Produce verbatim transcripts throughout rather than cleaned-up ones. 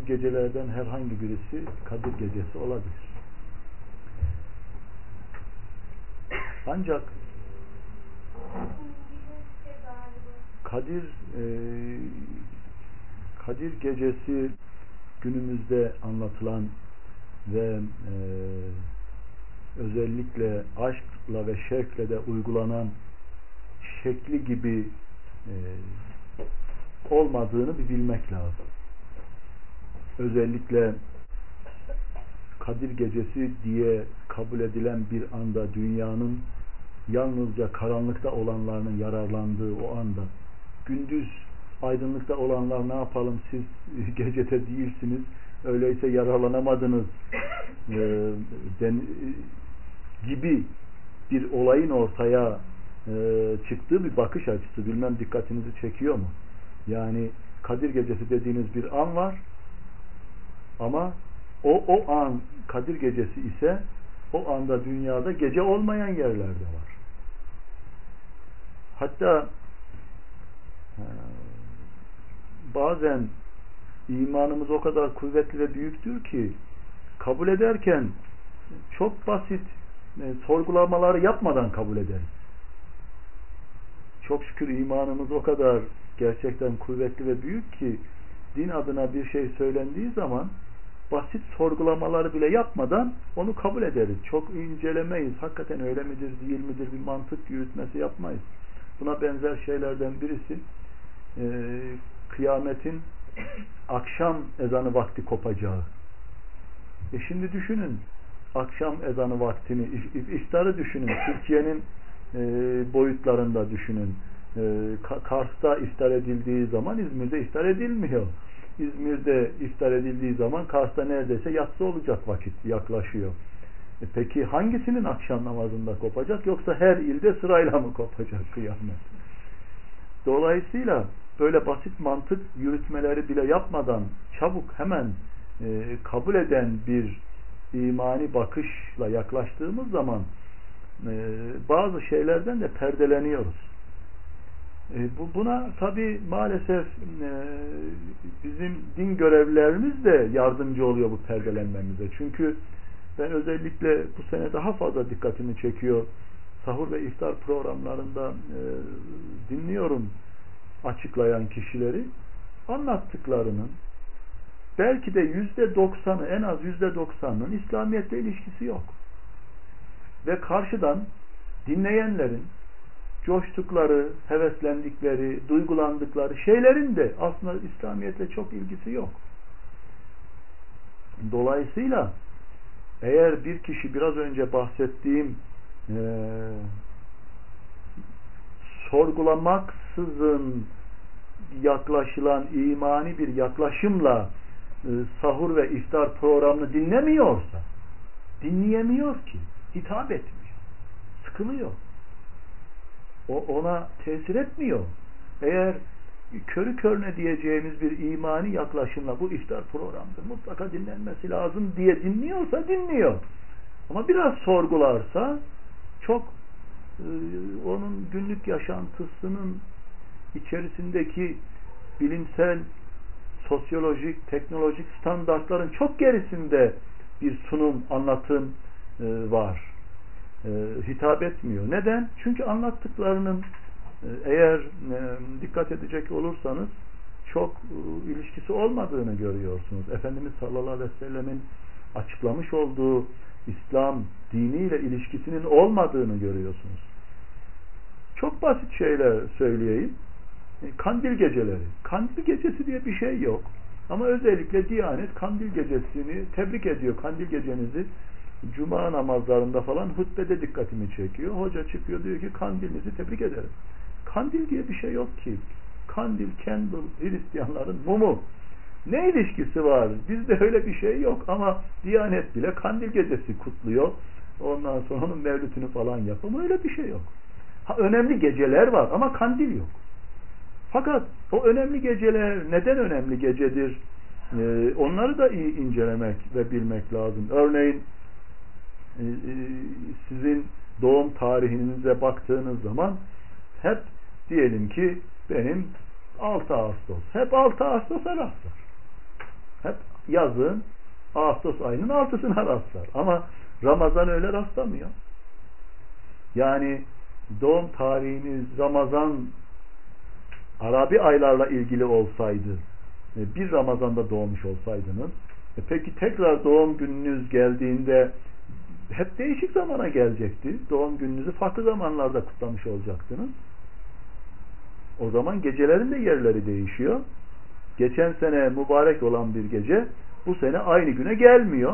gecelerden herhangi birisi Kadir Gecesi olabilir. Ancak Kadir e, Kadir Gecesi günümüzde anlatılan ve e, özellikle aşkla ve şevkle de uygulanan şekli gibi e, olmadığını bir bilmek lazım. Özellikle Kadir Gecesi diye kabul edilen bir anda dünyanın yalnızca karanlıkta olanlarının yararlandığı o anda, gündüz aydınlıkta olanlar ne yapalım, siz gecede değilsiniz, öyleyse yararlanamadınız e, den, gibi bir olayın ortaya e, çıktığı bir bakış açısı, bilmem dikkatinizi çekiyor mu? Yani Kadir Gecesi dediğiniz bir an var ama o, o an Kadir Gecesi ise o anda dünyada gece olmayan yerlerde var. Hatta e, bazen imanımız o kadar kuvvetli ve büyüktür ki kabul ederken çok basit e, sorgulamaları yapmadan kabul ederiz. Çok şükür imanımız o kadar gerçekten kuvvetli ve büyük ki din adına bir şey söylendiği zaman basit sorgulamaları bile yapmadan onu kabul ederiz. Çok incelemeyiz. Hakikaten öyle midir, değil midir, bir mantık yürütmesi yapmayız. Buna benzer şeylerden birisi e, kıyametin akşam ezanı vakti kopacağı. E şimdi düşünün, akşam ezanı vaktini, iftarı düşünün, Türkiye'nin e, boyutlarında düşünün. E, Kars'ta iftar edildiği zaman İzmir'de iftar edilmiyor. İzmir'de iftar edildiği zaman Kars'ta neredeyse yatsı olacak vakit yaklaşıyor. E peki hangisinin akşam namazında kopacak, yoksa her ilde sırayla mı kopacak kıyamet? Dolayısıyla böyle basit mantık yürütmeleri bile yapmadan çabuk hemen e, kabul eden bir imani bakışla yaklaştığımız zaman e, bazı şeylerden de perdeleniyoruz. E, bu, buna tabi maalesef e, bizim din görevlilerimiz de yardımcı oluyor bu perdelenmemize. Çünkü ben özellikle bu sene daha fazla dikkatimi çekiyor. Sahur ve iftar programlarında e, dinliyorum açıklayan kişileri. Anlattıklarının belki de yüzde doksanı, en az yüzde doksanının İslamiyet'le ilişkisi yok. Ve karşıdan dinleyenlerin coştukları, heveslendikleri, duygulandıkları şeylerin de aslında İslamiyet'le çok ilgisi yok. Dolayısıyla eğer bir kişi biraz önce bahsettiğim e, sorgulamaksızın yaklaşılan imani bir yaklaşımla e, sahur ve iftar programını dinlemiyorsa, dinleyemiyor ki, hitap etmiyor, sıkılıyor. O ona tesir etmiyor. Eğer körü körüne diyeceğimiz bir imani yaklaşımla bu iftar programıdır, mutlaka dinlenmesi lazım diye dinliyorsa dinliyor. Ama biraz sorgularsa çok e, onun günlük yaşantısının içerisindeki bilimsel, sosyolojik, teknolojik standartların çok gerisinde bir sunum, anlatım e, var. E, hitap etmiyor. Neden? Çünkü anlattıklarının e, eğer e, dikkat edecek olursanız çok e, ilişkisi olmadığını görüyorsunuz. Efendimiz sallallahu aleyhi ve sellemin açıklamış olduğu İslam diniyle ilişkisinin olmadığını görüyorsunuz. Çok basit şeyler söyleyeyim. E, kandil geceleri. Kandil gecesi diye bir şey yok. Ama özellikle Diyanet kandil gecesini tebrik ediyor. Kandil gecenizi Cuma namazlarında falan hutbede dikkatimi çekiyor. Hoca çıkıyor, diyor ki kandilinizi tebrik ederim. Kandil diye bir şey yok ki. Kandil, candle, Hristiyanların mumu. Ne ilişkisi var? Bizde öyle bir şey yok ama Diyanet bile kandil gecesi kutluyor. Ondan sonra onun mevlütünü falan yapıyor. Ama öyle bir şey yok. Ha, önemli geceler var ama kandil yok. Fakat o önemli geceler neden önemli gecedir? Ee, onları da iyi incelemek ve bilmek lazım. Örneğin e, e, sizin doğum tarihinize baktığınız zaman hep diyelim ki benim altı Ağustos. Hep altı Ağustos'a rastlar. Hep yazın Ağustos ayının altısına rastlar. Ama Ramazan öyle rastlamıyor. Yani doğum tarihiniz Ramazan Arabi aylarla ilgili olsaydı, bir Ramazan'da doğmuş olsaydınız, e peki tekrar doğum gününüz geldiğinde hep değişik zamana gelecekti. Doğum gününüzü farklı zamanlarda kutlamış olacaktınız. O zaman gecelerin de yerleri değişiyor. Geçen sene mübarek olan bir gece bu sene aynı güne gelmiyor.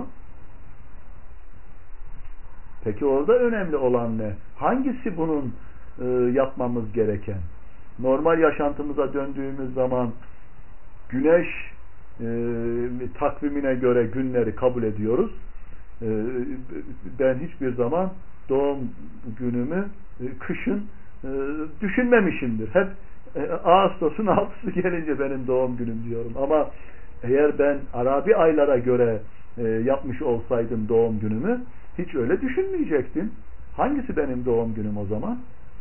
Peki orada önemli olan ne? Hangisi bunun e, yapmamız gereken? Normal yaşantımıza döndüğümüz zaman güneş e, takvimine göre günleri kabul ediyoruz. E, ben hiçbir zaman doğum günümü e, kışın e, düşünmemişimdir. Hep e, Ağustos'un altısı gelince benim doğum günüm diyorum. Ama eğer ben Arabi aylara göre e, yapmış olsaydım doğum günümü hiç öyle düşünmeyecektim. Hangisi benim doğum günüm o zaman?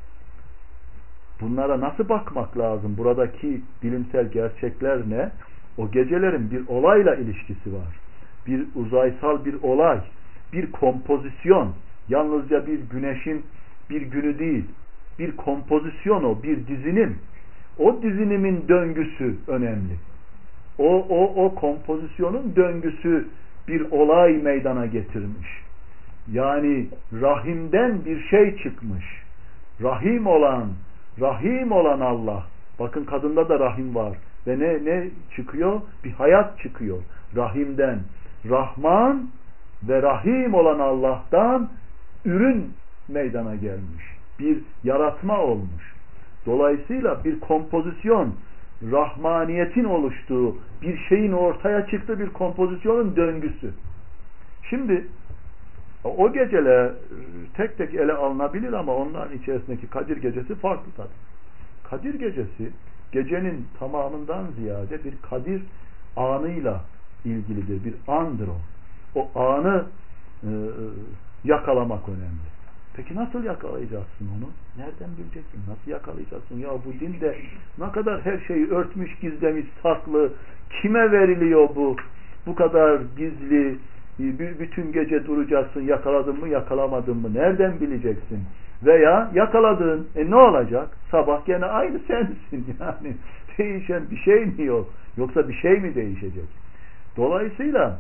Bunlara nasıl bakmak lazım? Buradaki bilimsel gerçekler ne? O gecelerin bir olayla ilişkisi var. Bir uzaysal bir olay, bir kompozisyon. Yalnızca bir güneşin bir günü değil. Bir kompozisyon o, bir dizinim. O dizinimin döngüsü önemli. O, o, o kompozisyonun döngüsü bir olay meydana getirmiş. Yani rahimden bir şey çıkmış. Rahim olan, rahim olan Allah. Bakın kadında da rahim var. Ve ne, ne çıkıyor? Bir hayat çıkıyor. Rahimden. Rahman ve Rahim olan Allah'tan ürün meydana gelmiş. Bir yaratma olmuş. Dolayısıyla bir kompozisyon, rahmaniyetin oluştuğu bir şeyin ortaya çıktığı bir kompozisyonun döngüsü. Şimdi o geceler tek tek ele alınabilir ama onların içerisindeki Kadir Gecesi farklı tabii. Kadir Gecesi gecenin tamamından ziyade bir Kadir anıyla ilgilidir. Bir andır o. O anı e, yakalamak önemli. Peki nasıl yakalayacaksın onu? Nereden bileceksin? Nasıl yakalayacaksın? Ya bu dinde ne kadar her şeyi örtmüş, gizlemiş, saklı. Kime veriliyor bu? Bu kadar gizli. Bütün gece duracaksın. Yakaladın mı, yakalamadın mı? Nereden bileceksin? Veya yakaladın. E ne olacak? Sabah gene aynı sensin. Yani değişen bir şey mi yok? Yoksa bir şey mi değişecek? Dolayısıyla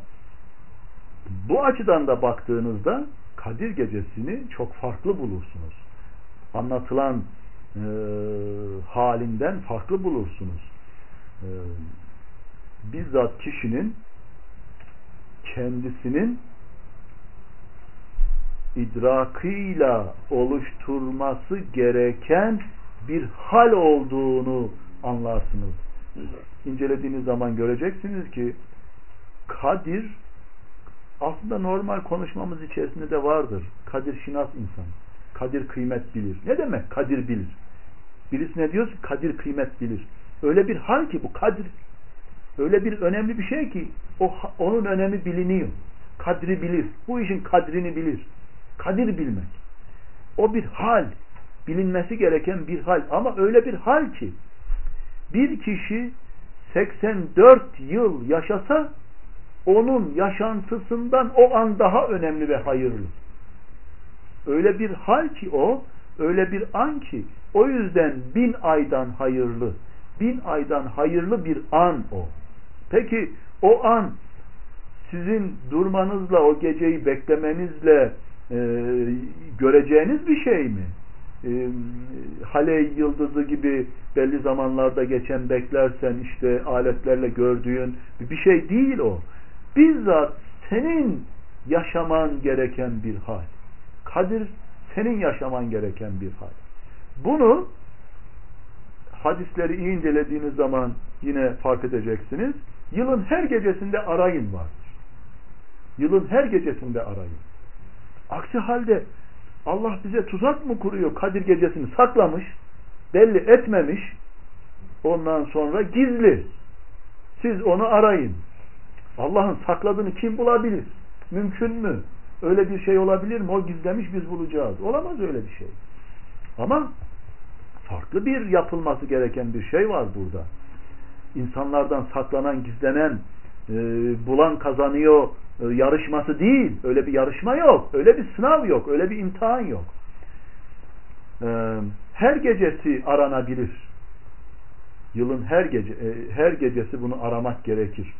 bu açıdan da baktığınızda Kadir Gecesi'ni çok farklı bulursunuz. Anlatılan e, halinden farklı bulursunuz. E, bizzat kişinin kendisinin idrakıyla oluşturması gereken bir hal olduğunu anlarsınız. İncelediğiniz zaman göreceksiniz ki Kadir aslında normal konuşmamız içerisinde de vardır. Kadir şinas insan. Kadir kıymet bilir. Ne demek kadir bilir? Birisi ne diyor ki kadir kıymet bilir. Öyle bir hal ki bu kadir. Öyle bir önemli bir şey ki o, onun önemi biliniyor. Kadri bilir. Bu işin kadrini bilir. Kadir bilmek. O bir hal. Bilinmesi gereken bir hal. Ama öyle bir hal ki bir kişi seksen dört yıl yaşasa onun yaşantısından o an daha önemli ve hayırlı. Öyle bir hal ki o, öyle bir an ki o yüzden bin aydan hayırlı. Bin aydan hayırlı bir an o. Peki o an sizin durmanızla, o geceyi beklemenizle e, göreceğiniz bir şey mi? E, Hale yıldızı gibi belli zamanlarda geçen beklersen işte aletlerle gördüğün bir şey değil o. Bizzat senin yaşaman gereken bir hal. Kadir senin yaşaman gereken bir hal. Bunu hadisleri iyi incelediğiniz zaman yine fark edeceksiniz. Yılın her gecesinde arayın vardır. Yılın her gecesinde arayın. Aksi halde Allah bize tuzak mı kuruyor? Kadir Gecesini saklamış, belli etmemiş, ondan sonra gizli. Siz onu arayın. Allah'ın sakladığını kim bulabilir? Mümkün mü? Öyle bir şey olabilir mi? O gizlemiş, biz bulacağız. Olamaz öyle bir şey. Ama farklı bir yapılması gereken bir şey var burada. İnsanlardan saklanan, gizlenen e, bulan kazanıyor e, yarışması değil. Öyle bir yarışma yok. Öyle bir sınav yok. Öyle bir imtihan yok. E, her gecesi aranabilir. Yılın her gece e, her gecesi bunu aramak gerekir.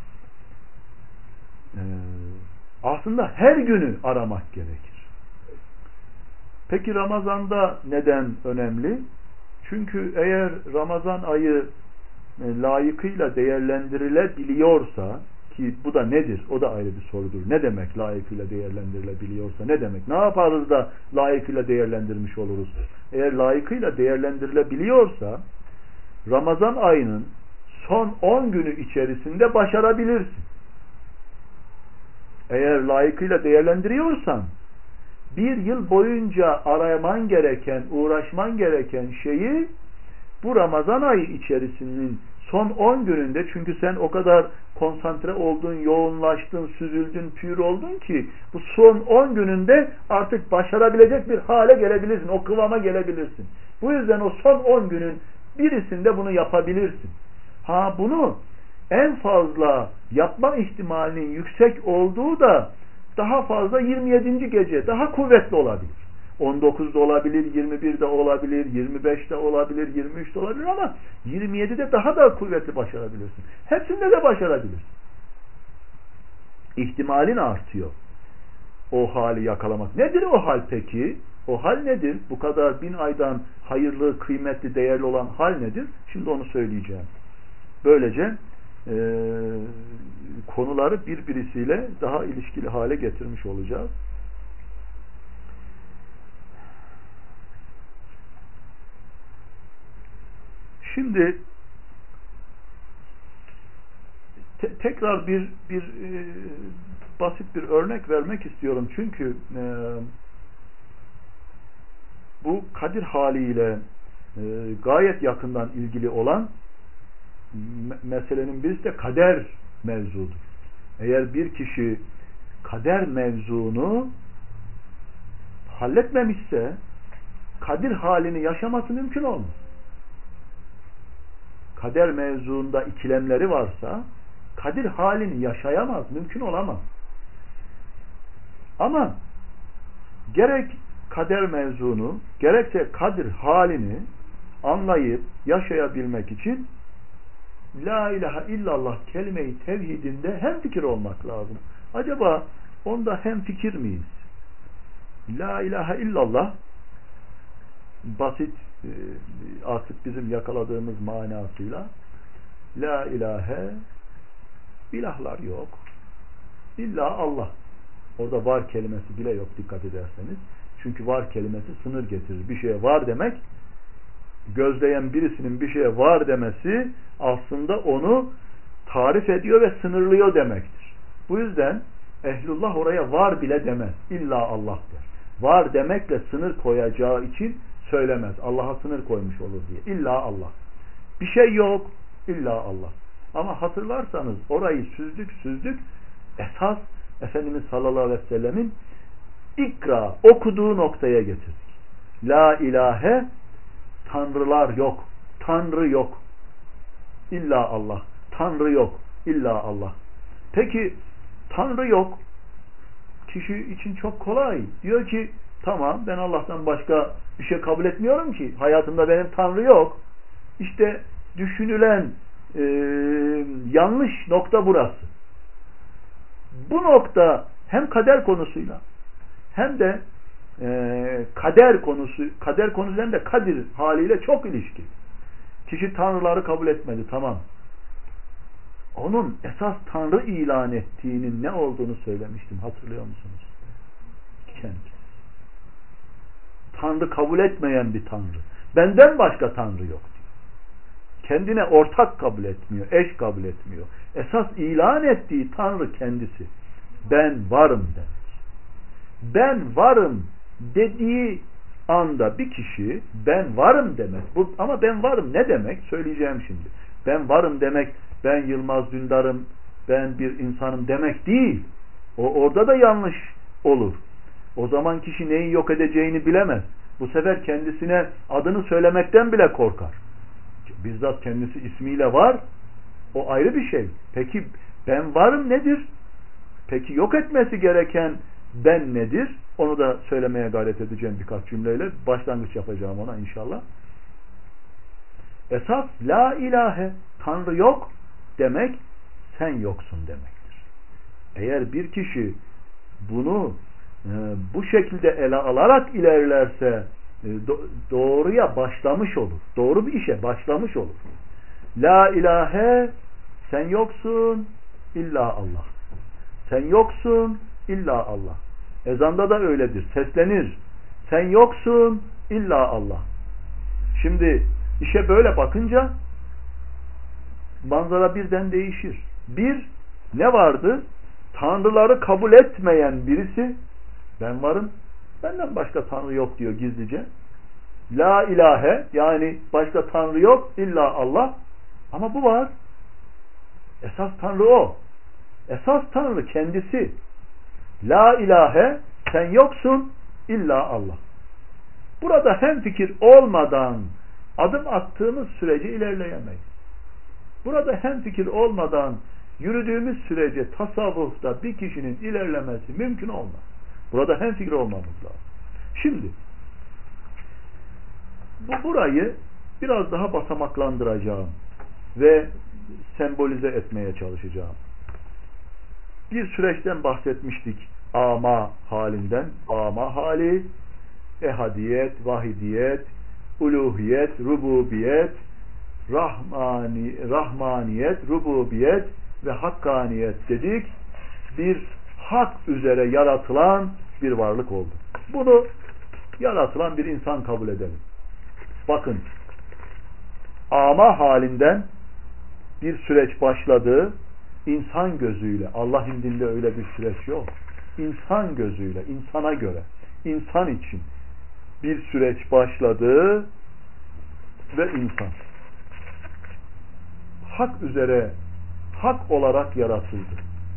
E, aslında her günü aramak gerekir. Peki Ramazan'da neden önemli? Çünkü eğer Ramazan ayı e, layıkıyla değerlendirilebiliyorsa, ki bu da nedir? O da ayrı bir sorudur. Ne demek layıkıyla değerlendirilebiliyorsa? Ne demek? Ne yaparız da layıkıyla değerlendirmiş oluruz? Eğer layıkıyla değerlendirilebiliyorsa Ramazan ayının son on günü içerisinde başarabilirsin. Eğer layıkıyla değerlendiriyorsan bir yıl boyunca araman gereken, uğraşman gereken şeyi bu Ramazan ayı içerisinin son on gününde, çünkü sen o kadar konsantre oldun, yoğunlaştın, süzüldün, pür oldun ki bu son on gününde artık başarabilecek bir hale gelebilirsin, o kıvama gelebilirsin. Bu yüzden o son on günün birisinde bunu yapabilirsin. Ha, bunu en fazla yapma ihtimalinin yüksek olduğu da daha fazla yirmi yedinci gece daha kuvvetli olabilir. on dokuzda olabilir, yirmi birde olabilir, yirmi beşte olabilir, yirmi üçte olabilir ama yirmi yedide daha da kuvvetli başarabilirsin. Hepsinde de başarabilirsin. İhtimalin artıyor. O hali yakalamak. Nedir o hal peki? O hal nedir? Bu kadar bin aydan hayırlı, kıymetli, değerli olan hal nedir? Şimdi onu söyleyeceğim. Böylece e, konuları birbirisiyle daha ilişkili hale getirmiş olacağız. Şimdi te tekrar bir bir e, basit bir örnek vermek istiyorum. Çünkü e, bu Kadir haliyle e, gayet yakından ilgili olan me meselenin birisi de kader mevzudur. Eğer bir kişi kader mevzunu halletmemişse Kadir halini yaşaması mümkün olmaz. Kader mevzuunda ikilemleri varsa Kadir halini yaşayamaz, mümkün olamaz. Ama gerek kader mevzunu, gerekse Kadir halini anlayıp yaşayabilmek için La ilahe illallah kelime-i tevhidinde hemfikir olmak lazım. Acaba onda hemfikir miyiz? La ilahe illallah basit artık bizim yakaladığımız manasıyla La ilahe ilahlar yok. İlla Allah. Orada var kelimesi bile yok dikkat ederseniz. Çünkü var kelimesi sınır getirir. Bir şeye var demek, gözleyen birisinin bir şeye var demesi aslında onu tarif ediyor ve sınırlıyor demektir. Bu yüzden ehlullah oraya var bile demez. İlla Allah der. Var demekle sınır koyacağı için söylemez. Allah'a sınır koymuş olur diye. İlla Allah. Bir şey yok. İlla Allah. Ama hatırlarsanız orayı süzdük süzdük. Esas Efendimiz sallallahu aleyhi ve sellemin ikra okuduğu noktaya getirdik. La ilahe tanrılar yok. Tanrı yok. İlla Allah. Tanrı yok. İlla Allah. Peki Tanrı yok. Kişi için çok kolay. Diyor ki tamam ben Allah'tan başka bir şey kabul etmiyorum ki. Hayatımda benim Tanrı yok. İşte düşünülen e, yanlış nokta burası. Bu nokta hem kader konusuyla hem de e, kader konusu kader konusu hem de kadir haliyle çok ilişkili. Kişi tanrıları kabul etmedi. Tamam. Onun esas tanrı ilan ettiğinin ne olduğunu söylemiştim. Hatırlıyor musunuz? Kendisi. Tanrı kabul etmeyen bir tanrı. Benden başka tanrı yok diyor. Kendine ortak kabul etmiyor. Eş kabul etmiyor. Esas ilan ettiği tanrı kendisi. Ben varım demek. Ben varım dediği anda bir kişi ben varım demek. Bu, ama ben varım ne demek? Söyleyeceğim şimdi. Ben varım demek ben Yılmaz Dündar'ım, ben bir insanım demek değil. O orada da yanlış olur. O zaman kişi neyi yok edeceğini bilemez. Bu sefer kendisine adını söylemekten bile korkar. Bizzat kendisi ismiyle var. O ayrı bir şey. Peki Ben varım nedir? Peki yok etmesi gereken ben nedir? Onu da söylemeye gayret edeceğim birkaç cümleyle. Başlangıç yapacağım ona inşallah. Esas la ilahe, Tanrı yok demek, sen yoksun demektir. Eğer bir kişi bunu e, bu şekilde ele alarak ilerlerse e, do, doğruya başlamış olur. Doğru bir işe başlamış olur. La ilahe, sen yoksun illa Allah. Sen yoksun illa Allah. Ezanda da öyledir. Seslenir. Sen yoksun illa Allah. Şimdi işe böyle bakınca manzara birden değişir. Bir, ne vardı? Tanrıları kabul etmeyen birisi, ben varım, benden başka Tanrı yok diyor gizlice. La ilahe, yani başka Tanrı yok illa Allah. Ama bu var. Esas Tanrı o. Esas Tanrı kendisi. La ilahe, sen yoksun illa Allah. Burada hemfikir olmadan adım attığımız sürece ilerleyemeyiz. Burada hemfikir olmadan yürüdüğümüz sürece tasavvufta bir kişinin ilerlemesi mümkün olmaz. Burada hemfikir olmamız lazım. Şimdi bu burayı biraz daha basamaklandıracağım ve sembolize etmeye çalışacağım. Bir süreçten bahsetmiştik. Ama halinden. Ama hali, ehadiyet, vahidiyet, uluhiyet, rububiyet, rahmani, rahmaniyet, rububiyet ve hakkaniyet dedik. Bir hak üzere yaratılan bir varlık oldu. Bunu yaratılan bir insan kabul edelim. Bakın, ama halinden bir süreç başladı. İnsan gözüyle, Allah indinde öyle bir süreç yok. İnsan gözüyle, insana göre, insan için bir süreç başladı ve insan hak üzere, hak olarak yaratıldı.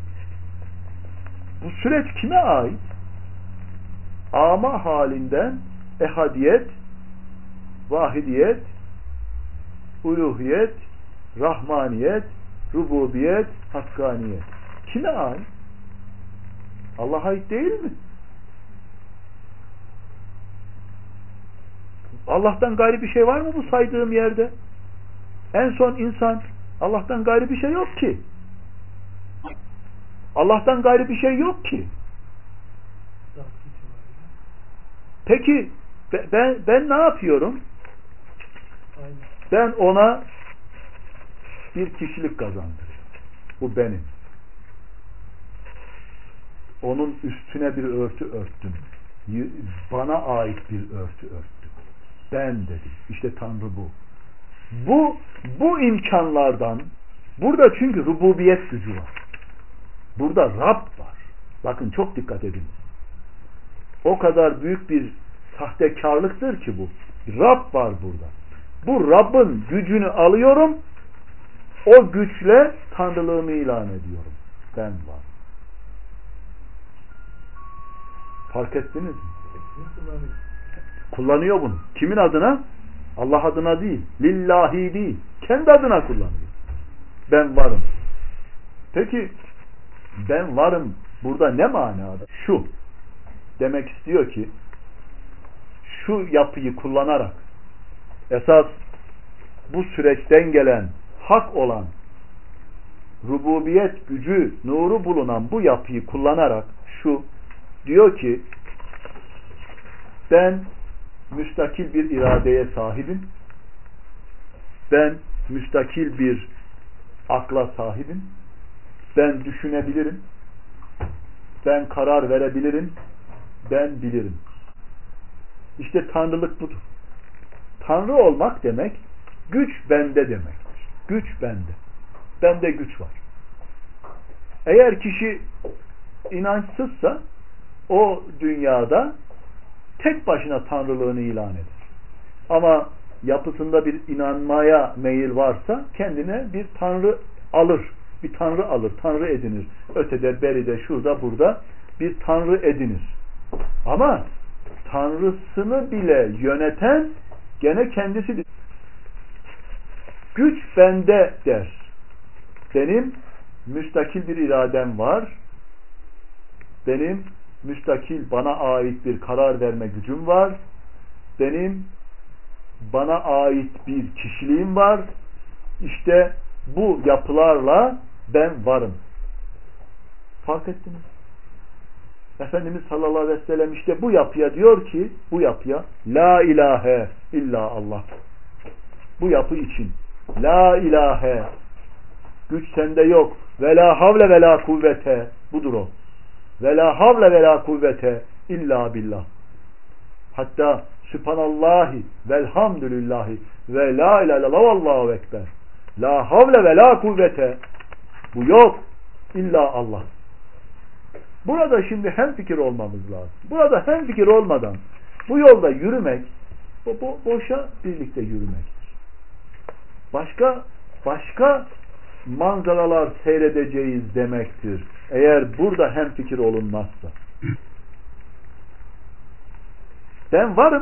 Bu süreç kime ait? Ama halinden ehadiyet, vahidiyet, uluhiyet, rahmaniyet, rububiyet, hakkaniyet. Kime ait? Allah'a ait değil mi? Allah'tan gayri bir şey var mı bu saydığım yerde? En son insan. Allah'tan gayri bir şey yok ki. Allah'tan gayri bir şey yok ki. Peki ben, ben ne yapıyorum? Ben ona bir kişilik kazandırıyorum. Bu benim. Onun üstüne bir örtü örttüm. Bana ait bir örtü örttüm. Ben dedim. İşte Tanrı bu. Bu, bu imkanlardan, burada çünkü rububiyet gücü var. Burada Rab var. Bakın çok dikkat edin. O kadar büyük bir sahtekarlıktır ki bu. Rab var burada. Bu Rabb'ın gücünü alıyorum, o güçle Tanrılığımı ilan ediyorum. Ben var. Fark ettiniz mi? Kullanıyor bunu. Kimin adına? Allah adına değil. Lillahi değil. Kendi adına kullanıyor. Ben varım. Peki ben varım burada ne manada? Şu. Demek istiyor ki şu yapıyı kullanarak esas bu süreçten gelen hak olan rububiyet gücü, nuru bulunan bu yapıyı kullanarak şu diyor ki ben müstakil bir iradeye sahibim. Ben müstakil bir akla sahibim. Ben düşünebilirim. Ben karar verebilirim. Ben bilirim. İşte Tanrılık budur. Tanrı olmak demek güç bende demektir. Güç bende. Bende güç var. Eğer kişi inançsızsa o dünyada tek başına tanrılığını ilan eder. Ama yapısında bir inanmaya meyil varsa kendine bir tanrı alır. Bir tanrı alır. Tanrı edinir. Ötede, beride, şurada, burada bir tanrı edinir. Ama tanrısını bile yöneten gene kendisidir. Güç bende der. Benim müstakil bir iradem var. Benim müstakil, bana ait bir karar verme gücüm var. Benim bana ait bir kişiliğim var. İşte bu yapılarla ben varım. Fark ettiniz? Efendimiz sallallahu aleyhi ve sellem işte bu yapıya diyor ki, bu yapıya la ilahe illa Allah. Bu yapı için la ilahe, güç sende yok, ve la havle ve la kuvvete, budur o. Ve la havle ve la kuvvete illa billah. Hatta Sübhanallahi velhamdülillahi ve la ilahe illallah vallahu ekber. La havle ve la kuvvete, bu yok illa Allah. Burada şimdi hemfikir olmamız lazım. Burada hemfikir olmadan bu yolda yürümek, bu, bu boşa birlikte yürümektir. Başka başka manzaralar seyredeceğiz demektir. Eğer burada hemfikir olunmazsa. Ben varım.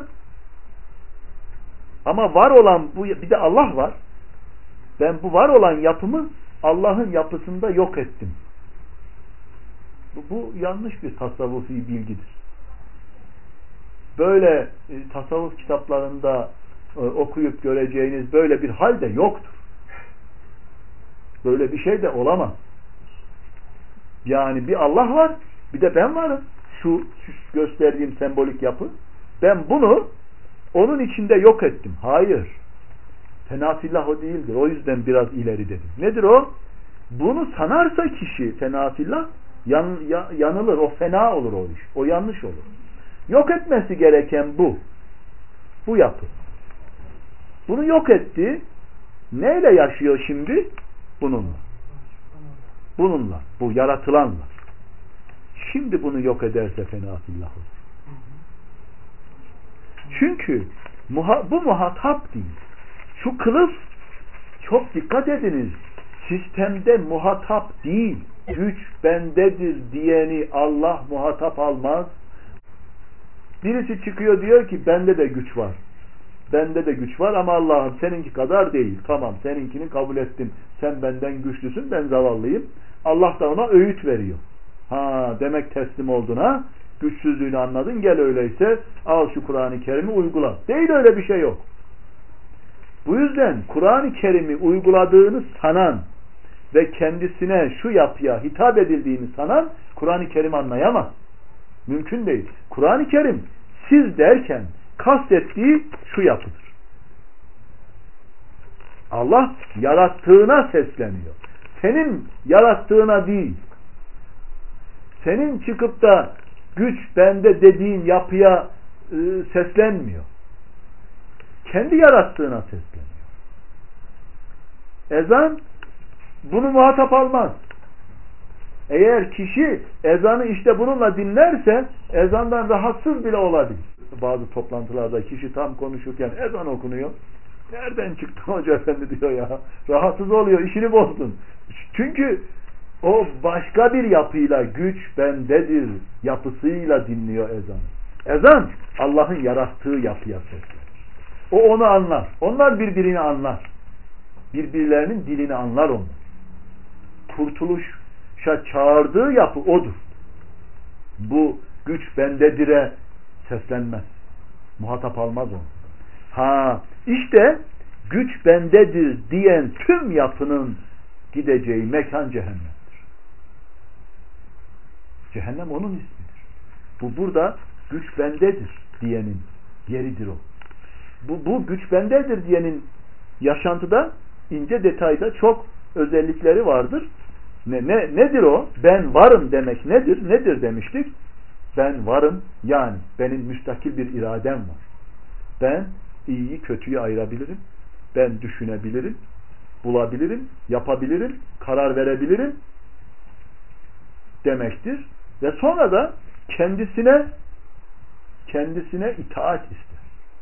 Ama var olan bu, bir de Allah var. Ben bu var olan yapımı Allah'ın yapısında yok ettim. Bu, bu yanlış bir tasavvufi bilgidir. Böyle e, tasavvuf kitaplarında e, okuyup göreceğiniz böyle bir hal de yoktur. Böyle bir şey de olamaz. Yani bir Allah var, bir de ben varım. Şu, şu gösterdiğim sembolik yapı. Ben bunu onun içinde yok ettim. Hayır. Fenafillah o değildir. O yüzden biraz ileri dedim. Nedir o? Bunu sanarsa kişi fenafillah yan, ya, yanılır. O fena olur o iş. O yanlış olur. Yok etmesi gereken bu. Bu yapı. Bunu yok etti. Neyle yaşıyor şimdi? Bununla. Bununla. Bu yaratılanla. Şimdi bunu yok ederse fenafillah olur. Çünkü muha, bu muhatap değil. Şu kılıf, çok dikkat ediniz, sistemde muhatap değil. Güç bendedir diyeni Allah muhatap almaz. Birisi çıkıyor diyor ki bende de güç var. Bende de güç var ama Allah'ım seninki kadar değil. Tamam, seninkini kabul ettim. Sen benden güçlüsün, ben zavallıyım. Allah da ona öğüt veriyor. Ha, demek teslim oldun ha. Güçsüzlüğünü anladın, gel öyleyse al şu Kur'an-ı Kerim'i uygula. Değil, öyle bir şey yok. Bu yüzden Kur'an-ı Kerim'i uyguladığını sanan ve kendisine şu yapıya hitap edildiğini sanan Kur'an-ı Kerim anlayamaz. Mümkün değil. Kur'an-ı Kerim siz derken kastettiği şu yapıdır. Allah yarattığına sesleniyor. Senin yarattığına değil. Senin çıkıp da güç bende dediğin yapıya e, seslenmiyor. Kendi yarattığına sesleniyor. Ezan bunu muhatap almaz. Eğer kişi ezanı işte bununla dinlerse ezandan rahatsız bile olabilir. Bazı toplantılarda kişi tam konuşurken ezan okunuyor. Nereden çıktın hoca efendi diyor ya. Rahatsız oluyor, işini bozdun. Çünkü o başka bir yapıyla, güç bendedir yapısıyla dinliyor ezanı. Ezan Allah'ın yarattığı yapıya seslenir. O onu anlar. Onlar birbirini anlar. Birbirlerinin dilini anlar onlar. Kurtuluşa çağırdığı yapı odur. Bu güç bendedir'e seslenmez. Muhatap almaz onu. Ha, işte güç bendedir diyen tüm yapının gideceği mekan cehennemdir. Cehennem onun ismidir. Bu burada güç bendedir diyenin yeridir o. Bu, bu güç bendedir diyenin yaşantıda ince detayda çok özellikleri vardır. Ne, ne, nedir o? Ben varım demek nedir? Nedir demiştik? Ben varım, yani benim müstakil bir iradem var. Ben iyiyi kötüyü ayırabilirim. Ben düşünebilirim, bulabilirim, yapabilirim, karar verebilirim demektir. Ve sonra da kendisine kendisine itaat ister.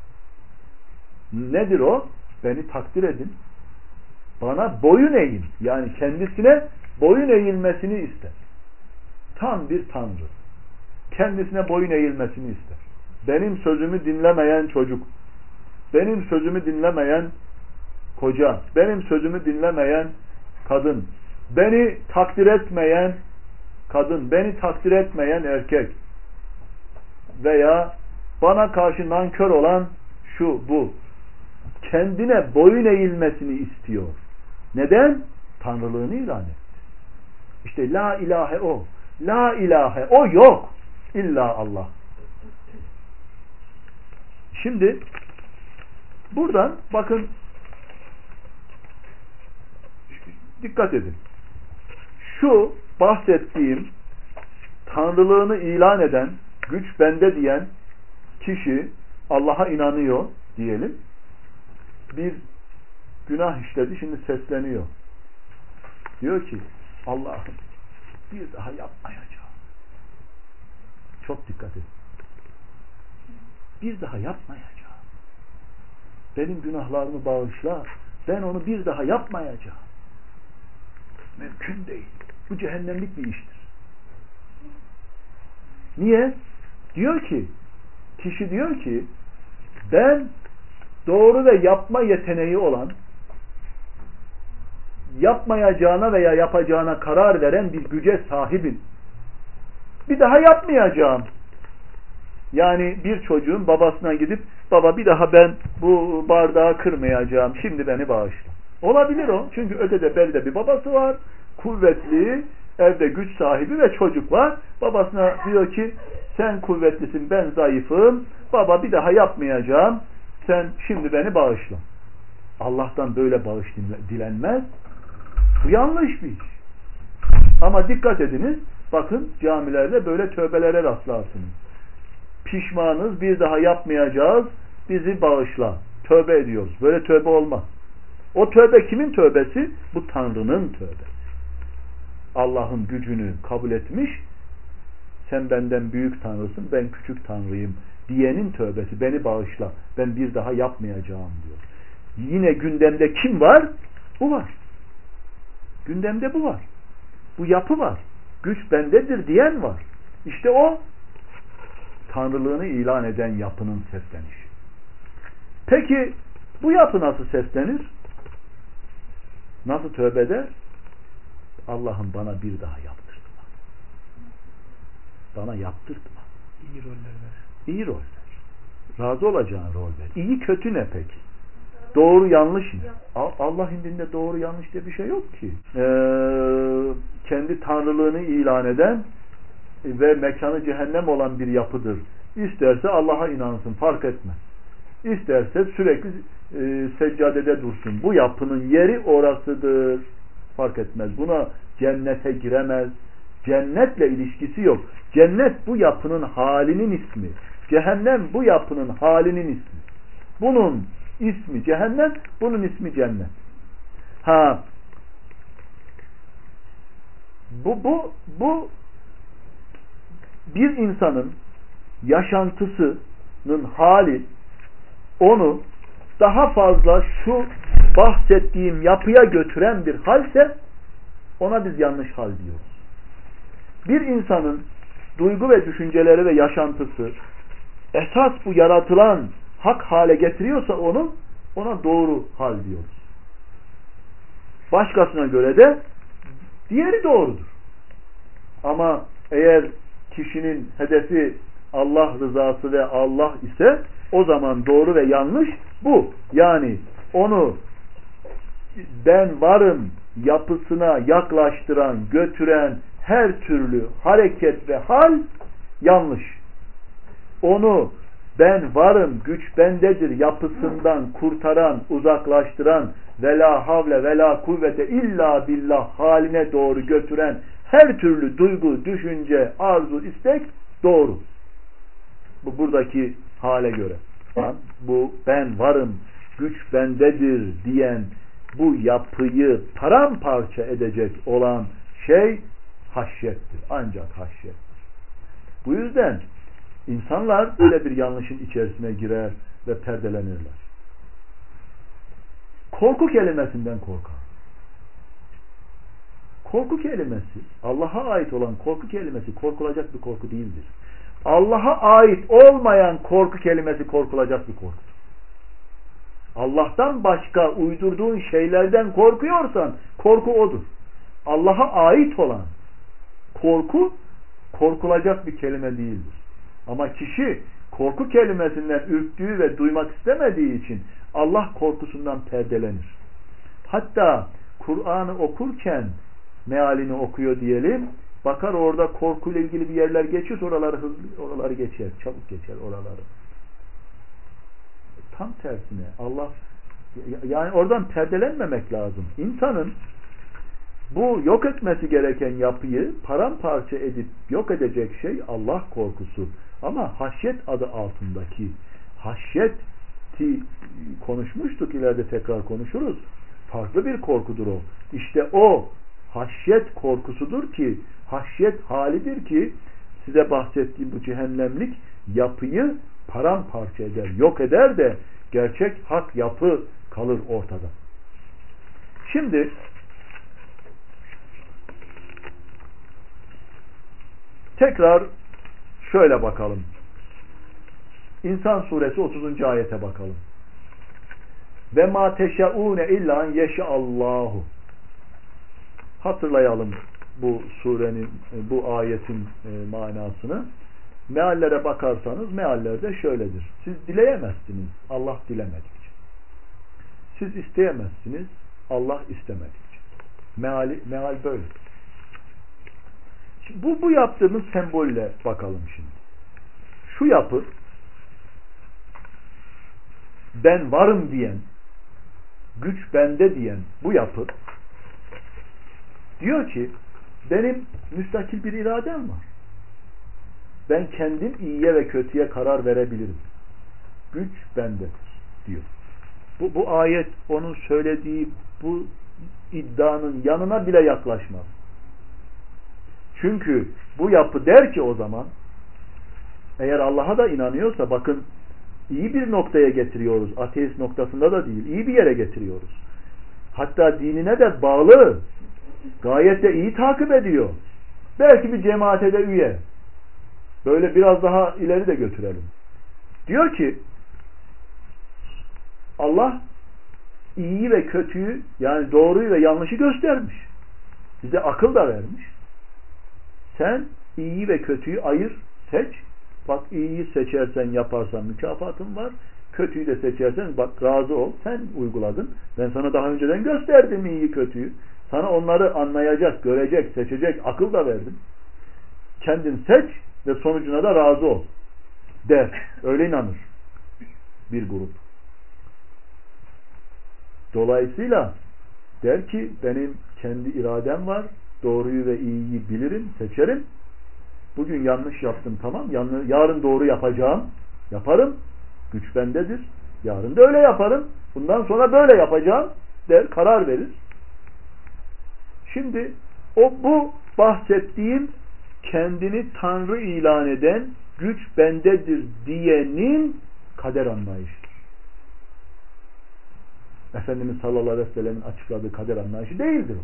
Nedir o? Beni takdir edin. Bana boyun eğin. Yani kendisine boyun eğilmesini ister. Tam bir tanrı. Kendisine boyun eğilmesini ister. Benim sözümü dinlemeyen çocuk, benim sözümü dinlemeyen koca, benim sözümü dinlemeyen kadın, beni takdir etmeyen kadın, beni takdir etmeyen erkek veya bana karşı nankör olan şu bu, kendine boyun eğilmesini istiyor. Neden? Tanrılığını ilan etti. İşte la ilahe o. La ilahe o yok. İlla Allah. Şimdi buradan bakın, dikkat edin. Şu bahsettiğim tanrılığını ilan eden, güç bende diyen kişi Allah'a inanıyor diyelim. Bir günah işledi, şimdi sesleniyor. Diyor ki Allah'ım bir daha yapmayacağım. Çok dikkat edin. Bir daha yapmayacağım. Benim günahlarımı bağışla. Ben onu bir daha yapmayacağım. Mümkün değil. Bu cehennemlik bir iştir. Niye? Diyor ki, kişi diyor ki, ben doğru ve yapma yeteneği olan, yapmayacağına veya yapacağına karar veren bir güce sahibim. Bir daha yapmayacağım. Yani bir çocuğun babasına gidip, baba bir daha ben bu bardağı kırmayacağım, şimdi beni bağışla. Olabilir o. Çünkü ötede belde bir babası var, kuvvetli, evde güç sahibi ve çocuk var. Babasına diyor ki, sen kuvvetlisin, ben zayıfım, baba bir daha yapmayacağım, sen şimdi beni bağışla. Allah'tan böyle bağış dilenmez. Bu yanlış bir iş. Ama dikkat ediniz, bakın camilerde böyle tövbelere rastlarsınız. Pişmanız, bir daha yapmayacağız, bizi bağışla. Tövbe ediyoruz. Böyle tövbe olmaz. O tövbe kimin tövbesi? Bu Tanrı'nın tövbesi. Allah'ın gücünü kabul etmiş, sen benden büyük Tanrısın, ben küçük Tanrıyım diyenin tövbesi. Beni bağışla, ben bir daha yapmayacağım diyor. Yine gündemde kim var? Bu var. Gündemde bu var. Bu yapı var. Güç bendedir diyen var. İşte o Tanrılığını ilan eden yapının seslenişi. Peki bu yapı nasıl seslenir? Nasıl tövbe eder? Allah'ım bana bir daha yaptırtma. Bana yaptırtma. İyi roller ver. İyi rol ver. Razı olacağın rol ver. İyi kötü ne peki? Doğru yanlış ne? Allah indinde doğru yanlış diye bir şey yok ki. Ee, kendi tanrılığını ilan eden ve mekanı cehennem olan bir yapıdır. İsterse Allah'a inansın, fark etmez. İsterse sürekli e, seccadede dursun. Bu yapının yeri orasıdır. Fark etmez. Buna cennete giremez. Cennetle ilişkisi yok. Cennet bu yapının halinin ismi. Cehennem bu yapının halinin ismi. Bunun ismi cehennem, bunun ismi cennet. Ha, bu bu bu bir insanın yaşantısının hali onu daha fazla şu bahsettiğim yapıya götüren bir halse ona biz yanlış hal diyoruz. Bir insanın duygu ve düşünceleri ve yaşantısı esas bu yaratılan hak hale getiriyorsa onu, ona doğru hal diyoruz. Başkasına göre de diğeri doğrudur. Ama eğer kişinin hedefi Allah rızası ve Allah ise o zaman doğru ve yanlış bu. Yani onu ben varım yapısına yaklaştıran, götüren her türlü hareket ve hal yanlış. Onu ben varım, güç bendedir yapısından kurtaran, uzaklaştıran ve la havle ve la kuvvete illa billah haline doğru götüren her türlü duygu, düşünce, arzu, istek doğru. Bu buradaki hale göre. Bu ben varım, güç bendedir diyen bu yapıyı paramparça edecek olan şey haşyettir. Ancak haşyettir. Bu yüzden İnsanlar böyle bir yanlışın içerisine girer ve perdelenirler. Korku kelimesinden korkar. Korku kelimesi, Allah'a ait olan korku kelimesi korkulacak bir korku değildir. Allah'a ait olmayan korku kelimesi korkulacak bir korkudur. Allah'tan başka uydurduğun şeylerden korkuyorsan korku odur. Allah'a ait olan korku korkulacak bir kelime değildir. Ama kişi korku kelimesinden ürktüğü ve duymak istemediği için Allah korkusundan perdelenir. Hatta Kur'an'ı okurken mealini okuyor diyelim, bakar orada korkuyla ilgili bir yerler geçiyor, oraları hızlı, oraları geçer, çabuk geçer oraları. Tam tersine Allah, yani oradan perdelenmemek lazım. İnsanın bu yok etmesi gereken yapıyı paramparça edip yok edecek şey Allah korkusu. Ama haşyet adı altındaki haşyeti konuşmuştuk, ileride tekrar konuşuruz. Farklı bir korkudur o. İşte o haşyet korkusudur ki, haşyet halidir ki size bahsettiğim bu cehennemlik yapıyı paramparça eder, yok eder de gerçek hak yapı kalır ortada. Şimdi tekrar şöyle bakalım. İnsan suresi otuzuncu ayete bakalım. Ve ma teşeûne illa en yeşeallahu. Hatırlayalım bu surenin, bu ayetin manasını. Meallere bakarsanız meallerde şöyledir. Siz dileyemezsiniz Allah dilemedikçe. Siz isteyemezsiniz Allah istemedikçe. Meali, meal böyle. Şimdi bu, bu yaptığımız sembolle bakalım şimdi. Şu yapı, ben varım diyen, güç bende diyen bu yapı diyor ki benim müstakil bir iradem var. Ben kendim iyiye ve kötüye karar verebilirim. Güç bende diyor. Bu, bu ayet onun söylediği bu iddianın yanına bile yaklaşmaz. Çünkü bu yapı der ki o zaman, eğer Allah'a da inanıyorsa bakın iyi bir noktaya getiriyoruz. Ateist noktasında da değil. İyi bir yere getiriyoruz. Hatta dinine de bağlı. Gayet de iyi takip ediyor. Belki bir cemaate de üye. Böyle biraz daha ileri de götürelim. Diyor ki Allah iyiyi ve kötüyü, yani doğruyu ve yanlışı göstermiş. Bize akıl da vermiş. Sen iyiyi ve kötüyü ayır, seç. Bak iyiyi seçersen, yaparsan mükafatın var. Kötüyü de seçersen bak razı ol. Sen uyguladın. Ben sana daha önceden gösterdim iyiyi kötüyü. Sana onları anlayacak, görecek, seçecek akıl da verdim. Kendin seç ve sonucuna da razı ol der. Öyle inanır bir grup. Dolayısıyla der ki benim kendi iradem var. Doğruyu ve iyiyi bilirim, seçerim. Bugün yanlış yaptım, tamam. Yarın doğru yapacağım. Yaparım. Güç bendedir. Yarın da öyle yaparım. Bundan sonra böyle yapacağım der, karar verir. Şimdi o bu bahsettiğim kendini Tanrı ilan eden, güç bendedir diyenin kader anlayışıdır. Efendimiz sallallahu aleyhi ve sellem'in açıkladığı kader anlayışı değildir o.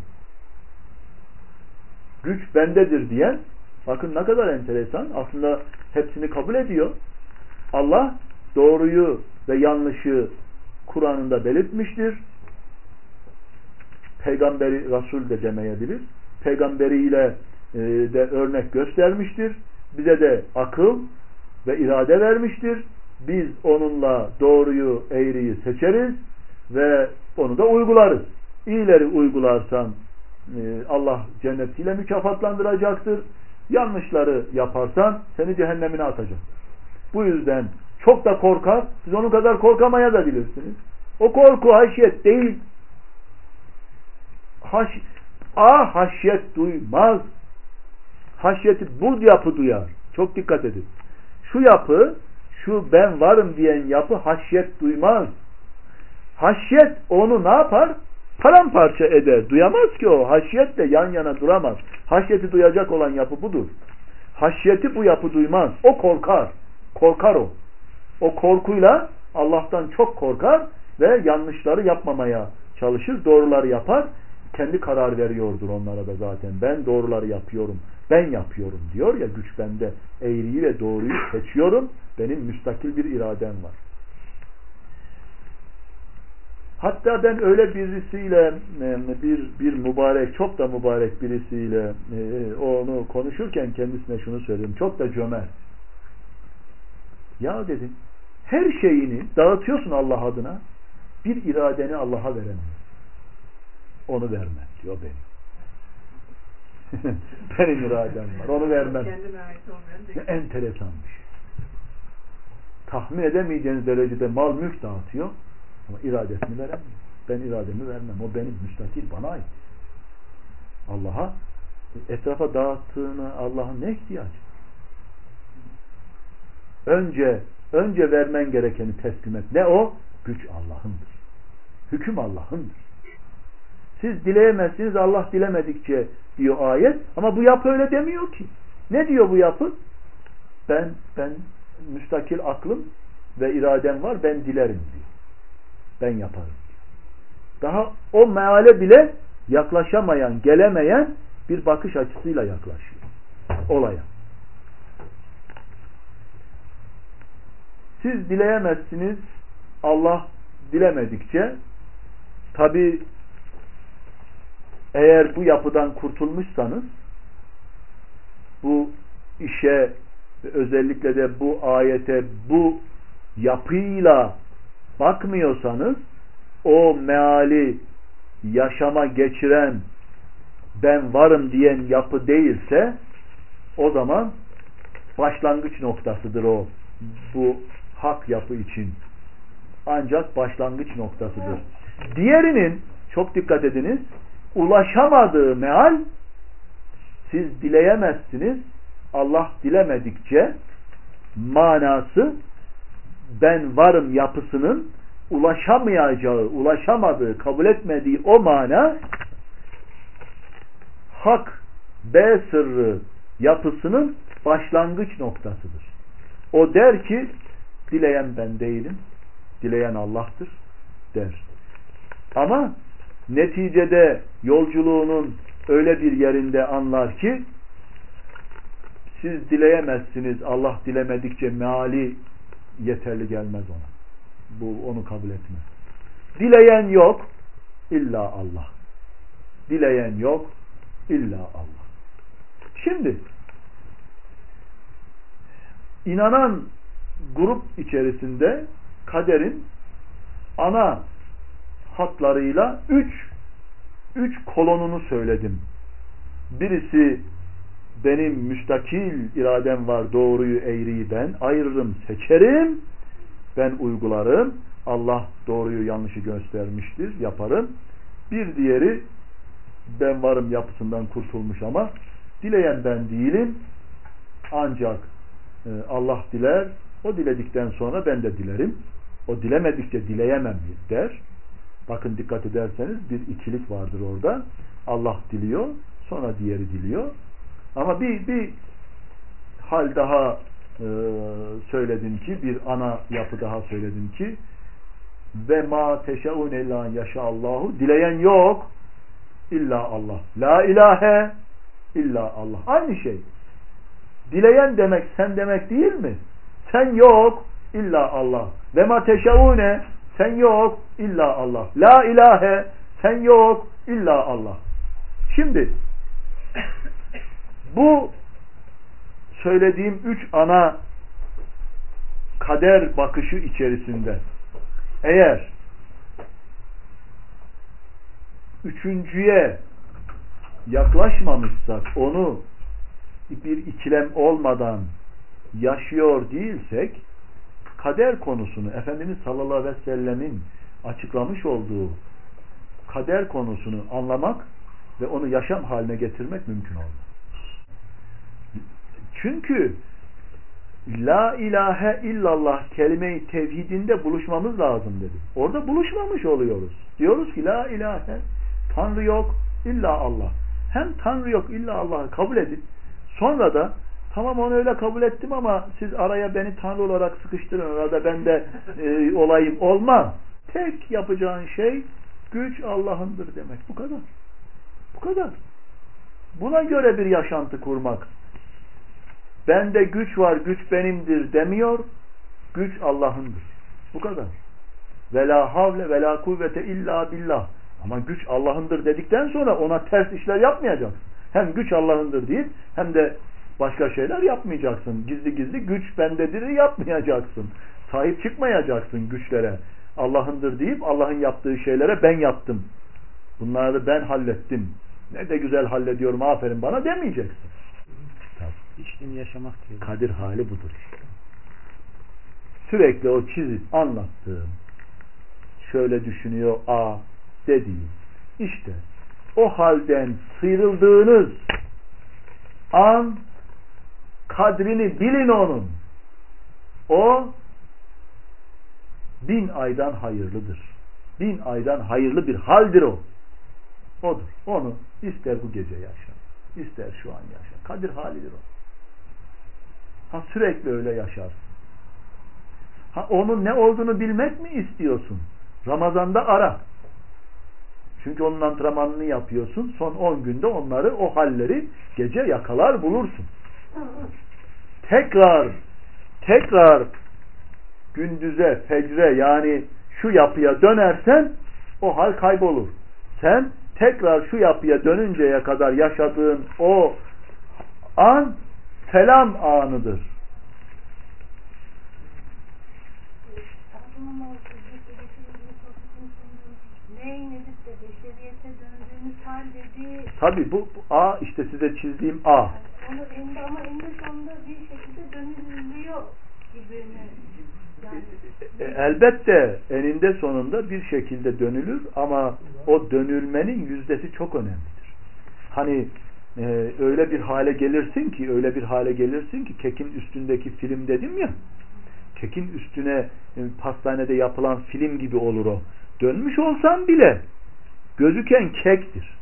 Güç bendedir diyen, bakın ne kadar enteresan, aslında hepsini kabul ediyor. Allah doğruyu ve yanlışı Kur'an'ında belirtmiştir. Peygamberi, Resul de demeyebilir. Peygamberiyle e, de örnek göstermiştir. Bize de akıl ve irade vermiştir. Biz onunla doğruyu, eğriyi seçeriz ve onu da uygularız. İyileri uygularsan e, Allah cennetiyle mükafatlandıracaktır. Yanlışları yaparsan seni cehennemine atacak. Bu yüzden çok da korkar. Siz onun kadar korkamaya da bilirsiniz. O korku haşyet değil. Haş, A haşyet duymaz. Haşyeti bu yapı duyar. Çok dikkat edin. Şu yapı, şu ben varım diyen yapı haşyet duymaz. Haşyet onu ne yapar? Paramparça eder. Duyamaz ki o. Haşyetle yan yana duramaz. Haşyeti duyacak olan yapı budur. Haşyeti bu yapı duymaz. O korkar. Korkar o. O korkuyla Allah'tan çok korkar ve yanlışları yapmamaya çalışır. Doğruları yapar. Kendi karar veriyordur onlara da zaten. Ben doğruları yapıyorum. Ben yapıyorum diyor ya, güç bende. Eğriyi ve doğruyu seçiyorum. Benim müstakil bir iradem var. Hatta ben öyle birisiyle bir bir mübarek, çok da mübarek birisiyle onu konuşurken kendisine şunu söyledim. Çok da cömert. Ya dedim, her şeyini dağıtıyorsun Allah adına, bir iradeni Allah'a veremiyor. Onu vermem diyor benim. Benim iradem var. Onu vermem. Ne enteresan bir şey. Tahmin edemeyeceğiniz derecede mal mülk dağıtıyor ama iradesini veremiyor. Ben irademi vermem. O benim, müstakil, bana ait. Allah'a etrafa dağıttığını Allah'ın ne ihtiyacı? Önce önce vermen gerekeni teslim et. Ne o? Güç Allah'ındır. Hüküm Allah'ındır. Siz dileyemezsiniz, Allah dilemedikçe diyor ayet. Ama bu yapı öyle demiyor ki. Ne diyor bu yapı? Ben ben müstakil aklım ve iradem var, ben dilerim diyor. Ben yaparım diyor. Daha o meale bile yaklaşamayan, gelemeyen bir bakış açısıyla yaklaşıyor olaya. Siz dileyemezsiniz, Allah dilemedikçe. Tabi eğer bu yapıdan kurtulmuşsanız, bu işe özellikle de bu ayete bu yapıyla bakmıyorsanız, o meali yaşama geçiren, ben varım diyen yapı değilse, o zaman başlangıç noktasıdır o, bu hak yapı için. Ancak başlangıç noktasıdır. Diğerinin, çok dikkat ediniz, ulaşamadığı meal, siz dileyemezsiniz, Allah dilemedikçe, manası ben varım yapısının ulaşamayacağı, ulaşamadığı, kabul etmediği o mana, hak B sırrı yapısının başlangıç noktasıdır. O der ki, dileyen ben değilim, dileyen Allah'tır der. Ama neticede yolculuğunun öyle bir yerinde anlar ki, siz dileyemezsiniz, Allah dilemedikçe meali yeterli gelmez ona. Bu onu kabul etmez. Dileyen yok, illa Allah. Dileyen yok, illa Allah. Şimdi inanan grup içerisinde kaderin ana hatlarıyla üç üç kolonunu söyledim. Birisi benim müstakil iradem var, doğruyu eğriyi ben ayırırım, seçerim, ben uygularım, Allah doğruyu yanlışı göstermiştir, yaparım. Bir diğeri, ben varım yapısından kurtulmuş ama dileyen ben değilim, ancak e, Allah diler, o diledikten sonra ben de dilerim, o dilemedikçe dileyemem der. Bakın dikkat ederseniz bir ikilik vardır orada. Allah diliyor, sonra diğeri diliyor. Ama bir, bir hal daha e, söyledim ki, bir ana yapı daha söyledim ki, ve ma teşeun illa yaşallahu, dileyen yok illa Allah. La ilahe illa Allah. Aynı şey. Dileyen demek sen demek değil mi? Sen yok illa Allah. Ve ma teşeune, sen yok illa Allah. La ilahe, sen yok illa Allah. Şimdi bu söylediğim üç ana kader bakışı içerisinde eğer üçüncüye yaklaşmamışsak, onu bir ikilem olmadan yaşıyor değilsek, kader konusunu Efendimiz sallallahu aleyhi ve sellemin açıklamış olduğu kader konusunu anlamak ve onu yaşam haline getirmek mümkün olmaz. Çünkü la ilahe illallah kelime-i tevhidinde buluşmamız lazım dedi. Orada buluşmamış oluyoruz. Diyoruz ki la ilahe, Tanrı yok illa Allah. Hem Tanrı yok illa Allah'ı kabul edin. Sonra da tamam onu öyle kabul ettim ama siz araya beni Tanrı olarak sıkıştırın, orada ben de e, olayım, olmaz. Tek yapacağın şey güç Allah'ındır demek. Bu kadar. Bu kadar. Buna göre bir yaşantı kurmak. Bende güç var, güç benimdir demiyor. Güç Allah'ındır. Bu kadar. ve la havle ve la kuvvete illa billah. Ama güç Allah'ındır dedikten sonra ona ters işler yapmayacaksın. Hem güç Allah'ındır deyip hem de başka şeyler yapmayacaksın. Gizli gizli güç bendedir yapmayacaksın. Sahip çıkmayacaksın güçlere. Allah'ındır deyip Allah'ın yaptığı şeylere ben yaptım. Bunları ben hallettim. Ne de güzel hallediyorum, aferin bana demeyeceksin. İçtiğini yaşamak diyor. Kadir hali budur işte. Sürekli o çizip anlattığım, şöyle düşünüyor A dediğim, işte o halden sıyrıldığınız an kadrini bilin onun. O bin aydan hayırlıdır. Bin aydan hayırlı bir haldir o. Odur. Onu ister bu gece yaşa, ister şu an yaşa. Kadir halidir o. Ha sürekli öyle yaşarsın. Ha onun ne olduğunu bilmek mi istiyorsun? Ramazan'da ara. Çünkü onun antrenmanını yapıyorsun. Son on günde onları, o halleri gece yakalar bulursun. Tekrar tekrar gündüze, fecre, yani şu yapıya dönersen o hal kaybolur. Sen tekrar şu yapıya dönünceye kadar yaşadığın o an selam anıdır. Tabi bu, bu A işte size çizdiğim A. Onu eninde ama eninde sonunda bir şekilde dönülüyor gibi mi? Yani. Elbette eninde sonunda bir şekilde dönülür ama o dönülmenin yüzdesi çok önemlidir. Hani e, öyle bir hale gelirsin ki öyle bir hale gelirsin ki kekin üstündeki film dedim ya, kekin üstüne e, pastanede yapılan film gibi olur o. Dönmüş olsan bile gözüken kektir.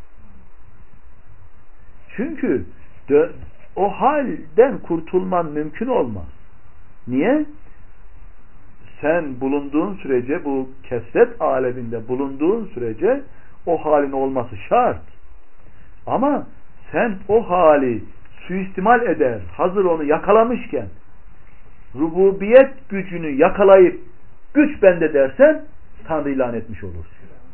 Çünkü de, o halden kurtulman mümkün olmaz. Niye? Sen bulunduğun sürece, bu kesret aleminde bulunduğun sürece o halin olması şart. Ama sen o hali suistimal eder, hazır onu yakalamışken rububiyet gücünü yakalayıp güç bende dersen Tanrı ilan etmiş olursun.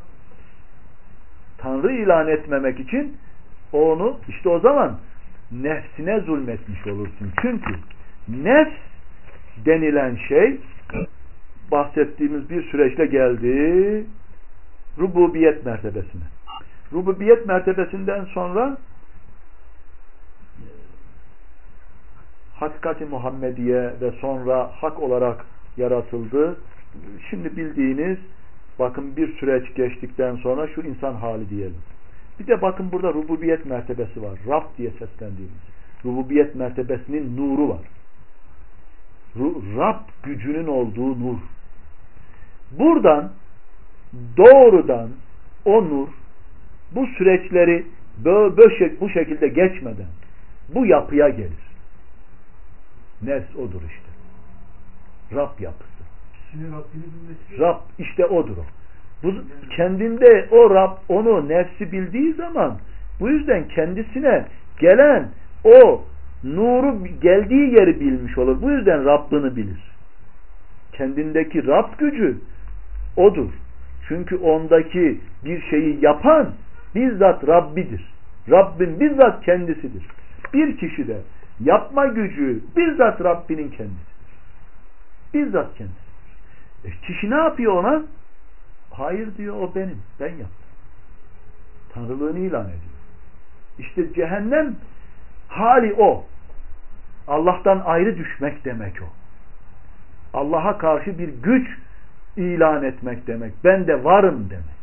Tanrı ilan etmemek için onu işte o zaman nefsine zulmetmiş olursun. Çünkü nefs denilen şey bahsettiğimiz bir süreçle geldi rububiyet mertebesine. Rububiyet mertebesinden sonra hakikati Muhammediye ve sonra hak olarak yaratıldı. Şimdi bildiğiniz, bakın bir süreç geçtikten sonra şu insan hali diyelim. Bir de bakın burada rububiyet mertebesi var. Rab diye seslendiğimiz. Rububiyet mertebesinin nuru var. Rab gücünün olduğu nur. Buradan doğrudan o nur bu süreçleri böyle bu şekilde geçmeden bu yapıya gelir. Nefs odur işte. Rab yapısı. Rab işte odur o. Bu, kendinde o Rab onu, nefsi bildiği zaman bu yüzden kendisine gelen o nuru geldiği yeri bilmiş olur. Bu yüzden Rabbini bilir. Kendindeki Rab gücü odur. Çünkü ondaki bir şeyi yapan bizzat Rabbidir. Rabbin bizzat kendisidir. Bir kişide yapma gücü bizzat Rabbinin kendisidir. Bizzat kendisi. E, kişi ne yapıyor ona? Hayır diyor, o benim. Ben yaptım. Tanrılığını ilan ediyor. İşte cehennem hali o. Allah'tan ayrı düşmek demek o. Allah'a karşı bir güç ilan etmek demek. Ben de varım demek.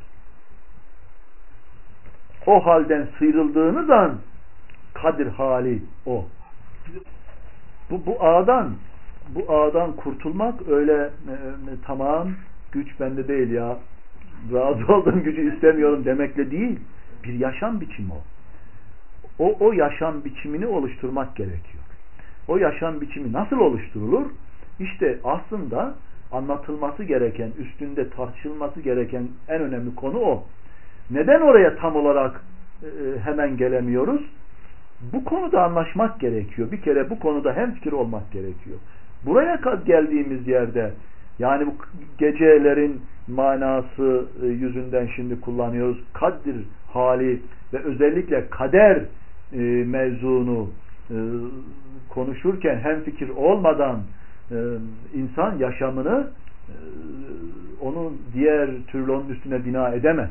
O halden sıyrıldığınız an kadir hali o. Bu, bu ağdan bu ağdan kurtulmak öyle e, tamam güç bende değil ya, razı olduğum gücü istemiyorum demekle değil. Bir yaşam biçimi o. O, o yaşam biçimini oluşturmak gerekiyor. O yaşam biçimi nasıl oluşturulur? İşte aslında anlatılması gereken, üstünde tartışılması gereken en önemli konu o. Neden oraya tam olarak e, hemen gelemiyoruz? Bu konuda anlaşmak gerekiyor. Bir kere bu konuda hemfikir olmak gerekiyor. Buraya geldiğimiz yerde Yani bu gecelerin manası yüzünden şimdi kullanıyoruz. Kaddir hali ve özellikle kader e, mevzunu e, konuşurken hemfikir olmadan e, insan yaşamını e, onun diğer türlü onun üstüne bina edemez.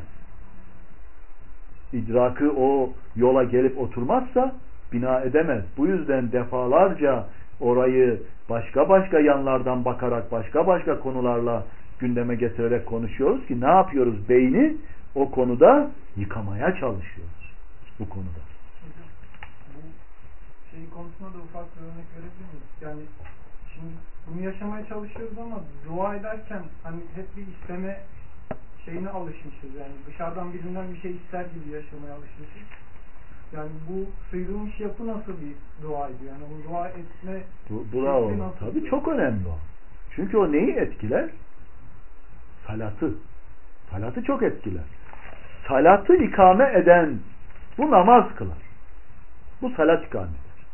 İdrakı o yola gelip oturmazsa bina edemez. Bu yüzden defalarca orayı başka başka yanlardan bakarak başka başka konularla gündeme getirerek konuşuyoruz ki ne yapıyoruz? Beyni o konuda yıkamaya çalışıyoruz. Bu konuda. Bu şey konusunda da ufak bir örnek verebilir miyiz? Yani şimdi bunu yaşamaya çalışıyoruz ama dua ederken hani hep bir isteme şeyine alışmışız. Yani dışarıdan birinden bir şey ister gibi yaşamaya alışmışız. Yani bu sıyrılmış yapı nasıl bir duaydı? Yani o dua etme bu, bravo. Tabii çok önemli o. Çünkü o neyi etkiler? Salatı. Salatı çok etkiler. Salatı ikame eden bu namaz kılar. Bu salat ikame eder.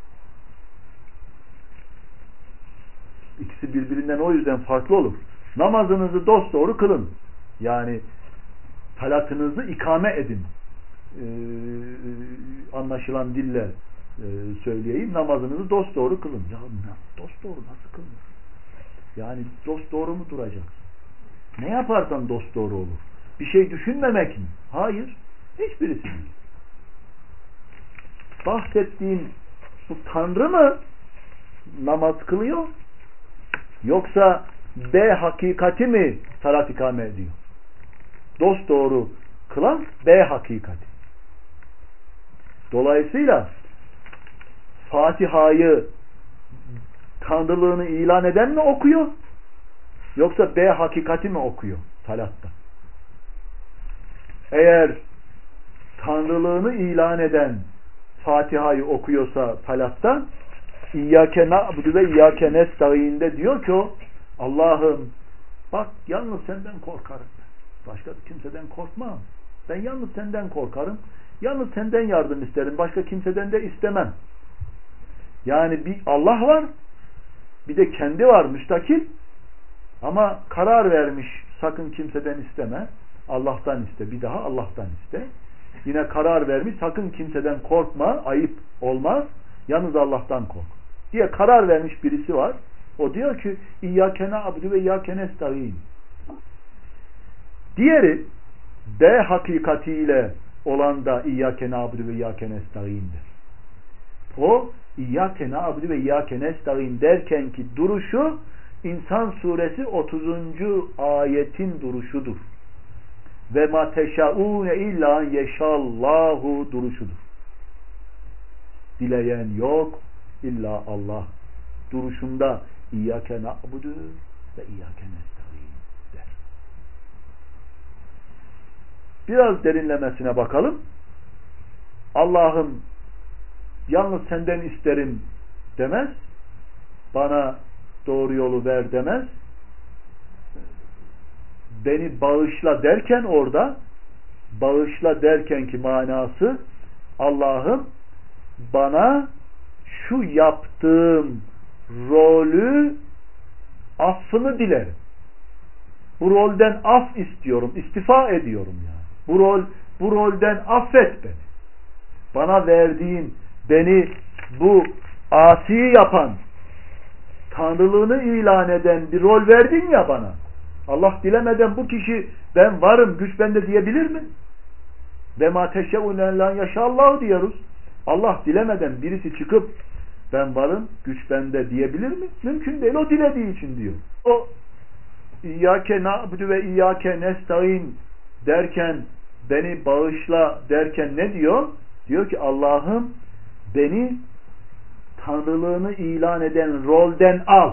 İkisi birbirinden o yüzden farklı olur. Namazınızı dosdoğru kılın. Yani salatınızı ikame edin. Ee, anlaşılan dille e, söyleyeyim. Namazınızı dosdoğru kılın. Ya dosdoğru nasıl kılınır? Yani dosdoğru mu duracaksın? Ne yaparsan dosdoğru olur. Bir şey düşünmemek mi? Hayır. Hiçbirisi değil. Bahsettiğin bu Tanrı mı namaz kılıyor? Yoksa B hakikati mi salat ikame ediyor? Dosdoğru kılan B hakikati. Dolayısıyla Fatiha'yı Tanrılığını ilan eden mi okuyor? Yoksa B hakikati mi okuyor salatta? Eğer Tanrılığını ilan eden Fatiha'yı okuyorsa salatta İyyâke na'budu ve İyyâke nestaîn'de diyor ki o Allah'ım bak yalnız senden korkarım. Başka kimseden korkmam. Ben yalnız senden korkarım. Yalnız senden yardım isterim. Başka kimseden de istemem. Yani bir Allah var. Bir de kendi var müstakil. Ama karar vermiş sakın kimseden isteme. Allah'tan iste. Bir daha Allah'tan iste. Yine karar vermiş sakın kimseden korkma. Ayıp olmaz. Yalnız Allah'tan kork. Diye karar vermiş birisi var. O diyor ki İyyâke na'budu ve İyyâke nestaîn. Diğeri B hakikatiyle olan da İyyâke na'budu ve İyyâke nestaîn'dir. O İyyâke na'budu ve İyyâke nestaîn derken ki duruşu İnsan suresi otuzuncu ayetin duruşudur. Ve ma teşaûne illâ yeşallâhu duruşudur. Dileyen yok illa Allah. Duruşunda İyyâke na'budu ve İyyâke nestaîn der. Biraz derinlemesine bakalım. Allah'ım yalnız senden isterim demez. Bana doğru yolu ver demez. Beni bağışla derken orada bağışla derken ki manası Allah'ım bana şu yaptığım rolü affını dilerim. Bu rolden af istiyorum. İstifa ediyorum yani. Bu rol bu rolden affet beni. Bana verdiğin beni bu asi yapan Tanrılığını ilan eden bir rol verdin ya bana. Allah dilemeden bu kişi ben varım, güç bende diyebilir mi? Ve ma teşe'ûne lan yaşallahu diyoruz. Allah dilemeden birisi çıkıp ben varım, güç bende diyebilir mi? Mümkün değil. O dilediği için diyor. O İyyâke na'budu ve İyyâke nestaîn derken beni bağışla derken ne diyor? Diyor ki Allah'ım beni Tanrılığını ilan eden rolden al.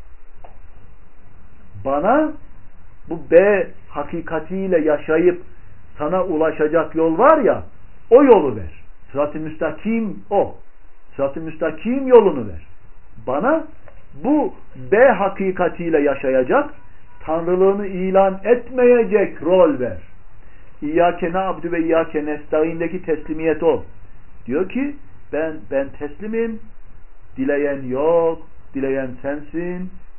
Bana bu B hakikatiyle yaşayıp sana ulaşacak yol var ya, o yolu ver. Sırat-ı müstakim o. Sırat-ı müstakim yolunu ver. Bana bu B hakikatiyle yaşayacak, Tanrılığını ilan etmeyecek rol ver. İyyâke na'budu ve İyyâke nestaîn'deki teslimiyet o. Diyor ki ben ben teslimim. Dileyen yok, dileyen sensin.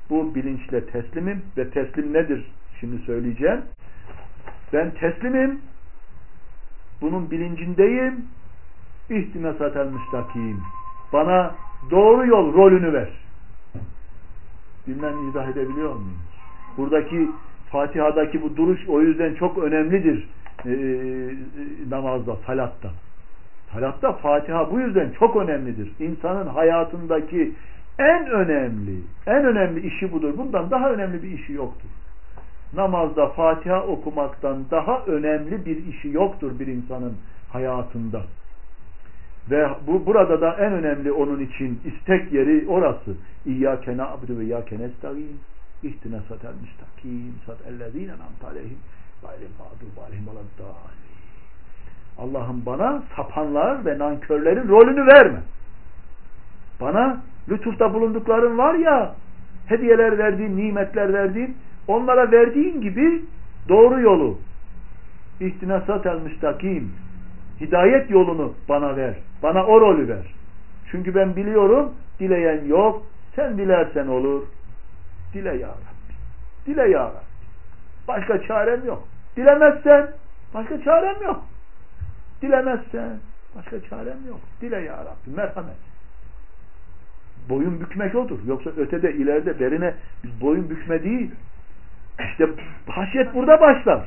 Bu bilinçle teslimim ve teslim nedir? Şimdi söyleyeceğim. Ben teslimim. Bunun bilincindeyim. İhdine satel müstakim. Bana doğru yol rolünü ver. Bilmem izah edebiliyor muyum? Buradaki Fatiha'daki bu duruş o yüzden çok önemlidir ee, namazda, salatta. Salatta Fatiha bu yüzden çok önemlidir. İnsanın hayatındaki en önemli, en önemli işi budur. Bundan daha önemli bir işi yoktur. Namazda Fatiha okumaktan daha önemli bir işi yoktur bir insanın hayatında. Ve bu burada da en önemli onun için istek yeri orası. İyyâke na'budu ve iyyâke nestaîn. İhdina satel müstakim satellezîne en'amte aleyhim gayril mağdûbi aleyhim veleddâllîn. Allah'ım bana sapanlar ve nankörlerin rolünü verme. Bana lütufta bulundukların var ya, hediyeler verdiğin, nimetler verdiğin, onlara verdiğin gibi doğru yolu, İhdina satel müstakim, hidayet yolunu bana ver. Bana o rolü ver. Çünkü ben biliyorum, dileyen yok. Sen dilersen olur. Dile ya Rabbi. Dile ya Rabbi. Başka çarem yok. Dilemezsen başka çarem yok. Dilemezsen başka çarem yok. Dile ya Rabbi. Merhamet. Boyun bükmek odur. Yoksa ötede, ileride, berine biz boyun bükme değil. İşte haşyet burada başlar.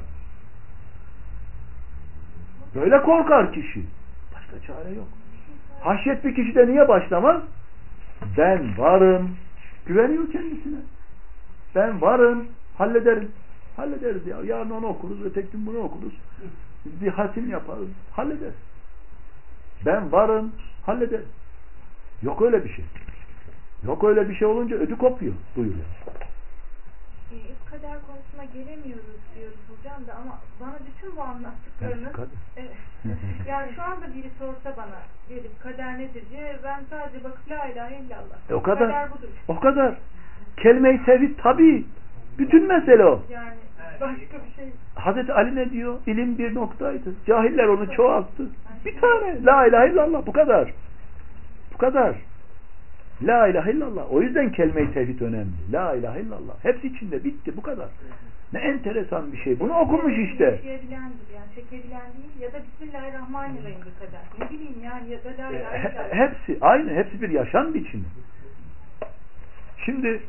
Böyle korkar kişi. Başka çare yok. Haşyet bir kişide niye başlamaz? Ben varım. Güveniyor kendisine. Ben varım. Hallederiz. Hallederiz ya. Yarın onu okuruz. Öteki gün bunu okuruz. Bir hatim yaparız. Hallederiz. Ben varım. Hallederiz. Yok öyle bir şey. Yok öyle bir şey olunca ödü kopuyor. Buyuruyor. E, kader konusuna gelemiyoruz diyoruz hocam da ama bana bütün bu anlattıklarınız evet, yani şu anda biri sorsa bana gelip kader nedir diye ben sadece bakıp la ilahe illallah. E, o kadar. Kader budur. O kadar. Kelime-i tevhid tabii. Bütün mesele o. Yani başka bir şey. Hazreti Ali ne diyor? İlim bir noktaydı. Cahiller onu çoğalttı. Bir tane. La ilahe illallah. Bu kadar. Bu kadar. La ilahe illallah. O yüzden kelime-i tevhid önemli. La ilahe illallah. Hepsi içinde. Bitti. Bu kadar. Ne enteresan bir şey. Bunu okumuş işte. Yaşayabilendir yani. Çekebilen değil ya da Bismillahirrahmanirrahim kadar. Ne bileyim yani ya da la ilahe illallah. Hepsi aynı. Hepsi bir yaşam biçimi. Şimdi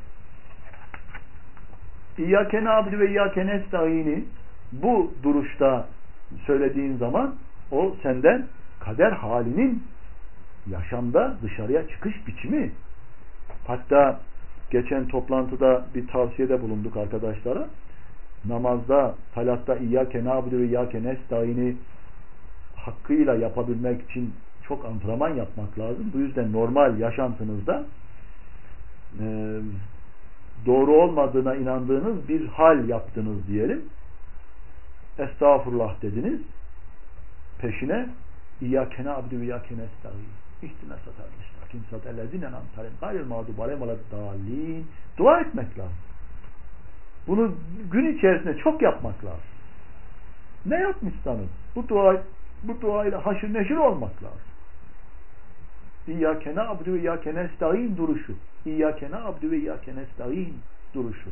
İyyâke na'budu ve iyyâke nestaîn'i bu duruşta söylediğin zaman o senden kader halinin yaşamda dışarıya çıkış biçimi. Hatta geçen toplantıda bir tavsiyede bulunduk arkadaşlara. Namazda, salatta İyyâke na'budu ve iyyâke nestaîn'i hakkıyla yapabilmek için çok antrenman yapmak lazım. Bu yüzden normal yaşantınızda e, doğru olmadığına inandığınız bir hal yaptınız diyelim. Estağfurullah dediniz. Peşine İyyâke na'budu ve iyyâke nestaîn. İhdina satel müstakim satellezîne en'amte aleyhim gayril mağdûbi aleyhim veleddâllîn. Dua etmek lazım. Bunu gün içerisinde çok yapmak lazım. Ne yapmışsanız bu dua bu duayla haşır neşir olmak lazım. İyyâke na'budu ve iyyâke nestaîn duruşu. İyyâke na'budu ve iyyâke nestaîn duruşu.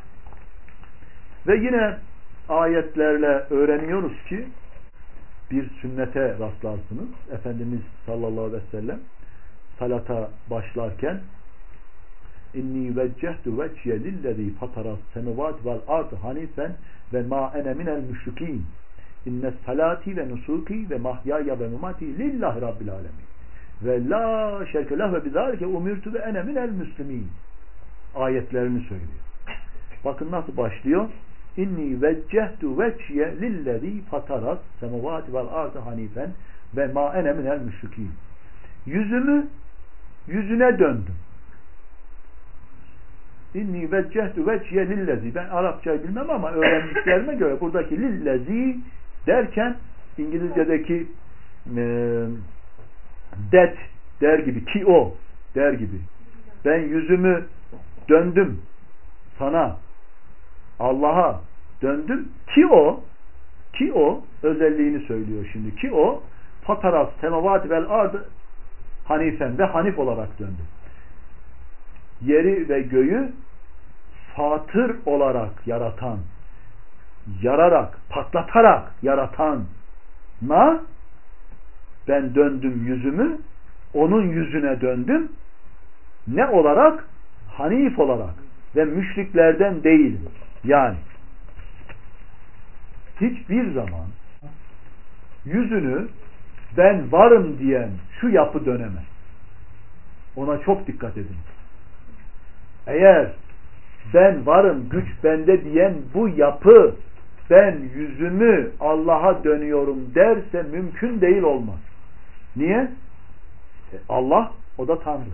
Ve yine ayetlerle öğreniyoruz ki bir sünnete rastlarsınız. Efendimiz sallallahu aleyhi ve sellem salata başlarken inni veccehtu veciye lillezî fataras semavati vel ardı hanifen ve ma ene minel müşrikîn inne salati ve nusuki ve mahyaya ve memati lillahi rabbil alemin ve la şerke leh ve bizalike umirtu ve ene minel müslimin ayetlerini söylüyor. Bakın nasıl başlıyor. İnni veccehtu veciye lillezî fataras semavati vel ardı hanifen ve ma ene minel müşrikîn. Yüzümü yüzüne döndüm. İnni veccehtu veciye lillezî. Ben Arapçayı bilmem ama öğrendiklerime göre buradaki lillezî derken İngilizce'deki e, that der gibi, ki o der gibi. Ben yüzümü döndüm sana, Allah'a döndüm ki o ki o özelliğini söylüyor şimdi. Ki o fataras semavati vel ardı hanifen ve hanif olarak döndü. Yeri ve göğü fatır olarak yaratan, yararak, patlatarak yaratana ben döndüm yüzümü, onun yüzüne döndüm. Ne olarak? Hanif olarak ve müşriklerden değilim. Yani hiçbir zaman yüzünü ben varım diyen şu yapı dönemez. Ona çok dikkat edin. Eğer ben varım, güç bende diyen bu yapı ben yüzümü Allah'a dönüyorum derse mümkün değil, olmaz. Niye? Allah, o da Tanrı.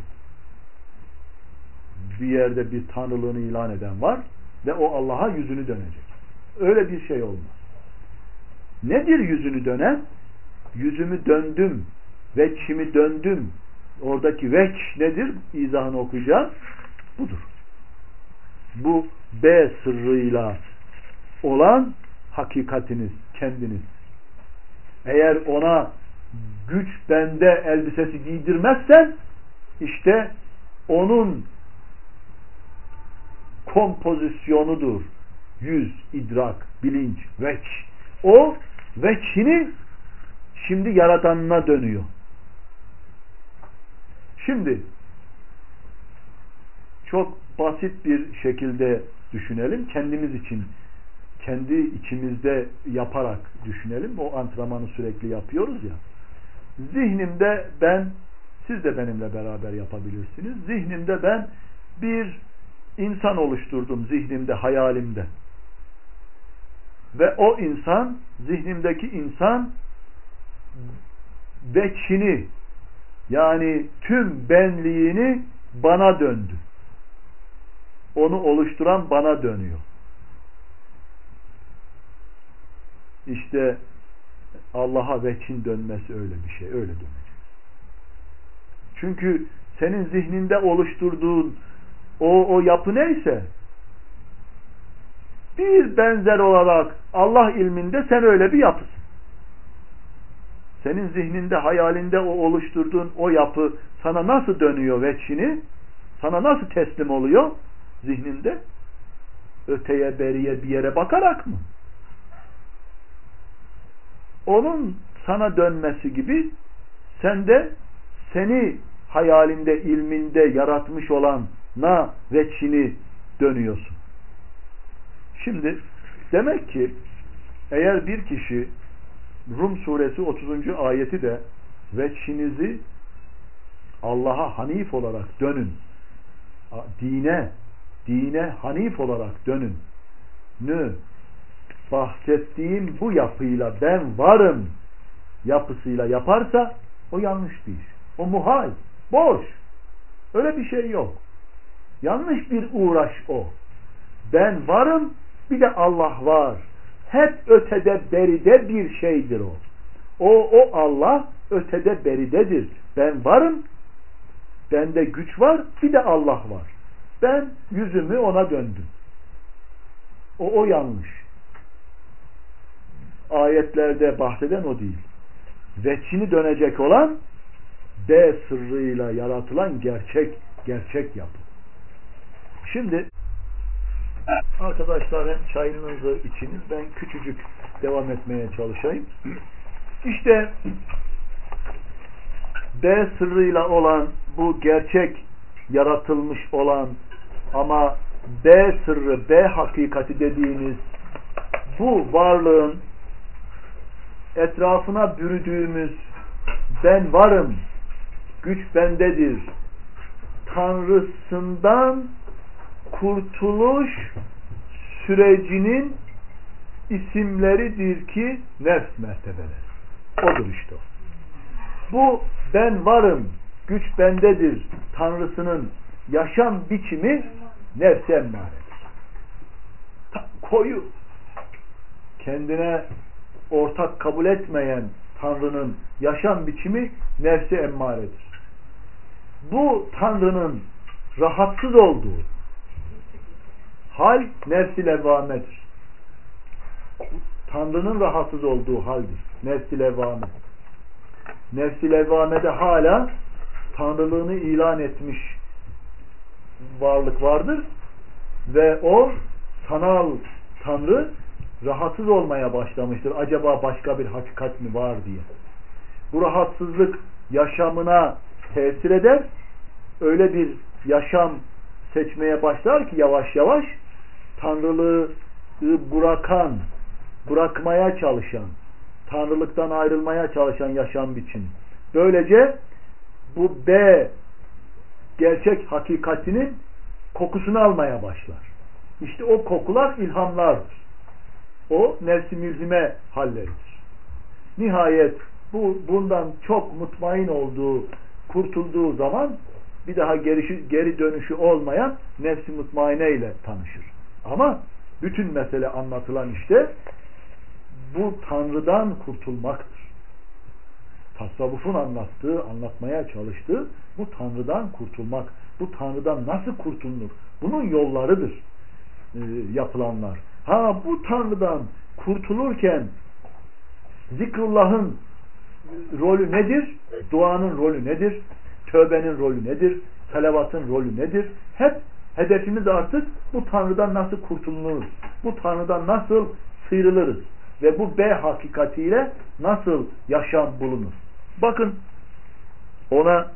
Bir yerde bir tanrılığını ilan eden var ve o Allah'a yüzünü dönecek. Öyle bir şey olmaz. Nedir yüzünü dönen? Yüzümü döndüm, veçhimi döndüm. Oradaki veç nedir? İzahını okuyacağız. Budur. Bu B sırrıyla olan hakikatiniz, kendiniz. Eğer ona güç bende elbisesi giydirmezsen işte onun kompozisyonudur. Yüz, idrak, bilinç, veç. O veçhini şimdi yaratanına dönüyor. Şimdi çok basit bir şekilde düşünelim. Kendimiz için, kendi içimizde yaparak düşünelim. O antrenmanı sürekli yapıyoruz ya. Zihnimde ben, siz de benimle beraber yapabilirsiniz. Zihnimde ben bir insan oluşturdum, zihnimde, hayalimde. Ve o insan, zihnimdeki insan veçhini, yani tüm benliğini bana döndü. Onu oluşturan bana dönüyor. İşte Allah'a veçhin dönmesi öyle bir şey. Öyle dönecek. Çünkü senin zihninde oluşturduğun o, o yapı neyse bir benzer olarak Allah ilminde sen öyle bir yapısın. Senin zihninde, hayalinde o oluşturduğun o yapı sana nasıl dönüyor veçhini? Sana nasıl teslim oluyor zihninde? Öteye, beriye, bir yere bakarak mı? Onun sana dönmesi gibi sen de seni hayalinde, ilminde yaratmış olan na veçhini dönüyorsun. Şimdi demek ki eğer bir kişi Rum suresi otuzuncu ayeti de veçhinizi Allah'a hanif olarak dönün, dine dine hanif olarak dönün nü bahsettiğim bu yapıyla ben varım yapısıyla yaparsa o yanlış bir iş. O muhal, boş. Öyle bir şey yok. Yanlış bir uğraş o. Ben varım, bir de Allah var. Hep ötede beride bir şeydir o. O, o Allah ötede beridedir. Ben varım, bende güç var, bir de Allah var. Ben yüzümü ona döndüm. O, o yanlış. Ayetlerde bahseden o değil. Veçhini dönecek olan B sırrıyla yaratılan gerçek, gerçek yapı. Şimdi arkadaşlar hem çayınızı içiniz, ben küçücük devam etmeye çalışayım. İşte B sırrıyla olan bu gerçek yaratılmış olan ama B sırrı, B hakikati dediğimiz bu varlığın etrafına bürüdüğümüz ben varım, güç bendedir Tanrısından kurtuluş sürecinin isimleridir ki nefs mertebeleri. Odur işte o. Bu ben varım, güç bendedir Tanrısının yaşam biçimi nefs emmaredir. Koyu, kendine ortak kabul etmeyen Tanrı'nın yaşam biçimi nefs-i emmaredir. Bu Tanrı'nın rahatsız olduğu hal nefs-i levvamedir. Tanrı'nın rahatsız olduğu haldir. Nefs-i levvame. Nefs-i levvamede hala Tanrılığını ilan etmiş varlık vardır. ve o sanal Tanrı rahatsız olmaya başlamıştır. Acaba başka bir hakikat mi var diye. Bu rahatsızlık yaşamına tesir eder. Öyle bir yaşam seçmeye başlar ki yavaş yavaş Tanrılığı bırakan, bırakmaya çalışan, Tanrılıktan ayrılmaya çalışan yaşam biçimi. Böylece bu B gerçek hakikatinin kokusunu almaya başlar. İşte o kokular ilhamlardır. O nefs-i mülzime halleridir. Nihayet bu bundan çok mutmain olduğu, kurtulduğu zaman bir daha geri, geri dönüşü olmayan nefs-i mutmaine ile tanışır. Ama bütün mesele anlatılan işte bu Tanrı'dan kurtulmaktır. Tasavvufun anlattığı, anlatmaya çalıştığı bu Tanrı'dan kurtulmak. Bu Tanrı'dan nasıl kurtulunur? Bunun yollarıdır e, yapılanlar. Ha bu Tanrı'dan kurtulurken zikrullah'ın rolü nedir? Duanın rolü nedir? Tövbenin rolü nedir? Salavatın rolü nedir? Hep hedefimiz artık bu Tanrı'dan nasıl kurtulunuruz? Bu Tanrı'dan nasıl sıyrılırız? Ve bu B hakikatiyle nasıl yaşam bulunur? Bakın ona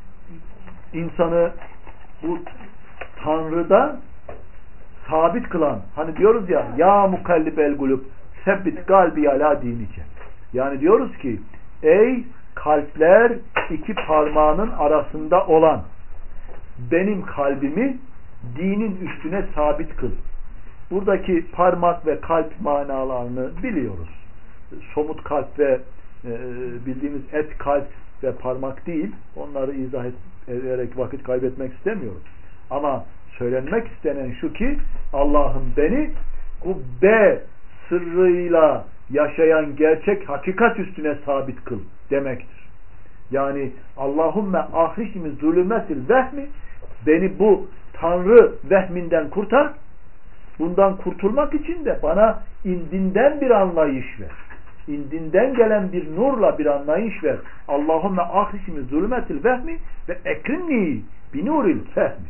insanı bu Tanrı'da sabit kılan, hani diyoruz ya ya mukallibel gulub sebbit kalbi ala dinike. Yani diyoruz ki ey kalpler iki parmağının arasında olan benim kalbimi dinin üstüne sabit kıl. Buradaki parmak ve kalp manalarını biliyoruz. Somut kalp ve e, bildiğimiz et kalp ve parmak değil. Onları izah ederek vakit kaybetmek istemiyorum. Ama söylenmek istenen şu ki Allah'ım beni bu B sırrıyla yaşayan gerçek hakikat üstüne sabit kıl demektir. Yani Allahümme ahricni zulümetil vehmi, beni bu Tanrı vehminden kurtar. Bundan kurtulmak için de bana indinden bir anlayış ver. İndinden gelen bir nurla bir anlayış ver. Allahümme ahricni zulümetil vehmi ve ekrimni binuril fehmi.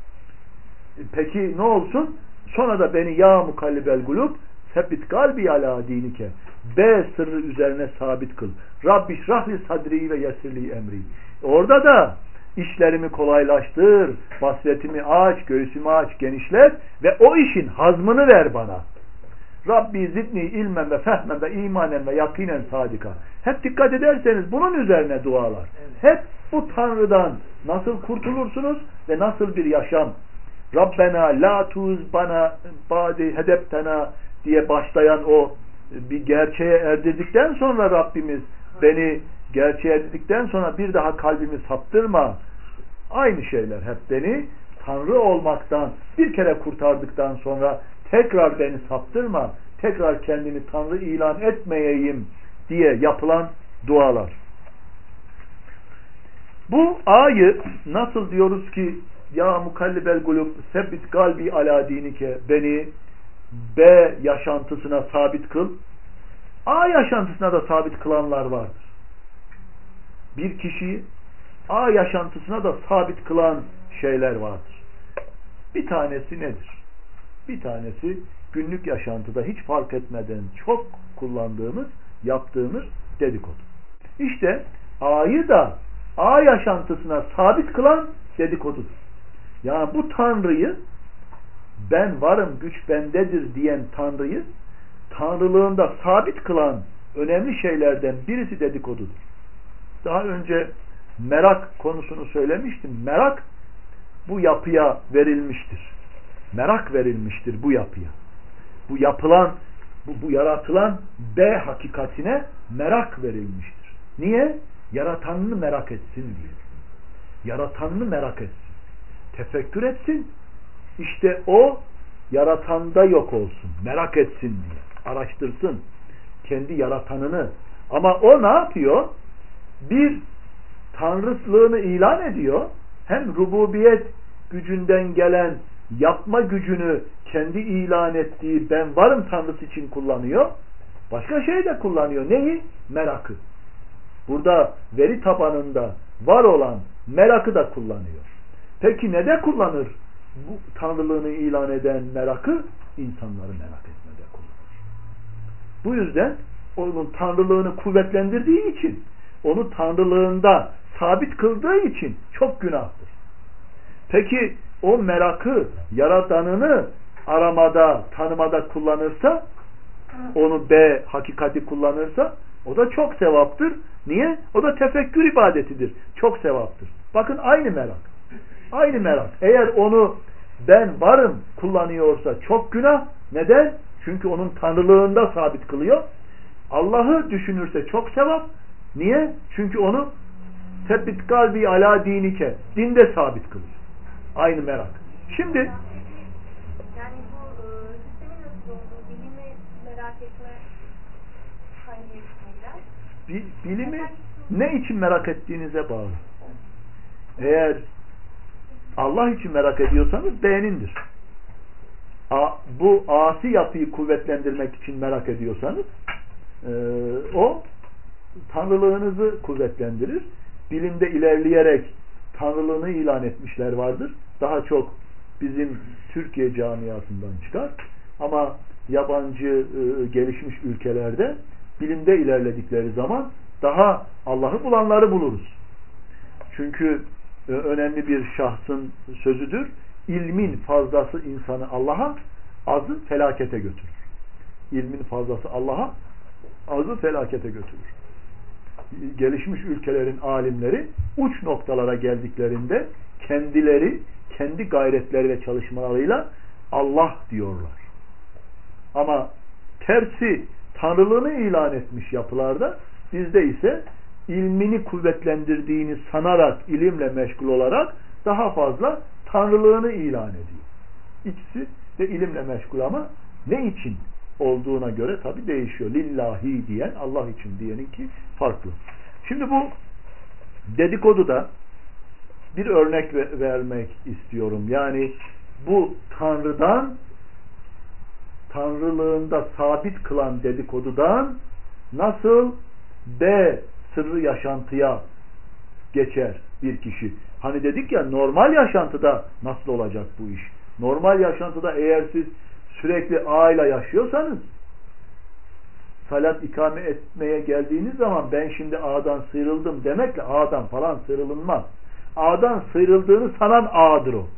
Peki ne olsun? Sonra da beni ya mukallibel gulub sebbit kalbi ala dinike. B sırrı üzerine sabit kıl. Rabbi şrahli sadri ve yesirli emri. Orada da işlerimi kolaylaştır, basiretimi aç, göğsümü aç, genişlet ve o işin hazmını ver bana. Rabbi zidni ilmen ve fehmen ve imanen ve yakinen sadika. Hep dikkat ederseniz bunun üzerine dualar. Hep bu Tanrı'dan nasıl kurtulursunuz ve nasıl bir yaşam. Rabbena la tuz bana badi hedeptena diye başlayan o bir gerçeğe erdirdikten sonra Rabbimiz beni gerçeğe erdirdikten sonra bir daha kalbimi saptırma. Aynı şeyler hep beni Tanrı olmaktan bir kere kurtardıktan sonra tekrar beni saptırma. Tekrar kendini Tanrı ilan etmeyeyim diye yapılan dualar. Bu ayı nasıl diyoruz ki ya mukallibel gulub sebbit kalbi ala dinike, beni B yaşantısına sabit kıl. A yaşantısına da sabit kılanlar vardır. Bir kişiyi A yaşantısına da sabit kılan şeyler vardır. Bir tanesi nedir? Bir tanesi günlük yaşantıda hiç fark etmeden çok kullandığımız, yaptığımız dedikodu. İşte A'yı da A yaşantısına sabit kılan dedikodudur. Yani bu Tanrı'yı, ben varım, güç bendedir diyen Tanrı'yı Tanrılığında sabit kılan önemli şeylerden birisi dedikodudur. Daha önce merak konusunu söylemiştim. Merak bu yapıya verilmiştir. Merak verilmiştir bu yapıya. Bu yapılan, bu, bu yaratılan B hakikatine merak verilmiştir. Niye? Yaratanını merak etsin diye. Yaratanını merak etsin. Tefekkür etsin. İşte o yaratanda yok olsun. Merak etsin diye. Araştırsın. Kendi yaratanını. Ama o ne yapıyor? Bir tanrılığını ilan ediyor. Hem rububiyet gücünden gelen yapma gücünü kendi ilan ettiği ben varım Tanrısı için kullanıyor. Başka şey de kullanıyor. Neyi? Merakı. Burada veri tabanında var olan merakı da kullanıyor. Peki ne de kullanır bu tanrılığını ilan eden merakı insanları merak etmede kullanır. Bu yüzden onun tanrılığını kuvvetlendirdiği için, onu tanrılığında sabit kıldığı için çok günahtır. Peki o merakı yaradanını aramada, tanımada kullanırsa, onu B hakikati kullanırsa o da çok sevaptır. Niye? O da tefekkür ibadetidir. Çok sevaptır. Bakın aynı merak. Aynı merak. Eğer onu ben varım kullanıyorsa çok günah. Neden? Çünkü onun tanrılığında sabit kılıyor. Allah'ı düşünürse çok sevap. Niye? Çünkü onu tebbit kalbi ala dinike, dinde sabit kılıyor. Aynı merak. Şimdi yani bu e, sistemin nasıl olduğu, bilimi merak etme hangi bi, bilimi ne için merak ettiğinize bağlı. Eğer Allah için merak ediyorsanız beğenindir. A, bu asi yapıyı kuvvetlendirmek için merak ediyorsanız e, o tanrılığınızı kuvvetlendirir. Bilimde ilerleyerek tanrılığını ilan etmişler vardır. Daha çok bizim Türkiye camiasından çıkar. Ama yabancı e, gelişmiş ülkelerde bilimde ilerledikleri zaman daha Allah'ı bulanları buluruz. Çünkü e, önemli bir şahsın sözüdür. İlmin fazlası insanı Allah'a, azı felakete götürür. İlmin fazlası Allah'a, azı felakete götürür. Gelişmiş ülkelerin alimleri uç noktalara geldiklerinde kendileri, kendi gayretleri ve çalışmalarıyla Allah diyorlar. Ama tersi tanrılığını ilan etmiş yapılarda, bizde ise ilmini kuvvetlendirdiğini sanarak, ilimle meşgul olarak daha fazla tanrılığını ilan ediyor. İkisi de ilimle meşgul ama ne için olduğuna göre tabi değişiyor. Lillahi diyen, Allah için diyeninki farklı. Şimdi bu dedikoduda bir örnek vermek istiyorum. Yani bu Tanrı'dan, Tanrılığında sabit kılan dedikodudan nasıl B sırrı yaşantıya geçer bir kişi. Hani dedik ya, normal yaşantıda nasıl olacak bu iş? Normal yaşantıda eğer siz sürekli A ile yaşıyorsanız, salat ikame etmeye geldiğiniz zaman ben şimdi A'dan sıyrıldım demekle A'dan falan sıyrılınmaz. A'dan sıyrıldığını sanan A'dır o.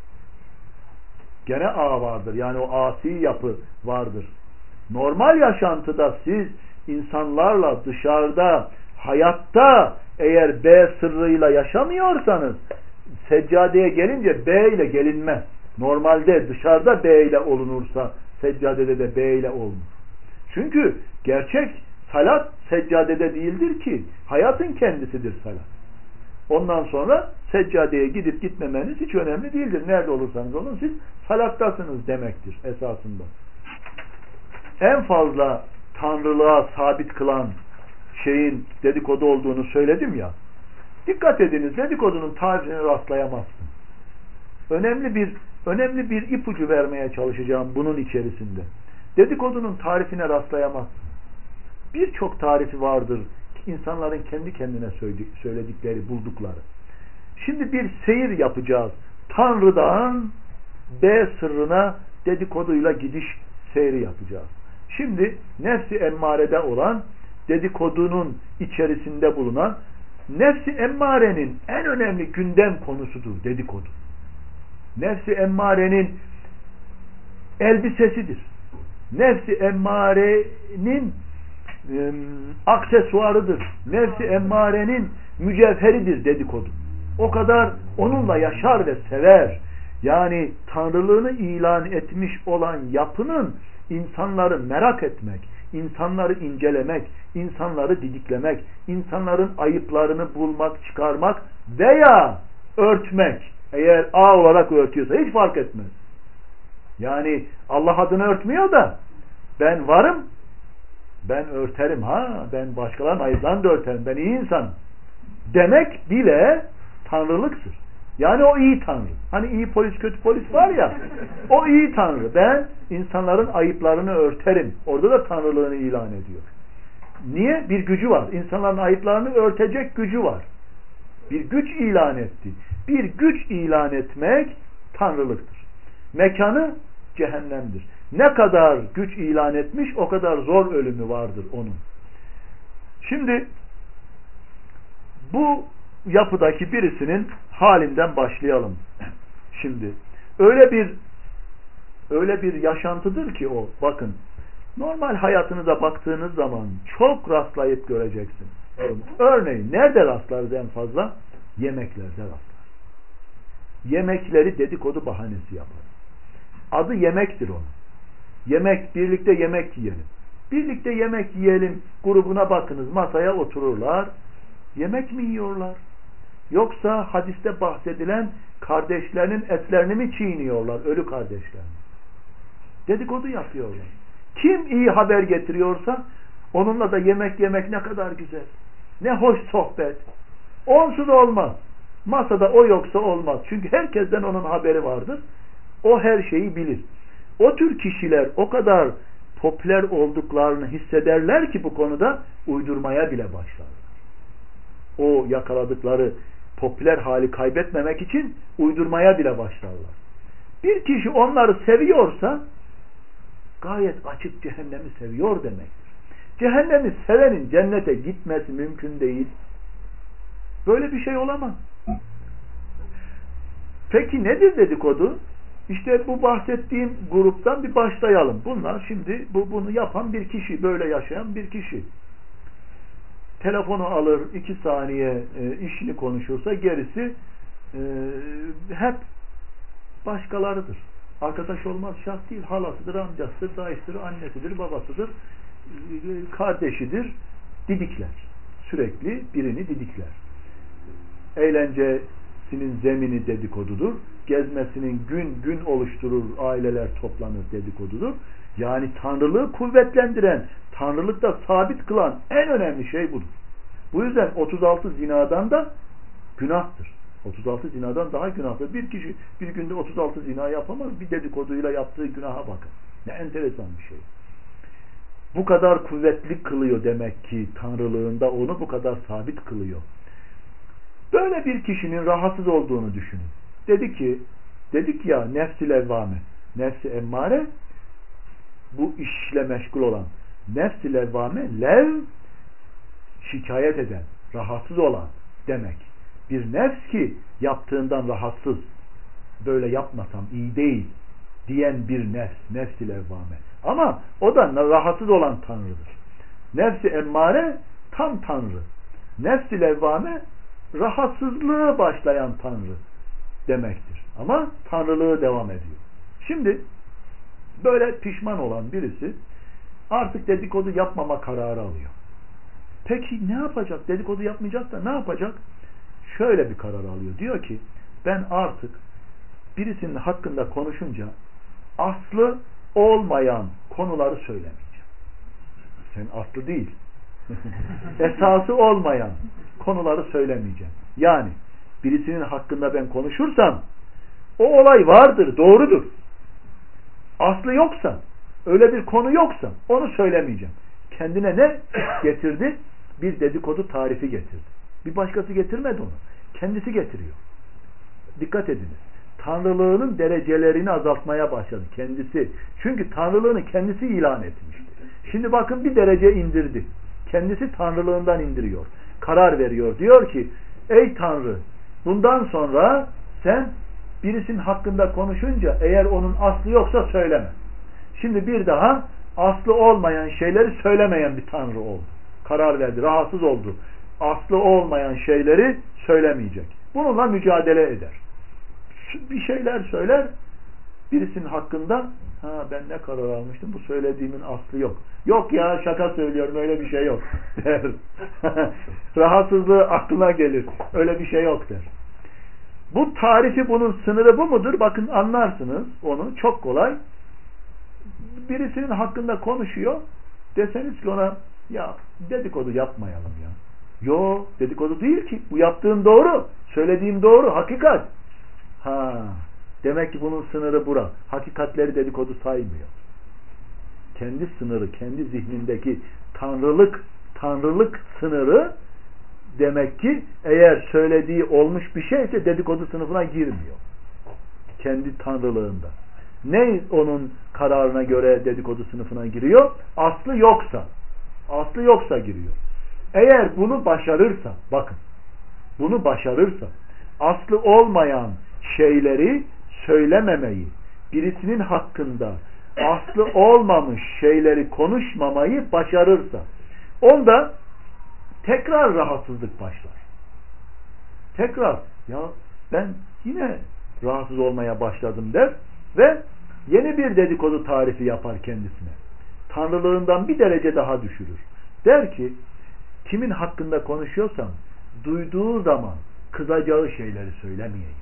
Gene A vardır. Yani o asi yapı vardır. Normal yaşantıda siz insanlarla dışarıda, hayatta eğer B sırrıyla yaşamıyorsanız, seccadeye gelince B ile gelinmez. Normalde dışarıda B ile olunursa seccadede de B ile olunur. Çünkü gerçek salat seccadede değildir ki, hayatın kendisidir salat. Ondan sonra seccadeye gidip gitmemeniz hiç önemli değildir. Nerede olursanız olun siz salattasınız demektir esasında. En fazla tanrılığa sabit kılan şeyin dedikodu olduğunu söyledim ya. Dikkat ediniz, dedikodunun tarifine rastlayamazsın. Önemli bir önemli bir ipucu vermeye çalışacağım bunun içerisinde. Dedikodunun tarifine rastlayamazsın. Birçok tarifi vardır insanların kendi kendine söyledikleri, buldukları. Şimdi bir seyir yapacağız. Tanrı'dan B sırrına dedikoduyla gidiş seyri yapacağız. Şimdi nefsi emmarede olan, dedikodunun içerisinde bulunan, nefsi emmarenin en önemli gündem konusudur dedikodu. Nefsi emmarenin elbisesidir. Nefsi emmarenin e, aksesuarıdır. Nefsi emmarenin mücevheridir dedikodu. O kadar onunla yaşar ve sever. Yani tanrılığını ilan etmiş olan yapının insanları merak etmek, insanları incelemek, insanları didiklemek, insanların ayıplarını bulmak, çıkarmak veya örtmek. Eğer A olarak örtüyorsa hiç fark etmez. Yani Allah adını örtmüyor da ben varım, ben örterim ha, ben başkalarının ayıplarını da örterim, ben iyi insanım demek bile tanrılıktır. Yani o iyi tanrı. Hani iyi polis kötü polis var ya, o iyi tanrı. Ben insanların ayıplarını örterim. Orada da tanrılığını ilan ediyor. Niye? Bir gücü var. İnsanların ayıplarını örtecek gücü var. Bir güç ilan etti. Bir güç ilan etmek tanrılıktır. Mekanı cehennemdir. Ne kadar güç ilan etmiş o kadar zor ölümü vardır onun. Şimdi bu yapıdaki birisinin halinden başlayalım. Şimdi öyle bir öyle bir yaşantıdır ki o, bakın, normal hayatınıza baktığınız zaman çok rastlayıp göreceksiniz. Örneğin nerede rastlarız en fazla? Yemeklerde rastlar. Yemekleri dedikodu bahanesi yapar. Adı yemektir onun. Yemek, birlikte yemek yiyelim. Birlikte yemek yiyelim grubuna bakınız, masaya otururlar. Yemek mi yiyorlar? Yoksa hadiste bahsedilen kardeşlerinin etlerini mi çiğniyorlar? Ölü kardeşlerini. Dedikodu yapıyorlar. Kim iyi haber getiriyorsa onunla da yemek yemek ne kadar güzel. Ne hoş sohbet. Onsuz olmaz. Masada o yoksa olmaz. Çünkü herkesten onun haberi vardır. O her şeyi bilir. O tür kişiler o kadar popüler olduklarını hissederler ki bu konuda uydurmaya bile başlarlar. O yakaladıkları popüler hali kaybetmemek için uydurmaya bile başlarlar. Bir kişi onları seviyorsa gayet açık cehennemi seviyor demektir. Cehennemi sevenin cennete gitmesi mümkün değil. Böyle bir şey olamaz. Peki nedir dedikodu? İşte bu bahsettiğim gruptan bir başlayalım. Bunlar şimdi bu, bunu yapan bir kişi, böyle yaşayan bir kişi. Telefonu alır, iki saniye e, işini konuşursa gerisi e, hep başkalarıdır. Arkadaş olmaz şart değil. Halasıdır, amcasıdır, dayısıdır, annesidir, babasıdır, e, kardeşidir. Didikler. Sürekli birini didikler. Eğlencesinin zemini dedikodudur. Gezmesinin gün gün oluşturur, aileler toplanır dedikodudur. Yani tanrılığı kuvvetlendiren, tanrılıkta sabit kılan en önemli şey budur. Bu yüzden otuz altı zinadan da günahtır. otuz altı zinadan daha günahtır. Bir kişi bir günde otuz altı zina yapamaz. Bir dedikoduyla yaptığı günaha bakın. Ne enteresan bir şey. Bu kadar kuvvetli kılıyor demek ki tanrılığında, onu bu kadar sabit kılıyor. Böyle bir kişinin rahatsız olduğunu düşünün. Dedi ki, dedik ya nefs-i levvame, nefs-i emmare, bu işle meşgul olan nefs-i levvame, lev şikayet eden, rahatsız olan demek. Bir nefs ki yaptığından rahatsız, böyle yapmasam iyi değil diyen bir nefs, nefs-i levvame. Ama o da rahatsız olan tanrıdır. Nefs-i emmare tam tanrı. Nefs-i levvame rahatsızlığı başlayan tanrı demektir. Ama tanrılığı devam ediyor. Şimdi böyle pişman olan birisi artık dedikodu yapmama kararı alıyor. Peki ne yapacak? Dedikodu yapmayacak da ne yapacak? Şöyle bir karar alıyor. Diyor ki ben artık birisinin hakkında konuşunca aslı olmayan konuları söylemeyeceğim. Sen aslı değil. Esası olmayan konuları söylemeyeceğim. Yani birisinin hakkında ben konuşursam o olay vardır, doğrudur. Aslı yoksa, öyle bir konu yoksa onu söylemeyeceğim. Kendine ne getirdi? Bir dedikodu tarifi getirdi. Bir başkası getirmedi onu. Kendisi getiriyor. Dikkat ediniz. Tanrılığının derecelerini azaltmaya başladı kendisi. Çünkü tanrılığını kendisi ilan etmişti. Şimdi bakın bir derece indirdi. Kendisi tanrılığından indiriyor. Karar veriyor. Diyor ki ey Tanrı, bundan sonra sen birisinin hakkında konuşunca eğer onun aslı yoksa söyleme. Şimdi bir daha aslı olmayan şeyleri söylemeyen bir Tanrı oldu. Karar verdi. Rahatsız oldu. Aslı olmayan şeyleri söylemeyecek. Bununla mücadele eder. Bir şeyler söyler birisinin hakkında, ha ben ne karar almıştım, bu söylediğimin aslı yok. Yok ya şaka söylüyorum, öyle bir şey yok der. Rahatsızlığı aklına gelir. Öyle bir şey yok der. Bu tarifi, bunun sınırı bu mudur? Bakın anlarsınız onu. Çok kolay. Birisinin hakkında konuşuyor. Deseniz ki ona ya dedikodu yapmayalım ya. Yo, dedikodu değil ki. Bu yaptığım doğru. Söylediğim doğru. Hakikat. Ha, demek ki bunun sınırı bura. Hakikatleri dedikodu saymıyor. Kendi sınırı, kendi zihnindeki tanrılık, tanrılık sınırı demek ki eğer söylediği olmuş bir şeyse dedikodu sınıfına girmiyor. Kendi tanrılığında. Ne onun kararına göre dedikodu sınıfına giriyor? Aslı yoksa. Aslı yoksa giriyor. Eğer bunu başarırsa, bakın, bunu başarırsa, aslı olmayan şeyleri söylememeyi, birisinin hakkında aslı olmamış şeyleri konuşmamayı başarırsa, onda tekrar rahatsızlık başlar. Tekrar, ya ben yine rahatsız olmaya başladım der ve yeni bir dedikodu tarifi yapar kendisine. Tanrılığından bir derece daha düşürür. Der ki, kimin hakkında konuşuyorsam duyduğu zaman kızacağı şeyleri söylemeyeyim.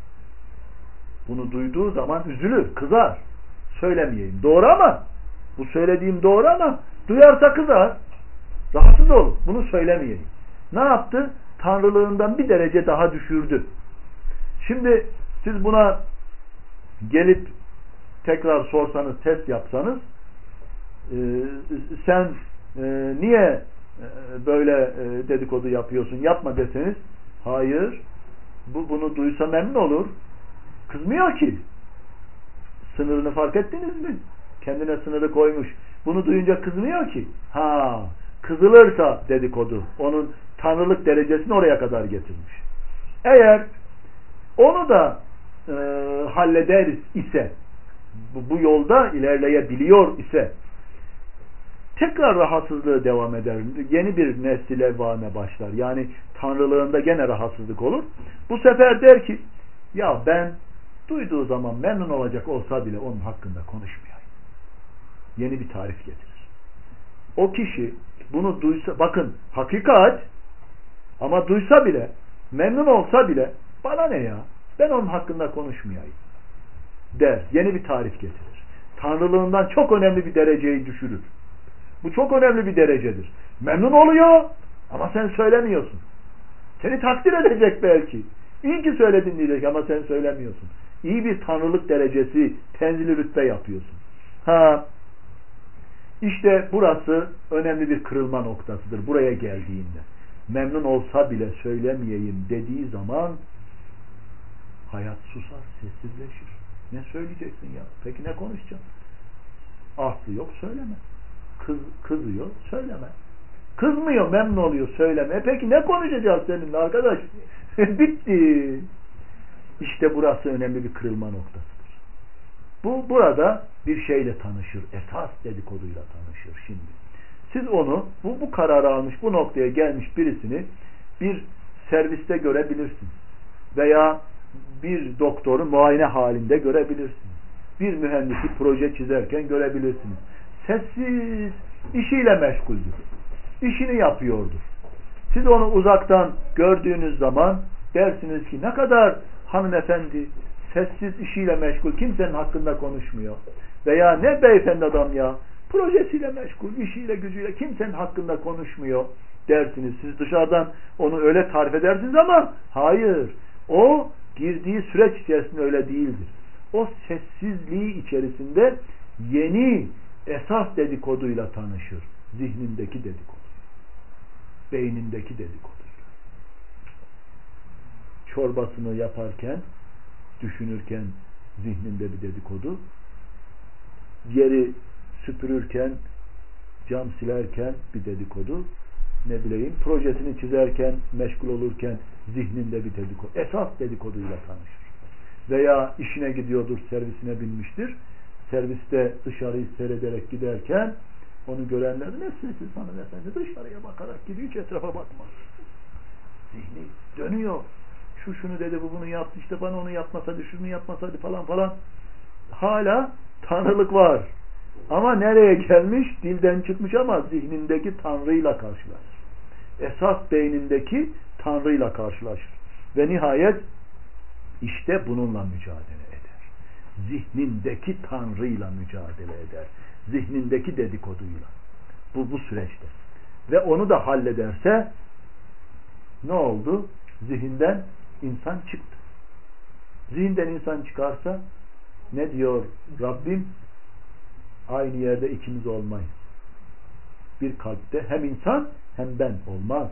Bunu duyduğu zaman üzülür, kızar. Söylemeyeyim. Doğru ama bu söylediğim doğru ama duyarsa kızar. Rahatsız olur. Bunu söylemeyeyim. Ne yaptı? Tanrılığından bir derece daha düşürdü. Şimdi siz buna gelip tekrar sorsanız, test yapsanız e, sen e, niye e, böyle e, dedikodu yapıyorsun, yapma deseniz, hayır, bu, bunu duysa memnun olur. Kızmıyor ki. Sınırını fark ettiniz mi? Kendine sınırı koymuş. Bunu duyunca kızmıyor ki. Ha, kızılırsa dedikodu onun tanrılık derecesini oraya kadar getirmiş. Eğer onu da e, halleder ise, bu, bu yolda ilerleyebiliyor ise tekrar rahatsızlığı devam eder. Yeni bir nesli levvame başlar. Yani tanrılığında gene rahatsızlık olur. Bu sefer der ki, ya ben duyduğu zaman memnun olacak olsa bile onun hakkında konuşmayayım. Yeni bir tarif getirir. O kişi bunu duysa, bakın hakikat, ama duysa bile, memnun olsa bile, bana ne ya, ben onun hakkında konuşmayayım der. Yeni bir tarif getirir. Tanrılığından çok önemli bir dereceyi düşürür. Bu çok önemli bir derecedir. Memnun oluyor ama sen söylemiyorsun. Seni takdir edecek belki. İyi ki söyledin diyecek ama sen söylemiyorsun. İyi bir tanrılık derecesi, tenzili rütbe yapıyorsun. Ha, işte burası önemli bir kırılma noktasıdır. Buraya geldiğinde. Memnun olsa bile söylemeyeyim dediği zaman hayat susar, sessizleşir. Ne söyleyeceksin ya? Peki ne konuşacaksın? Aslı yok, söyleme. Kız, kızıyor, söyleme. Kızmıyor, memnun oluyor, söyleme. E peki ne konuşacağız seninle arkadaş? Bitti. İşte burası önemli bir kırılma noktasıdır. Bu burada bir şeyle tanışır. Esas dedikoduyla tanışır şimdi. Siz onu, bu, bu kararı almış, bu noktaya gelmiş birisini bir serviste görebilirsiniz. Veya bir doktoru muayene halinde görebilirsiniz. Bir mühendisi proje çizerken görebilirsiniz. Sessiz, işiyle meşguldür. İşini yapıyordur. Siz onu uzaktan gördüğünüz zaman dersiniz ki ne kadar hanımefendi, sessiz, işiyle meşgul, kimsenin hakkında konuşmuyor. Veya ne beyefendi adam ya, projesiyle meşgul, işiyle gücüyle kimsenin hakkında konuşmuyor dersiniz. Siz dışarıdan onu öyle tarif edersiniz ama hayır, o girdiği süreç içerisinde öyle değildir. O sessizliği içerisinde yeni esas dedikoduyla tanışır. Zihnindeki dedikodu. Beynindeki dedikodu. Çorbasını yaparken, düşünürken zihninde bir dedikodu. Yeri süpürürken, cam silerken bir dedikodu. Ne bileyim, projesini çizerken, meşgul olurken zihninde bir dedikodu. Esas dedikoduyla tanışır. Veya işine gidiyordur, servisine binmiştir. Serviste dışarıyı seyrederek giderken onu görenler ne sessiz hanımefendi dışarıya bakarak gidiyor, hiç etrafa bakmaz. Zihni dönüyor. Şu şunu dedi, bu bunu yaptı, işte bana onu yapmasaydı, şunu yapmasaydı falan falan. Hala tanrılık var. Ama nereye gelmiş? Dilden çıkmış ama zihnindeki Tanrı'yla karşılaşır. Esas beynindeki Tanrı'yla karşılaşır. Ve nihayet işte bununla mücadele eder. Zihnindeki Tanrı'yla mücadele eder. Zihnindeki dedikoduyla. Bu, bu süreçte. Ve onu da hallederse ne oldu? Zihinden insan çıktı. Zihinden insan çıkarsa ne diyor Rabbim? Aynı yerde ikimiz olmayız. Bir kalpte hem insan hem ben olmaz.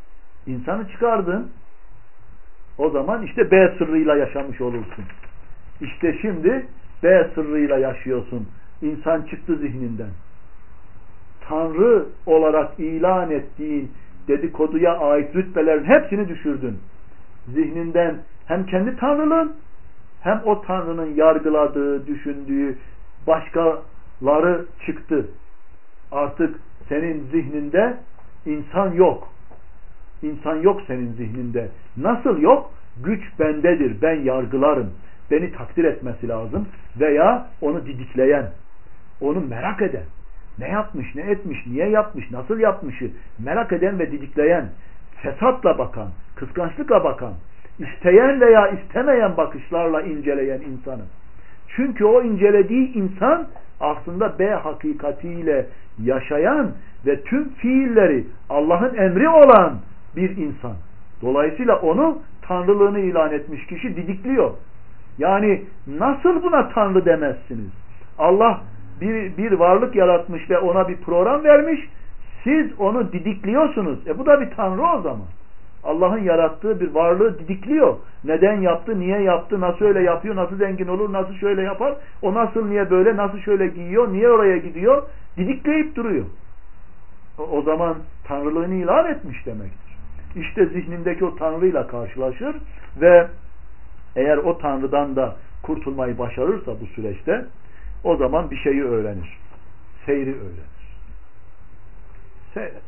İnsanı çıkardın, o zaman işte B sırrıyla yaşamış olursun. İşte şimdi B sırrıyla yaşıyorsun. İnsan çıktı zihninden. Tanrı olarak ilan ettiğin dedikoduya ait rütbelerin hepsini düşürdün. Zihninden hem kendi tanrılığın hem o tanrının yargıladığı, düşündüğü başkaları çıktı. Artık senin zihninde insan yok. İnsan yok senin zihninde. Nasıl yok? Güç bendedir. Ben yargılarım. Beni takdir etmesi lazım. Veya onu didikleyen, onu merak eden, ne yapmış, ne etmiş, niye yapmış, nasıl yapmışı merak eden ve didikleyen, fesatla bakan, kıskançlıkla bakan, isteyen veya istemeyen bakışlarla inceleyen insanı. Çünkü o incelediği insan aslında B hakikatiyle yaşayan ve tüm fiilleri Allah'ın emri olan bir insan. Dolayısıyla onu tanrılığını ilan etmiş kişi didikliyor. Yani nasıl buna tanrı demezsiniz? Allah bir, bir varlık yaratmış ve ona bir program vermiş. Siz onu didikliyorsunuz. E bu da bir tanrı o zaman. Allah'ın yarattığı bir varlığı didikliyor. Neden yaptı, niye yaptı, nasıl öyle yapıyor, nasıl zengin olur, nasıl şöyle yapar, o nasıl niye böyle, nasıl şöyle giyiyor, niye oraya gidiyor, didikleyip duruyor. O, o zaman tanrılığını ilan etmiş demektir. İşte zihnindeki o tanrıyla karşılaşır ve eğer o tanrıdan da kurtulmayı başarırsa bu süreçte o zaman bir şeyi öğrenir. Seyri öğrenir. Seyreder.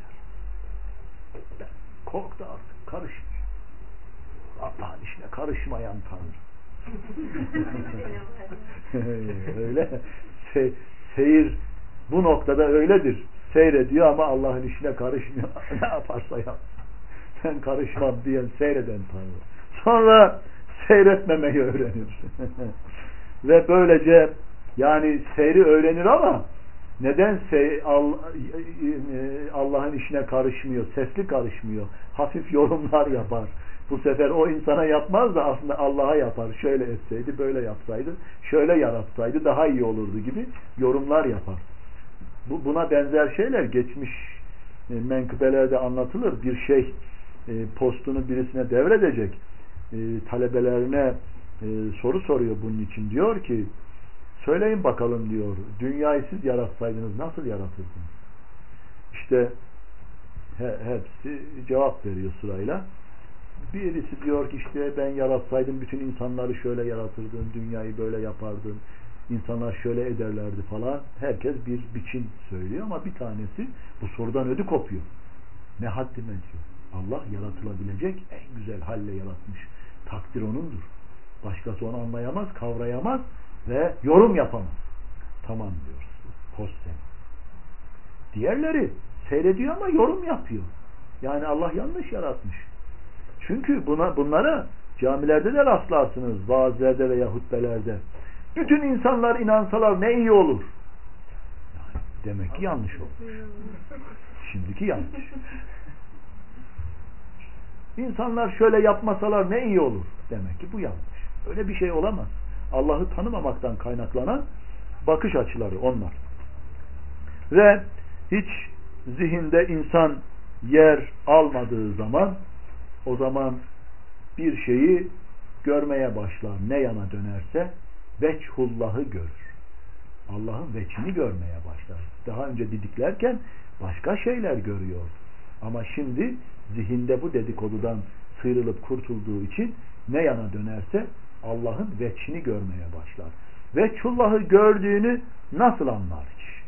Korktu artık. Karışmıyor. Allah'ın işine karışmayan Tanrı. Öyle. Se seyir bu noktada öyledir. Seyrediyor ama Allah'ın işine karışmıyor. Ne yaparsa yap. Ben karışmam diyen seyreden Tanrı. Sonra seyretmemeyi öğrenir. Ve böylece yani seyri öğrenir ama neden Allah'ın işine karışmıyor, sesli karışmıyor, hafif yorumlar yapar. Bu sefer o insana yapmaz da aslında Allah'a yapar. Şöyle etseydi, böyle yapsaydı, şöyle yaratsaydı daha iyi olurdu gibi yorumlar yapar. Bu, buna benzer şeyler geçmiş menkıbelerde anlatılır. Bir şey postunu birisine devredecek. Talebelerine soru soruyor bunun için. Diyor ki söyleyin bakalım diyor. Dünyayı siz yaratsaydınız nasıl yaratırdınız? İşte he, hepsi cevap veriyor sırayla. Birisi diyor ki işte ben yaratsaydım bütün insanları şöyle yaratırdım, dünyayı böyle yapardım, insanlar şöyle ederlerdi falan. Herkes bir biçim söylüyor ama bir tanesi bu sorudan ödü kopuyor. Ne haddime diyor. Allah yaratılabilecek en güzel halle yaratmış. Takdir O'nundur. Başkası onu anlayamaz, kavrayamaz ve yorum yapamaz. Tamam diyoruz. Post sen. Diğerleri seyrediyor ama yorum yapıyor. Yani Allah yanlış yaratmış. Çünkü buna bunlara camilerde de rastlarsınız, vaazlerde veya hutbelerde. Bütün insanlar inansalar ne iyi olur. Yani demek ki yanlış olmuş. Şimdiki yanlış. İnsanlar şöyle yapmasalar ne iyi olur. Demek ki bu yanlış. Öyle bir şey olamaz. Allah'ı tanımamaktan kaynaklanan bakış açıları onlar. Ve hiç zihinde insan yer almadığı zaman o zaman bir şeyi görmeye başlar. Ne yana dönerse veçhullah'ı görür. Allah'ın veçhini görmeye başlar. Daha önce didiklerken başka şeyler görüyor. Ama şimdi zihinde bu dedikodudan sıyrılıp kurtulduğu için ne yana dönerse Allah'ın veçhini görmeye başlar. Veçhullah'ı gördüğünü nasıl anlar kişi?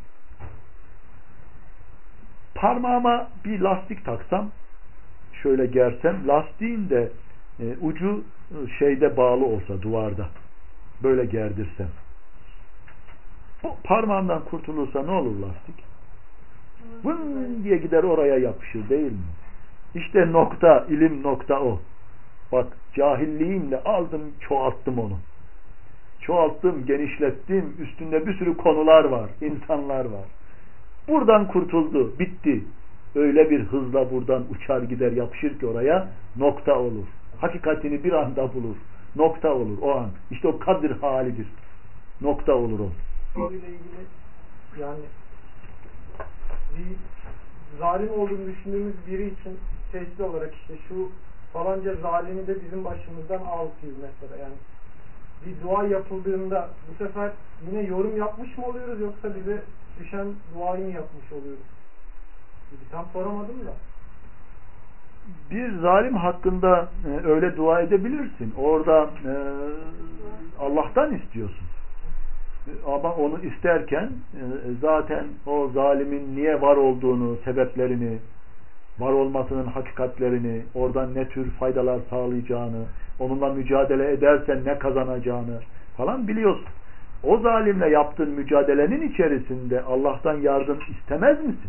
Parmağıma bir lastik taksam, şöyle gersem, lastiğin de e, ucu şeyde bağlı olsa duvarda, böyle gerdirsem, bu parmağımdan kurtulursa ne olur lastik? Vın diye gider oraya yapışır değil mi? İşte nokta, ilim nokta o. Bak cahilliğimle aldım, çoğalttım onu. Çoğalttım, genişlettim, üstünde bir sürü konular var, insanlar var. Buradan kurtuldu, bitti. Öyle bir hızla buradan uçar gider, yapışır ki oraya nokta olur. Hakikatini bir anda bulur. Nokta olur o an. İşte o kadir halidir. Nokta olur o. Konuyla ilgili yani bir zalim olduğunu düşündüğümüz biri için sesli olarak işte şu falanca zalimi de bizim başımızdan al diyor mesela yani. bir dua yapıldığında bu sefer yine yorum yapmış mı oluyoruz yoksa bize düşen duayı mı yapmış oluyoruz? Tam soramadım da. Bir zalim hakkında e, öyle dua edebilirsin. Orada e, Allah'tan istiyorsun. Ama onu isterken e, zaten o zalimin niye var olduğunu, sebeplerini, var olmasının hakikatlerini, oradan ne tür faydalar sağlayacağını, onunla mücadele edersen ne kazanacağını falan biliyorsun. O zalimle yaptığın mücadelenin içerisinde Allah'tan yardım istemez misin?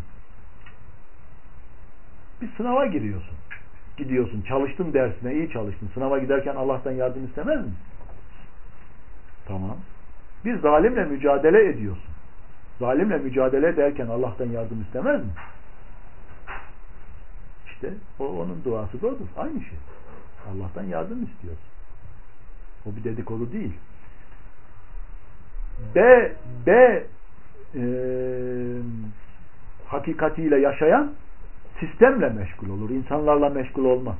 Bir sınava giriyorsun. Gidiyorsun, çalıştın dersine, iyi çalıştın. Sınava giderken Allah'tan yardım istemez misin? Tamam. Bir zalimle mücadele ediyorsun. Zalimle mücadele ederken Allah'tan yardım istemez mi? İşte o onun duası da odur. Aynı şey. Allah'tan yardım istiyor. O bir dedikodu değil. B B e, hakikatiyle yaşayan sistemle meşgul olur. İnsanlarla meşgul olmaz.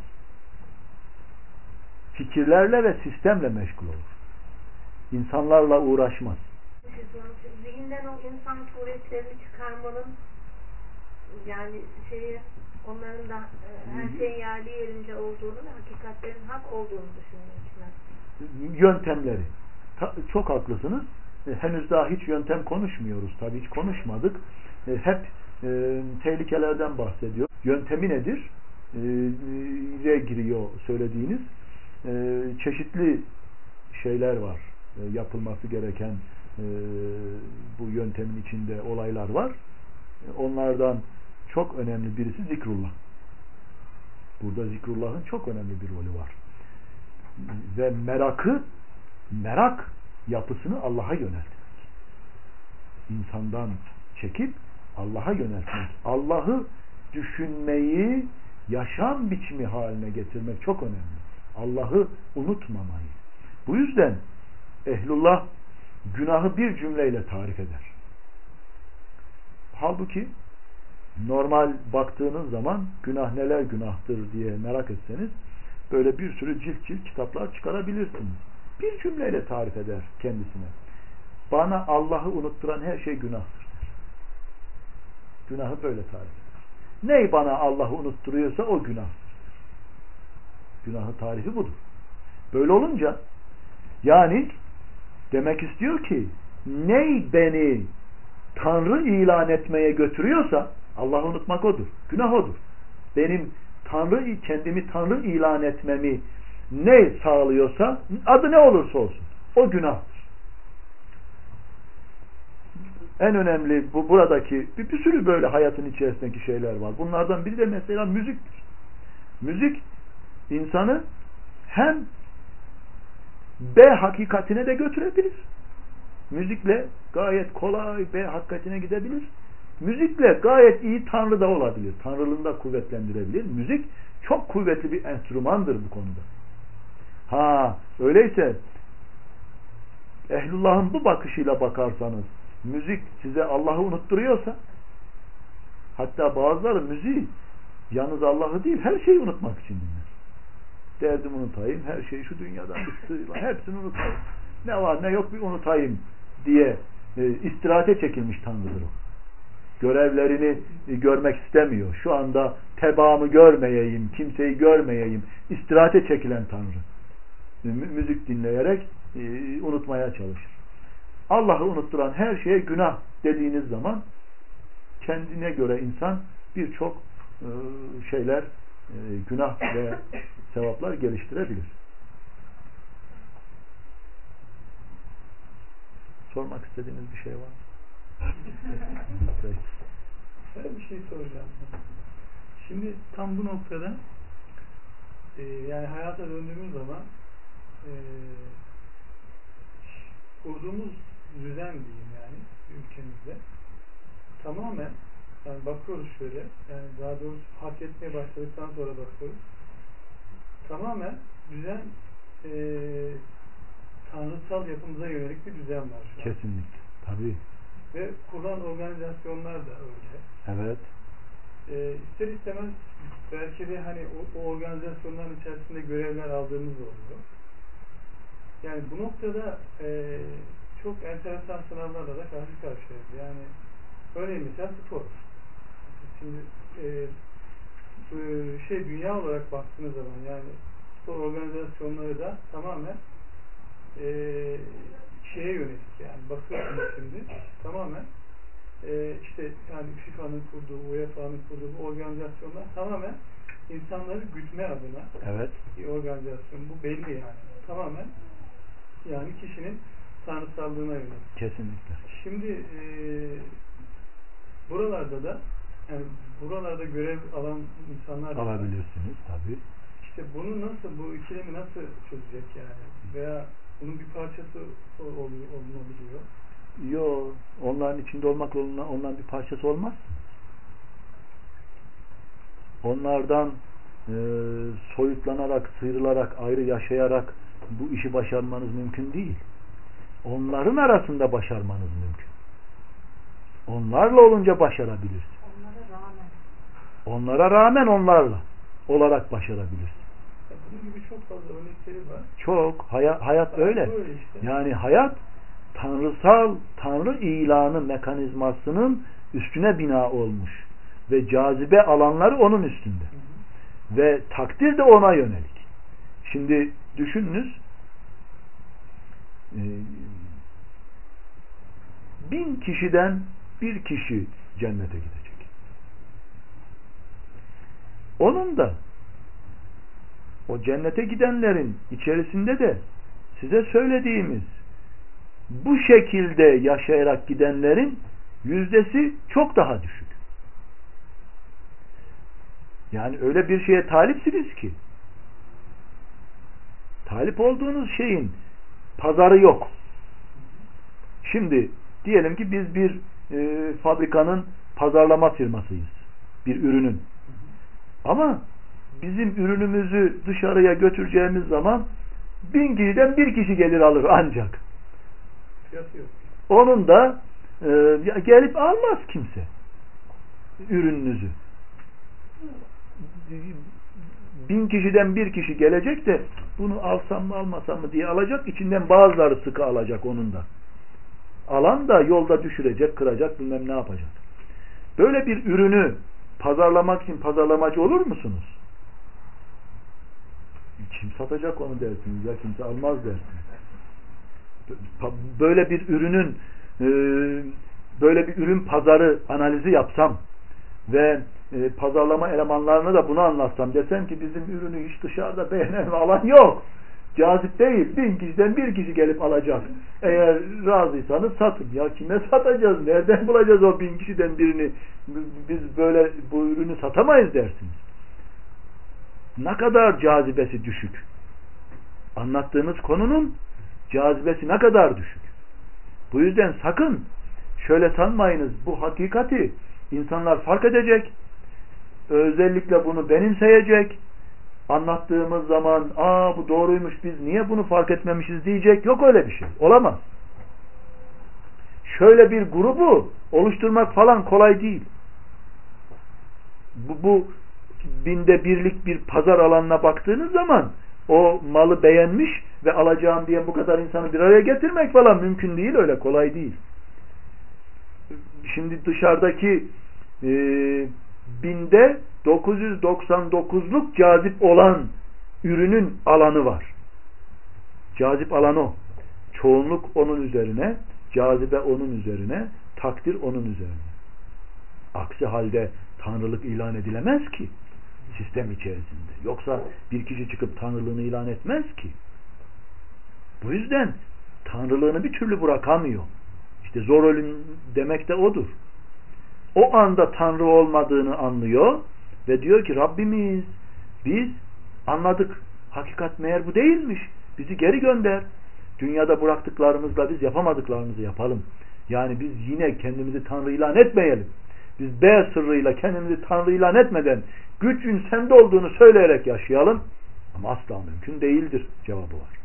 Fikirlerle ve sistemle meşgul olur. İnsanlarla uğraşmaz. Zihinden o insan suretlerini çıkarmanın yani şeyi onların da her şeyin yerli yerince olduğunu ve hakikatlerin hak olduğunu düşünmek için. Yöntemleri. Ta, çok haklısınız. E, henüz daha hiç yöntem konuşmuyoruz. Tabii hiç konuşmadık. E, hep e, tehlikelerden bahsediyor. Yöntemi nedir? E, giriyor söylediğiniz. E, çeşitli şeyler var. E, yapılması gereken e, bu yöntemin içinde olaylar var. E, onlardan çok önemli birisi zikrullah. Burada zikrullahın çok önemli bir rolü var. Ve merakı, merak yapısını Allah'a yöneltmek. İnsandan çekip Allah'a yöneltmek. Allah'ı düşünmeyi yaşam biçimi haline getirmek çok önemli. Allah'ı unutmamayı. Bu yüzden ehlullah günahı bir cümleyle tarif eder. Halbuki normal baktığınız zaman günah neler günahtır diye merak etseniz böyle bir sürü cilt cilt kitaplar çıkarabilirsiniz. Bir cümleyle tarif eder kendisine. Bana Allah'ı unutturan her şey günahtır. Günahı böyle tarif eder. Ney bana Allah'ı unutturuyorsa o günahtır. Günahı tarifi budur. Böyle olunca yani demek istiyor ki ney beni Tanrı ilan etmeye götürüyorsa Allah'ı unutmak odur. Günah odur. Benim Tanrı, kendimi Tanrı ilan etmemi ne sağlıyorsa adı ne olursa olsun o günahtır. En önemli bu buradaki bir, bir sürü böyle hayatın içerisindeki şeyler var. Bunlardan biri de mesela müziktir. Müzik insanı hem B hakikatine de götürebilir. Müzikle gayet kolay B hakikatine gidebilir. Müzikle gayet iyi Tanrı da olabilir. Tanrılığını da kuvvetlendirebilir. Müzik çok kuvvetli bir enstrümandır bu konuda. Ha, öyleyse ehlullahın bu bakışıyla bakarsanız müzik size Allah'ı unutturuyorsa hatta bazıları müziği yalnız Allah'ı değil her şeyi unutmak için dinler. Derdimi unutayım, her şeyi şu dünyadan bıktı, hepsini unutayım. Ne var ne yok bir unutayım diye e, istirahate çekilmiş Tanrı'dır o. Görevlerini e, görmek istemiyor. Şu anda tebaamı görmeyeyim, kimseyi görmeyeyim. İstirahate çekilen Tanrı. E, müzik dinleyerek e, unutmaya çalışır. Allah'ı unutturan her şeye günah dediğiniz zaman kendine göre insan birçok e, şeyler e, günah ve sevaplar geliştirebilir. Sormak istediğiniz bir şey var mı? Ben bir şey soracağım. Şimdi tam bu noktada e, yani hayata döndüğümüz zaman e, kurduğumuz düzen diyeyim yani ülkemizde tamamen yani bakıyoruz şöyle yani daha doğrusu hak etmeye başladıktan sonra bakıyoruz tamamen düzen e, tanrısal yapımıza yönelik bir düzen var şu an. Kesinlikle. Tabii. Ve kurulan organizasyonlar da öyle. Evet. E, ister istemez belki de hani o, o organizasyonların içerisinde görevler aldığımız oluyor. Yani bu noktada e, çok enteresan sınavlarla da karşı karşıyayız. Yani örneğin mesela spor. Şimdi e, şey dünya olarak baktığınız zaman yani spor organizasyonları da tamamen e, şeye yönelik yani bakıyorsunuz şimdi tamamen e, işte yani FIFA'nın kurduğu, U E F A'nın kurduğu bu organizasyonlar tamamen insanları gütme adına evet. bir organizasyon. Bu belli yani. Tamamen yani kişinin tanrısallığına yönelik. Kesinlikle. Şimdi e, buralarda da yani buralarda görev alan insanlar alabilirsiniz tabii. İşte bunu nasıl, bu ikilemi nasıl çözecek yani? Veya bunun bir parçası oluyor, olunabiliyor. Yok, onların içinde olmakla onların bir parçası olmaz. Onlardan e, soyutlanarak, sıyrılarak, ayrı yaşayarak bu işi başarmanız mümkün değil. Onların arasında başarmanız mümkün. Onlarla olunca başarabilirsiniz. Onlara rağmen. Onlara rağmen onlarla olarak başarabilirsiniz. Bunun gibi çok fazla örnekleri var. Çok. Hayat, hayat öyle. Böyle işte. Yani hayat tanrısal, tanrı ilanı mekanizmasının üstüne bina olmuş. Ve cazibe alanları onun üstünde. Hı hı. Ve takdir de ona yönelik. Şimdi düşününüz bin kişiden bir kişi cennete gidecek. Onun da o cennete gidenlerin içerisinde de size söylediğimiz bu şekilde yaşayarak gidenlerin yüzdesi çok daha düşük. Yani öyle bir şeye talipsiniz ki talip olduğunuz şeyin pazarı yok. Şimdi diyelim ki biz bir e, fabrikanın pazarlama firmasıyız. Bir ürünün. Ama bizim ürünümüzü dışarıya götüreceğimiz zaman bin kişiden bir kişi gelir alır ancak. Onun da e, gelip almaz kimse ürününüzü. Bin kişiden bir kişi gelecek de bunu alsam mı almasam mı diye alacak. İçinden bazıları sıkı alacak onun da. Alan da yolda düşürecek, kıracak, bilmem ne yapacak. Böyle bir ürünü pazarlamak için pazarlamacı olur musunuz? Kim satacak onu dersiniz ya, kimse almaz dersiniz. Böyle bir ürünün böyle bir ürün pazarı analizi yapsam ve pazarlama elemanlarına da bunu anlatsam, desem ki bizim ürünü hiç dışarıda beğenen alan yok. Cazip değil. Bin kişiden bir kişi gelip alacak. Eğer razıysanız satın. Ya kime satacağız? Nereden bulacağız o bin kişiden birini? Biz böyle bu ürünü satamayız dersiniz. Ne kadar cazibesi düşük. Anlattığınız konunun cazibesi ne kadar düşük. Bu yüzden sakın şöyle sanmayınız, bu hakikati insanlar fark edecek. Özellikle bunu benimseyecek. Anlattığımız zaman aa bu doğruymuş, biz niye bunu fark etmemişiz diyecek. Yok öyle bir şey. Olamaz. Şöyle bir grubu oluşturmak falan kolay değil. Bu, bu binde birlik bir pazar alanına baktığınız zaman o malı beğenmiş ve alacağım diye bu kadar insanı bir araya getirmek falan mümkün değil. Öyle kolay değil. Şimdi dışarıdaki e, binde dokuz yüz doksan dokuzluk cazip olan ürünün alanı var. Cazip alan o. Çoğunluk onun üzerine, cazibe onun üzerine, takdir onun üzerine. Aksi halde tanrılık ilan edilemez ki sistem içerisinde. Yoksa bir kişi çıkıp tanrılığını ilan etmez ki. Bu yüzden tanrılığını bir türlü bırakamıyor. İşte zor ölüm demek de odur. O anda Tanrı olmadığını anlıyor ve diyor ki Rabbimiz, biz anladık. Hakikat meğer bu değilmiş. Bizi geri gönder. Dünyada bıraktıklarımızla biz yapamadıklarımızı yapalım. Yani biz yine kendimizi Tanrı ilan etmeyelim. Biz B sırrıyla kendimizi Tanrı ilan etmeden gücün sende olduğunu söyleyerek yaşayalım. Ama asla mümkün değildir cevabı var.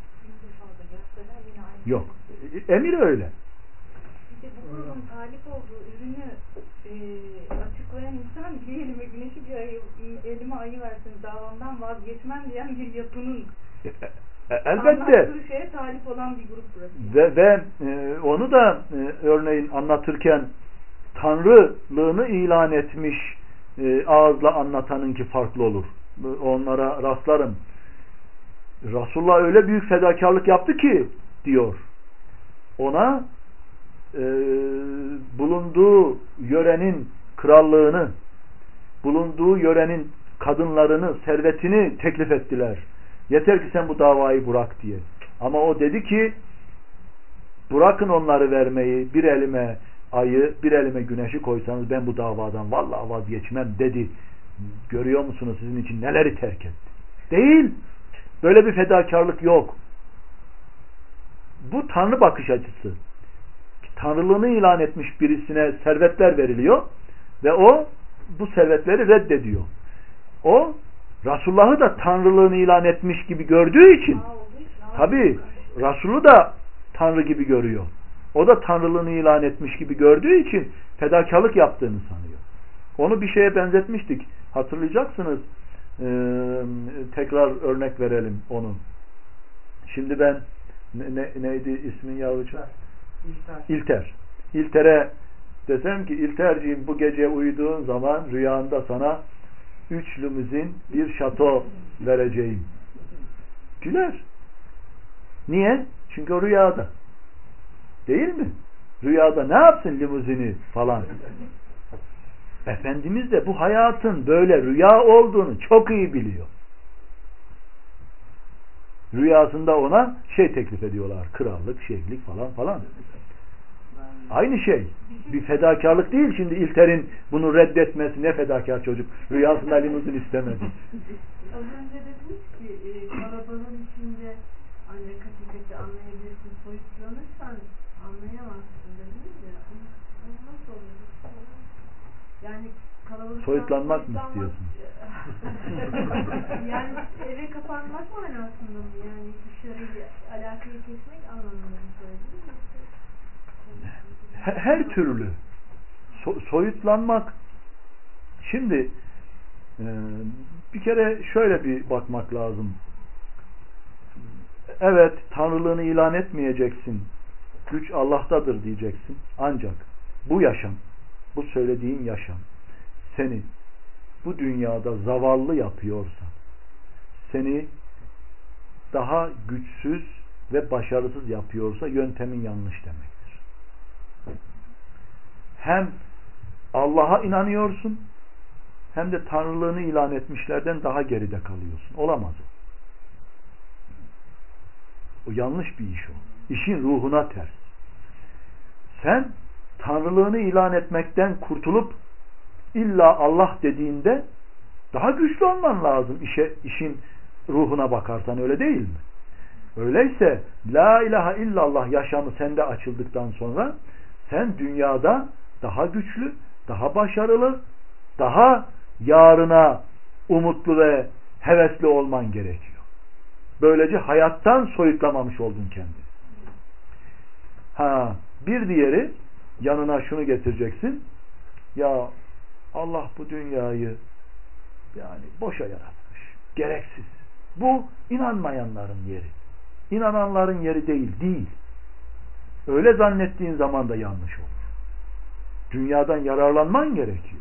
Yok. Emir öyle. Bu grubun talip olduğu ürünü e, açıklayan insan bir elime güneşi bir ayı, elime ayı versin davamdan vazgeçmem diyen bir yapının E, elbette. Bir şeye talip olan bir grup burası. Ve, ve e, onu da e, örneğin anlatırken Tanrılığını ilan etmiş e, ağızla anlatanınki farklı olur. Onlara rastlarım. Resulullah öyle büyük fedakarlık yaptı ki diyor. Ona e, bulunduğu yörenin krallığını, bulunduğu yörenin kadınlarını, servetini teklif ettiler. Yeter ki sen bu davayı bırak diye. Ama o dedi ki bırakın onları vermeyi, bir elime ayı, bir elime güneşi koysanız ben bu davadan vallahi vazgeçmem dedi. Görüyor musunuz sizin için neleri terk etti? Değil. Böyle bir fedakarlık yok. Bu Tanrı bakış açısı. Tanrılığını ilan etmiş birisine servetler veriliyor ve o bu servetleri reddediyor. O Resulullah'ı da Tanrılığını ilan etmiş gibi gördüğü için tabi Resulü da Tanrı gibi görüyor. O da Tanrılığını ilan etmiş gibi gördüğü için fedakarlık yaptığını sanıyor. Onu bir şeye benzetmiştik. Hatırlayacaksınız. Ee, tekrar örnek verelim onu. Şimdi ben ne, ne, neydi ismin yavrucuğum? İlter. İlter. İlter'e desem ki İlterciğim bu gece uyuduğun zaman rüyanda sana üç limuzin bir şato vereceğim. Güler. Niye? Çünkü o rüyada. Değil mi? Rüyada ne yapsın limuzini falan. Efendimiz de bu hayatın böyle rüya olduğunu çok iyi biliyor. Rüyasında ona şey teklif ediyorlar. Krallık, şeyhlik falan falan. Aynı şey. Bir fedakarlık değil şimdi İlter'in bunu reddetmesi. Ne fedakar çocuk. Rüyasında limuzin istemedi. Az önce dediniz ki e, kalabalığın içinde ancak hakikati anlayabilirsin. Soyutlanırsan anlayamazsın dediniz ya. Onu nasıl oluyor? Yani kalabalıktan soyutlanmak mı istiyorsun? Yani eve kapanmak manasında mı? Yani dışarıyla alakayı kesmek anlamında mı söylediniz? Her, her türlü so, soyutlanmak. Şimdi e, bir kere şöyle bir bakmak lazım. Evet, Tanrılığını ilan etmeyeceksin. Güç Allah'tadır diyeceksin. Ancak bu yaşam, bu söylediğin yaşam seni bu dünyada zavallı yapıyorsa, seni daha güçsüz ve başarısız yapıyorsa yöntemin yanlış demektir. Hem Allah'a inanıyorsun hem de Tanrılığını ilan etmişlerden daha geride kalıyorsun. Olamaz o. O yanlış bir iş o. İşin ruhuna ters. Sen Tanrılığını ilan etmekten kurtulup illa Allah dediğinde daha güçlü olman lazım işe, işin ruhuna bakarsan, öyle değil mi? Öyleyse La ilahe illallah yaşamı sende açıldıktan sonra sen dünyada daha güçlü, daha başarılı, daha yarına umutlu ve hevesli olman gerekiyor. Böylece hayattan soyutlamamış oldun kendini. Ha, bir diğeri yanına şunu getireceksin. Ya Allah bu dünyayı yani boşa yaratmış. Gereksiz. Bu inanmayanların yeri. İnananların yeri değil. Değil. Öyle zannettiğin zaman da yanlış olur. Dünyadan yararlanman gerekiyor.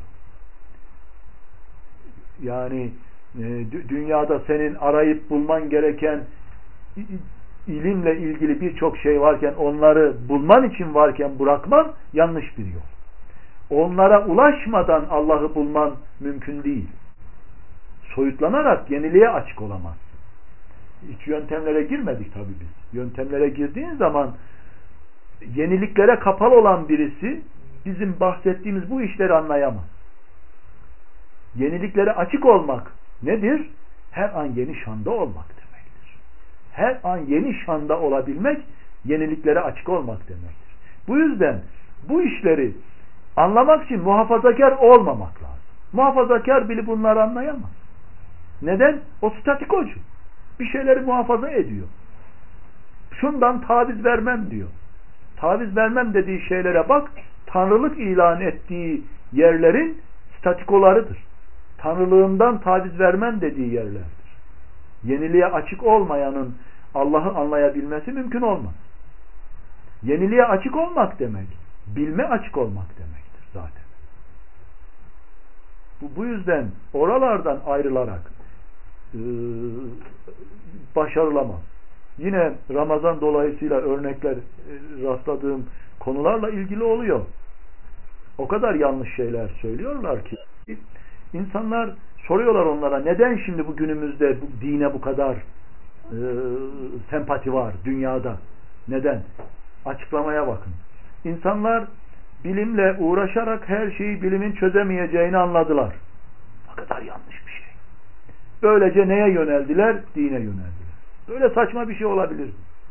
Yani e, dünyada senin arayıp bulman gereken ilimle ilgili birçok şey varken, onları bulman için varken bırakman yanlış bir yol. Onlara ulaşmadan Allah'ı bulman mümkün değil. Soyutlanarak yeniliğe açık olamazsın. Hiç yöntemlere girmedik tabii biz. Yöntemlere girdiğin zaman yeniliklere kapalı olan birisi bizim bahsettiğimiz bu işleri anlayamaz. Yeniliklere açık olmak nedir? Her an yeni şanda olmak demektir. Her an yeni şanda olabilmek yeniliklere açık olmak demektir. Bu yüzden bu işleri anlamak için muhafazakar olmamak lazım. Muhafazakar bile bunları anlayamaz. Neden? O statikocu. Bir şeyleri muhafaza ediyor. Şundan taviz vermem diyor. Taviz vermem dediği şeylere bak, tanrılık ilan ettiği yerlerin statikolarıdır. Tanrılığından taviz vermem dediği yerlerdir. Yeniliğe açık olmayanın Allah'ı anlayabilmesi mümkün olmaz. Yeniliğe açık olmak demek, bilme açık olmak demektir zaten. Bu, bu yüzden oralardan ayrılarak e, başarılamaz. Yine Ramazan dolayısıyla örnekler e, rastladığım konularla ilgili oluyor. O kadar yanlış şeyler söylüyorlar ki insanlar soruyorlar onlara, neden şimdi bu günümüzde bu dine bu kadar e, sempati var dünyada? Neden? Açıklamaya bakın. İnsanlar bilimle uğraşarak her şeyi bilimin çözemeyeceğini anladılar. Ne kadar yanlış bir şey. Böylece neye yöneldiler? Dine yöneldiler. Böyle saçma bir şey olabilir.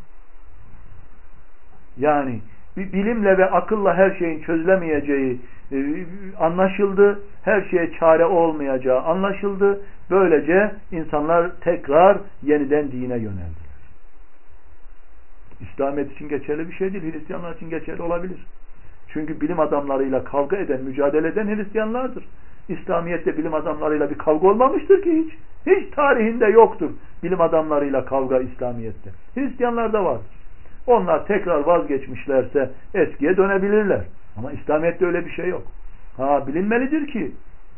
Yani bir bilimle ve akılla her şeyin çözülemeyeceği e, anlaşıldı. Her şeye çare olmayacağı anlaşıldı. Böylece insanlar tekrar yeniden dine yöneldiler. İslamiyet için geçerli bir şey değil. Hristiyanlar için geçerli olabilir. Çünkü bilim adamlarıyla kavga eden, mücadele eden Hristiyanlardır. İslamiyet'te bilim adamlarıyla bir kavga olmamıştır ki hiç. Hiç tarihinde yoktur bilim adamlarıyla kavga İslamiyet'te. Hristiyanlarda var. Onlar tekrar vazgeçmişlerse eskiye dönebilirler. Ama İslamiyet'te öyle bir şey yok. Ha, bilinmelidir ki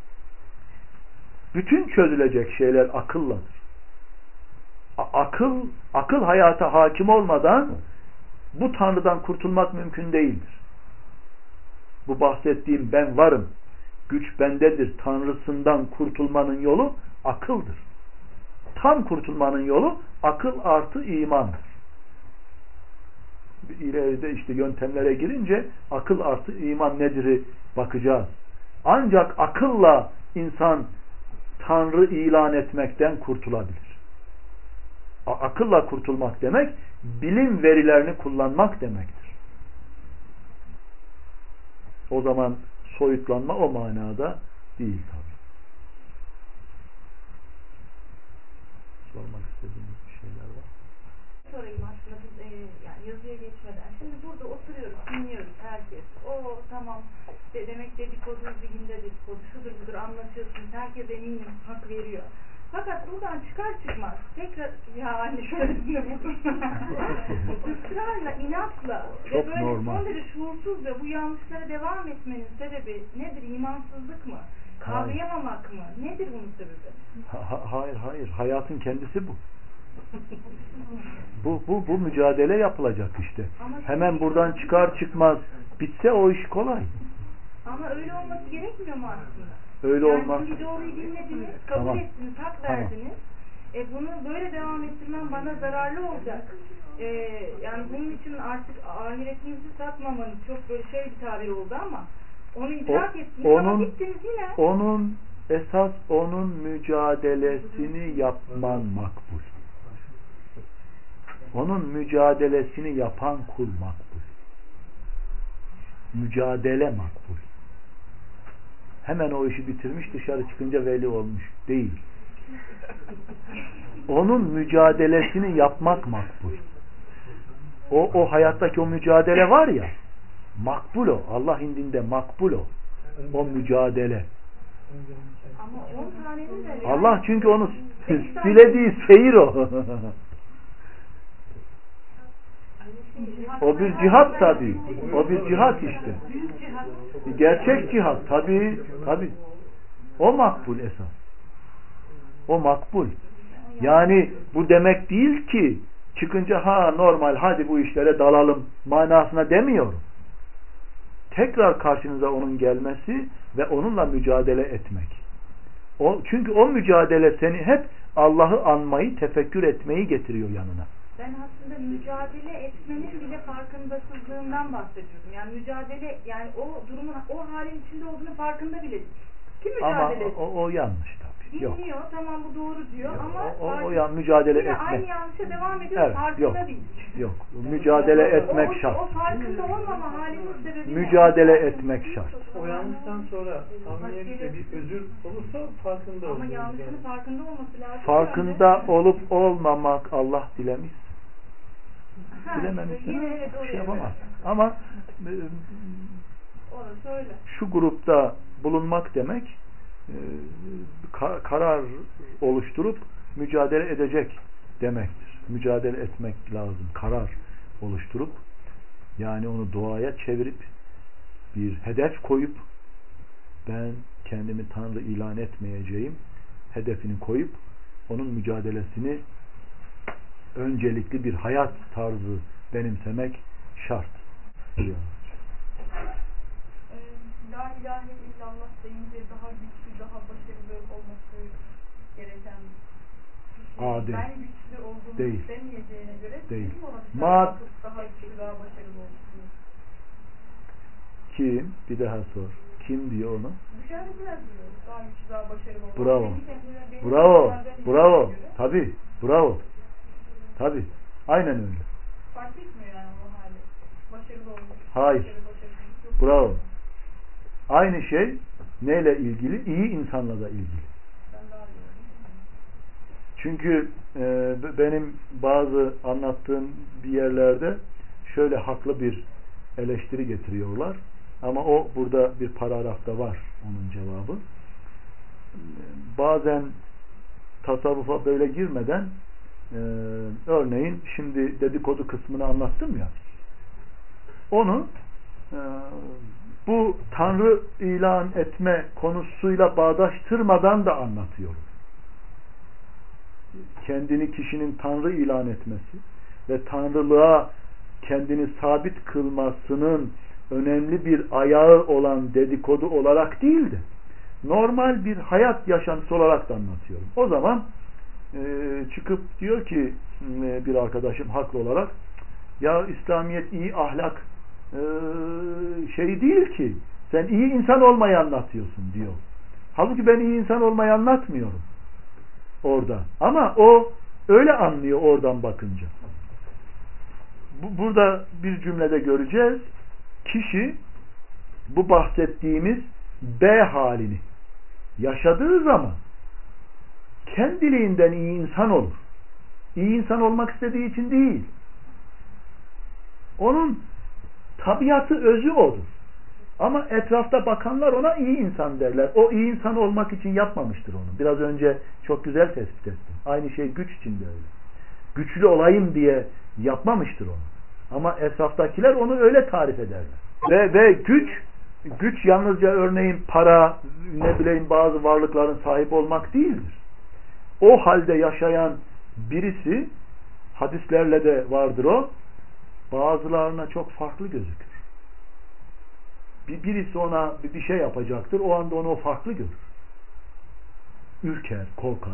bütün çözülecek şeyler akılladır. Akıl, akıl hayata hakim olmadan bu Tanrı'dan kurtulmak mümkün değildir. Bu bahsettiğim ben varım, güç bendedir Tanrısından kurtulmanın yolu akıldır. Tam kurtulmanın yolu akıl artı imandır. İleride işte yöntemlere girince akıl artı iman nedir'i bakacağız. Ancak akılla insan Tanrı ilan etmekten kurtulabilir. Akılla kurtulmak demek, bilim verilerini kullanmak demektir. O zaman soyutlanma o manada değil tabi. Sormak istediğiniz bir şeyler var. Sorayım aslında biz e, yani yazıya geçmeden. Şimdi burada oturuyoruz, dinliyoruz herkes. O tamam de, demek dedikodu zihinde dedikodu, şudur budur anlatıyorsunuz. Herkes eminim hak veriyor. Fakat buradan çıkar çıkmaz tekrar ya anne şöyle buldum. Israrla, inatla ve böyle normal. son derece şuursuz ve bu yanlışlara devam etmenin sebebi nedir? İmansızlık mı? Kavrayamamak mı? Nedir bunun sebebi? Ha, hayır hayır. Hayatın kendisi bu. bu, bu, bu mücadele yapılacak işte. Ama hemen buradan çıkar çıkmaz bitse o iş kolay. Ama öyle olması gerekmiyor mu aslında? Öyle yani olmaz. şimdi doğruyu dinlediniz, kabul tamam. ettiniz, hak tamam. verdiniz. E bunu böyle devam ettirmem bana zararlı olacak. E, yani bunun için artık ahiretinizi satmamanız çok böyle şey bir tabir oldu ama onu idrak o, ettiniz onun, ama bittiniz yine. Onun esas onun mücadelesini yapman makbul. Onun mücadelesini yapan kul makbul. Mücadele makbul. Hemen o işi bitirmiş, dışarı çıkınca veli olmuş. Değil. Onun mücadelesini yapmak makbul. O, o hayattaki o mücadele var ya, makbul o. Allah indinde makbul o. O mücadele. Ama on tanenin de Allah çünkü onu dilediği seyir o. O bir cihat tabii. O bir cihat işte. Gerçek cihat tabii. Tabii. O makbul esas. O makbul. Yani bu demek değil ki çıkınca ha normal hadi bu işlere dalalım manasına demiyorum. Tekrar karşınıza onun gelmesi ve onunla mücadele etmek. O, çünkü o mücadele seni hep Allah'ı anmayı, tefekkür etmeyi getiriyor yanına. Ben aslında mücadele etmenin bile farkındasızlığından bahsediyorum. Yani mücadele, yani o durumun, o halin içinde olduğunu farkında bile değil. Kim mücadele ama o, o yanlış tabii. Dinliyor, yok. tamam bu doğru diyor yok. ama o, o, o ya, mücadele yine etmek. aynı yanlışa devam ediyor, evet, farkında yok, değil. Yok, mücadele etmek o, şart. O farkında olmama halinin sebebi mücadele ne? etmek şart. O yanlıştan sonra samimiyetle bir özür olursa farkında olur. Ama yanlışının yani. farkında olması lazım. Farkında yani. olup olmamak Allah dilemiş. Dilememişse evet, bir şey yapamaz. Ama öyle. Şu grupta bulunmak demek karar oluşturup mücadele edecek demektir. mücadele etmek lazım. Karar oluşturup yani onu duaya çevirip bir hedef koyup ben kendimi Tanrı ilan etmeyeceğim hedefini koyup onun mücadelesini öncelikli bir hayat tarzı benimsemek şart. Ee, La ilahe illallah deyince daha güçlü, daha başarılı olması gereken bir şey. Aa, değil. Ben güçlü olduğumu değil. istemeyeceğine göre değil. kim ona Ma daha güçlü, daha başarılı olsun? Kim? Bir daha sor. Kim diyor onu? Dışarıdakiler diyor. Daha güçlü, daha başarılı olsun. Bravo. Benim kendime, benim Bravo. kendime Bravo. göre. Tabii. Bravo. Tabii. Aynen öyle. Fark etmiyor yani o hali. Başarılı olmuş. Hayır. Başarılı, başarısız. Bravo. Aynı şey neyle ilgili? İyi insanla da ilgili. Ben daha iyi. Çünkü e, benim bazı anlattığım bir yerlerde şöyle haklı bir eleştiri getiriyorlar. Ama o burada bir paragrafta var onun cevabı. Bazen tasavvufa böyle girmeden e, örneğin şimdi dedikodu kısmını anlattım ya, onu e, bu Tanrı ilan etme konusuyla bağdaştırmadan da anlatıyorum. Kendini kişinin Tanrı ilan etmesi ve Tanrılığa kendini sabit kılmasının önemli bir ayağı olan dedikodu olarak değil de normal bir hayat yaşantısı olarak da anlatıyorum. O zaman e, çıkıp diyor ki e, bir arkadaşım haklı olarak, ya İslamiyet iyi ahlak e, şey değil ki, sen iyi insan olmayı anlatıyorsun diyor. Halbuki ben iyi insan olmayı anlatmıyorum orada. Ama o öyle anlıyor oradan bakınca. Bu, burada bir cümlede göreceğiz. Kişi bu bahsettiğimiz B halini yaşadığı zaman kendiliğinden iyi insan olur. İyi insan olmak istediği için değil. Onun tabiatı, özü odur. Ama etrafta bakanlar ona iyi insan derler. O iyi insan olmak için yapmamıştır onu. Biraz önce çok güzel tespit ettim. Aynı şey güç için de öyle. Güçlü olayım diye yapmamıştır onu. Ama etraftakiler onu öyle tarif ederler. Ve, ve güç güç yalnızca örneğin para, ne bileyim bazı varlıkların sahip olmak değildir. O halde yaşayan birisi, hadislerle de vardır o, bazılarına çok farklı gözükür. Bir, birisi ona bir şey yapacaktır, o anda onu o farklı görür. Ürker, korkar.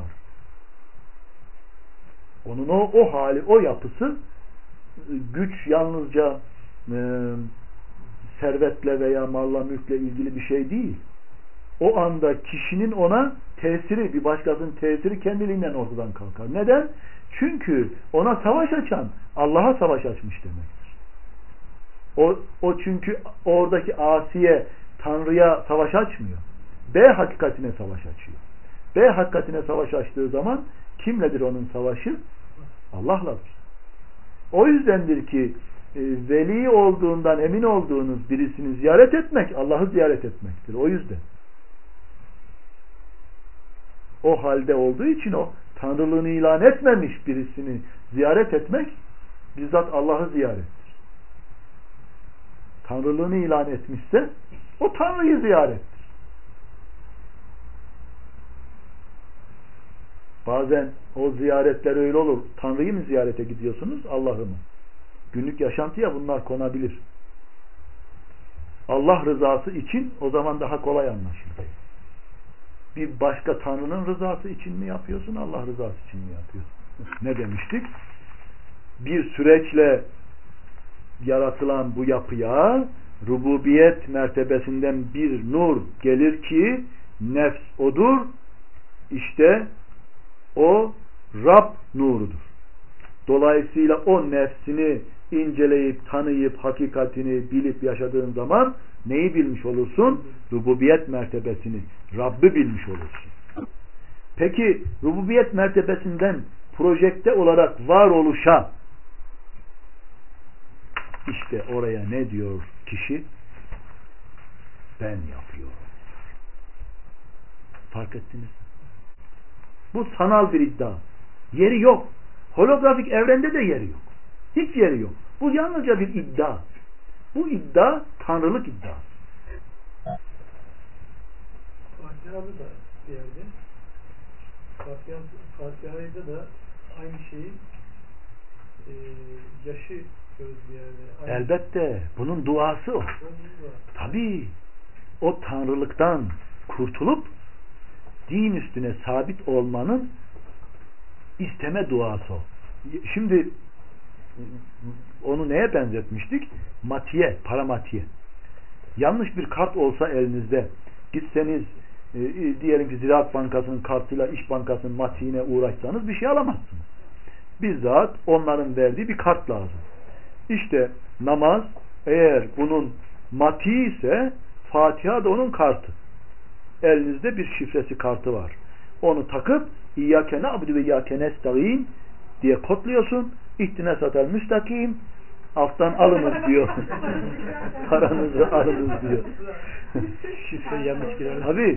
Onun o, o hali, o yapısı, güç yalnızca e, servetle veya malla mülkle ilgili bir şey değil. O anda kişinin ona tesiri, bir başkasının tesiri kendiliğinden ortadan kalkar. Neden? Çünkü ona savaş açan Allah'a savaş açmış demektir. O, o çünkü oradaki asiye Tanrı'ya savaş açmıyor. B hakikatine savaş açıyor. B hakikatine savaş açtığı zaman kimledir onun savaşı? Allah'ladır. O yüzdendir ki e, veli olduğundan emin olduğunuz birisini ziyaret etmek Allah'ı ziyaret etmektir. O yüzden. O halde olduğu için o Tanrılığını ilan etmemiş birisini ziyaret etmek bizzat Allah'ı ziyarettir. Tanrılığını ilan etmişse o Tanrı'yı ziyarettir. Bazen o ziyaretler öyle olur. Tanrı'yı mı ziyarete gidiyorsunuz? Allah'ı mı? Günlük yaşantıya bunlar konabilir. Allah rızası için o zaman daha kolay anlaşılır. Bir başka Tanrı'nın rızası için mi yapıyorsun? Allah rızası için mi yapıyorsun? Ne demiştik? Bir süreçle yaratılan bu yapıya rububiyet mertebesinden bir nur gelir ki nefs odur. İşte o Rab nurudur. Dolayısıyla o nefsini inceleyip, tanıyıp, hakikatini bilip yaşadığın zaman neyi bilmiş olursun? Rububiyet mertebesini, Rabb'i bilmiş olursun. Peki rububiyet mertebesinden projekte olarak varoluşa, işte oraya ne diyor kişi? Ben yapıyorum. Fark ettiniz mi? Bu sanal bir iddia. Yeri yok. Holografik evrende de yeri yok. Hiç yeri yok. Bu yalnızca bir iddia. Bu iddia tanrılık iddiası. Fatiha'da da bir yerde Fatiha, Fatiha'da da aynı şeyi e, yaşı görürüz bir yerde. Aynı Elbette. Bunun duası o. Tabii. O tanrılıktan kurtulup din üstüne sabit olmanın isteme duası o. Şimdi onu neye benzetmiştik? Matiye, paramatiye. Yanlış bir kart olsa elinizde, gitseniz e, diyelim ki Ziraat Bankası'nın kartıyla İş Bankası'nın matiğine uğraşsanız bir şey alamazsınız. Bizzat onların verdiği bir kart lazım. İşte namaz eğer bunun matiği ise Fatiha da onun kartı. Elinizde bir şifresi kartı var. Onu takıp İyyâke na'budu ve İyyâke nestaîn diye kodluyorsun. İhtine satel müstakim, alttan alınız diyor. Paranızı alınız diyor. şifreyi yanlış girer. Tabii.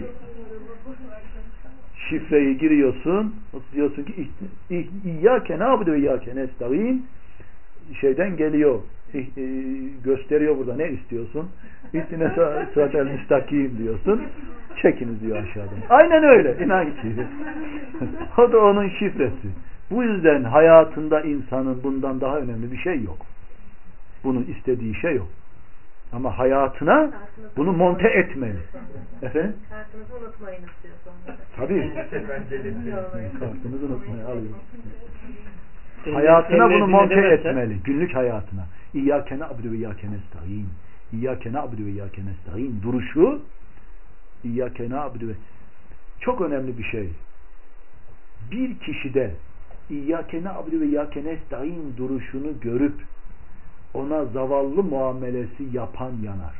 Şifreyi giriyorsun. Diyorsun ki İyyâke na'budu ve İyyâke nestaîn, şeyden geliyor. Gösteriyor burada ne istiyorsun? İhtine satel müstakim diyorsun. Çekiniz diyor aşağıdan. Aynen öyle. İnan ki. O da onun şifresi. Bu yüzden hayatında insanın bundan daha önemli bir şey yok. Bunun istediği şey yok. Ama hayatına bunu monte etmeli. Efendim? Kartınızı unutmayın istiyor sonra. Tabii. Kartınızı unutmayın. Alayım. Hayatına bunu monte etmeli. Günlük hayatına. İyyâke na'budu ve İyyâke nestaîn. İyyâke na'budu ve İyyâke nestaîn duruşu İyyâke na'budu ve çok önemli bir şey. Bir kişide İyyâke na'budu ve İyyâke nestaîn duruşunu görüp ona zavallı muamelesi yapan yanar.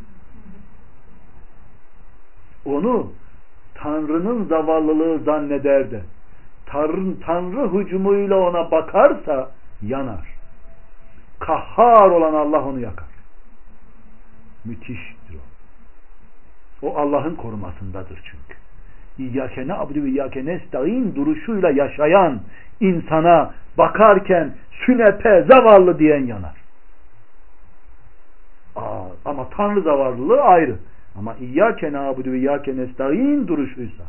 Onu Tanrı'nın zavallılığı zanneder de Tanrı, Tanrı hücumuyla ona bakarsa yanar. Kahhar olan Allah onu yakar. Müthiştir o. O Allah'ın korumasındadır çünkü. İyyâke na'budu ve İyyâke nestaîn duruşuyla yaşayan insana bakarken sünepe, zavallı diyen yanar. Aa, ama Tanrı zavallılığı ayrı. Ama İyyâke na'budu ve İyyâke nestaîn duruşuysa.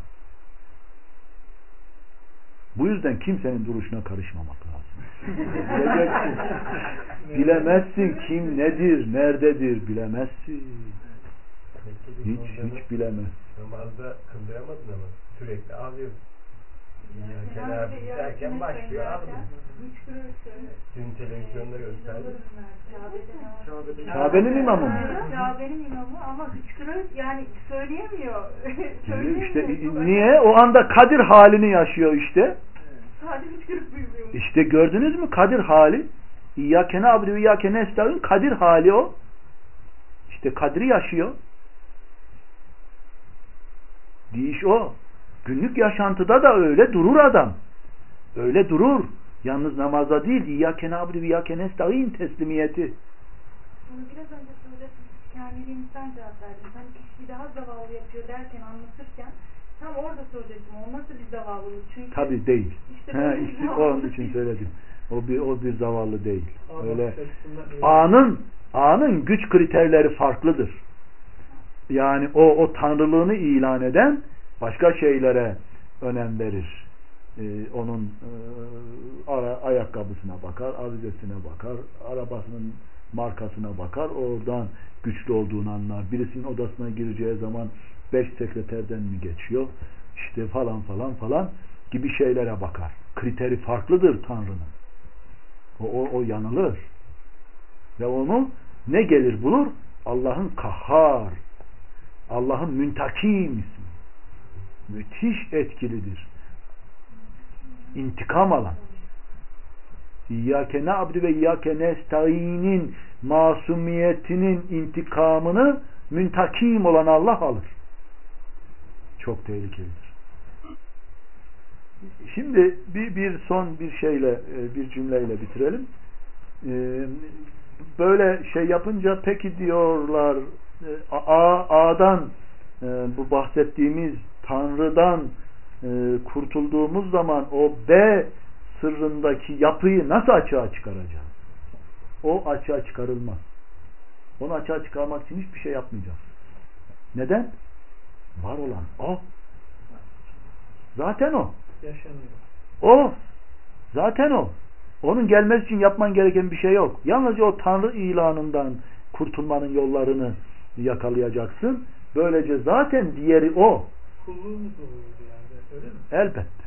Bu yüzden kimsenin duruşuna karışmamak lazım. Bileceksin. Bilemezsin kim nedir, nerededir bilemezsin. Hiç hiç bilemez. Namazda kıldıramadın ama sürekli ağlıyor. Ya Kenar derken başlıyor ağlıyor. Dün televizyonda gösterdi. Kabe'nin imamı mı? Kabe'nin imamı ama hıçkırıyor yani söyleyemiyor. İşte niye? O anda Kadir halini yaşıyor işte. Sadece hıçkırık duyuluyor. İşte gördünüz mü Kadir hali? İyyâke na'budu ve İyyâke nestaîn Kadir hali o. İşte Kadir'i yaşıyor. Değiş o. Günlük yaşantıda da öyle durur adam. Öyle durur. Yalnız namazda değil. İyyâke na'budu ve İyyâke nestaîn teslimiyeti. Bunu biraz önce söyledim. Kendiliğimden cevap verdim. Hani kişiyi daha zavallı yapıyor derken anlatırken tam orada söyleyecektim. O nasıl bir zavallılık? Çünkü tabii değil. İşte He, işte onun için söyledim. O bir o bir zavallı değil. Öyle. öyle. Anın anın güç kriterleri farklıdır. Yani o o tanrılığını ilan eden başka şeylere önem verir. Ee, onun e, ara, ayakkabısına bakar, avizesine bakar, arabasının markasına bakar, oradan güçlü olduğunu anlar. Birisinin odasına gireceği zaman beş sekreterden mi geçiyor? İşte falan falan falan gibi şeylere bakar. Kriteri farklıdır Tanrı'nın. O, o, o yanılır. Ve onu ne gelir bulur? Allah'ın kahhar, Allah'ın müntakim ismi. Müthiş etkilidir. İntikam alan. İyyâke na'budu ve İyyâke nestaîn'in masumiyetinin intikamını müntakim olan Allah alır. Çok tehlikelidir. Şimdi bir, bir son bir şeyle, bir cümleyle bitirelim. Böyle şey yapınca peki diyorlar A, A'dan bu bahsettiğimiz Tanrı'dan kurtulduğumuz zaman o B sırrındaki yapıyı nasıl açığa çıkaracağız? O açığa çıkarılmaz. Onu açığa çıkarmak için hiçbir şey yapmayacağız. Neden? Var olan o. Zaten o. Yaşanıyor. O. Zaten o. Onun gelmesi için yapman gereken bir şey yok. Yalnızca o Tanrı ilanından kurtulmanın yollarını yakalayacaksın. Böylece zaten diğeri o. Kulluğumuz oluyor yani. Öyle mi? Elbette.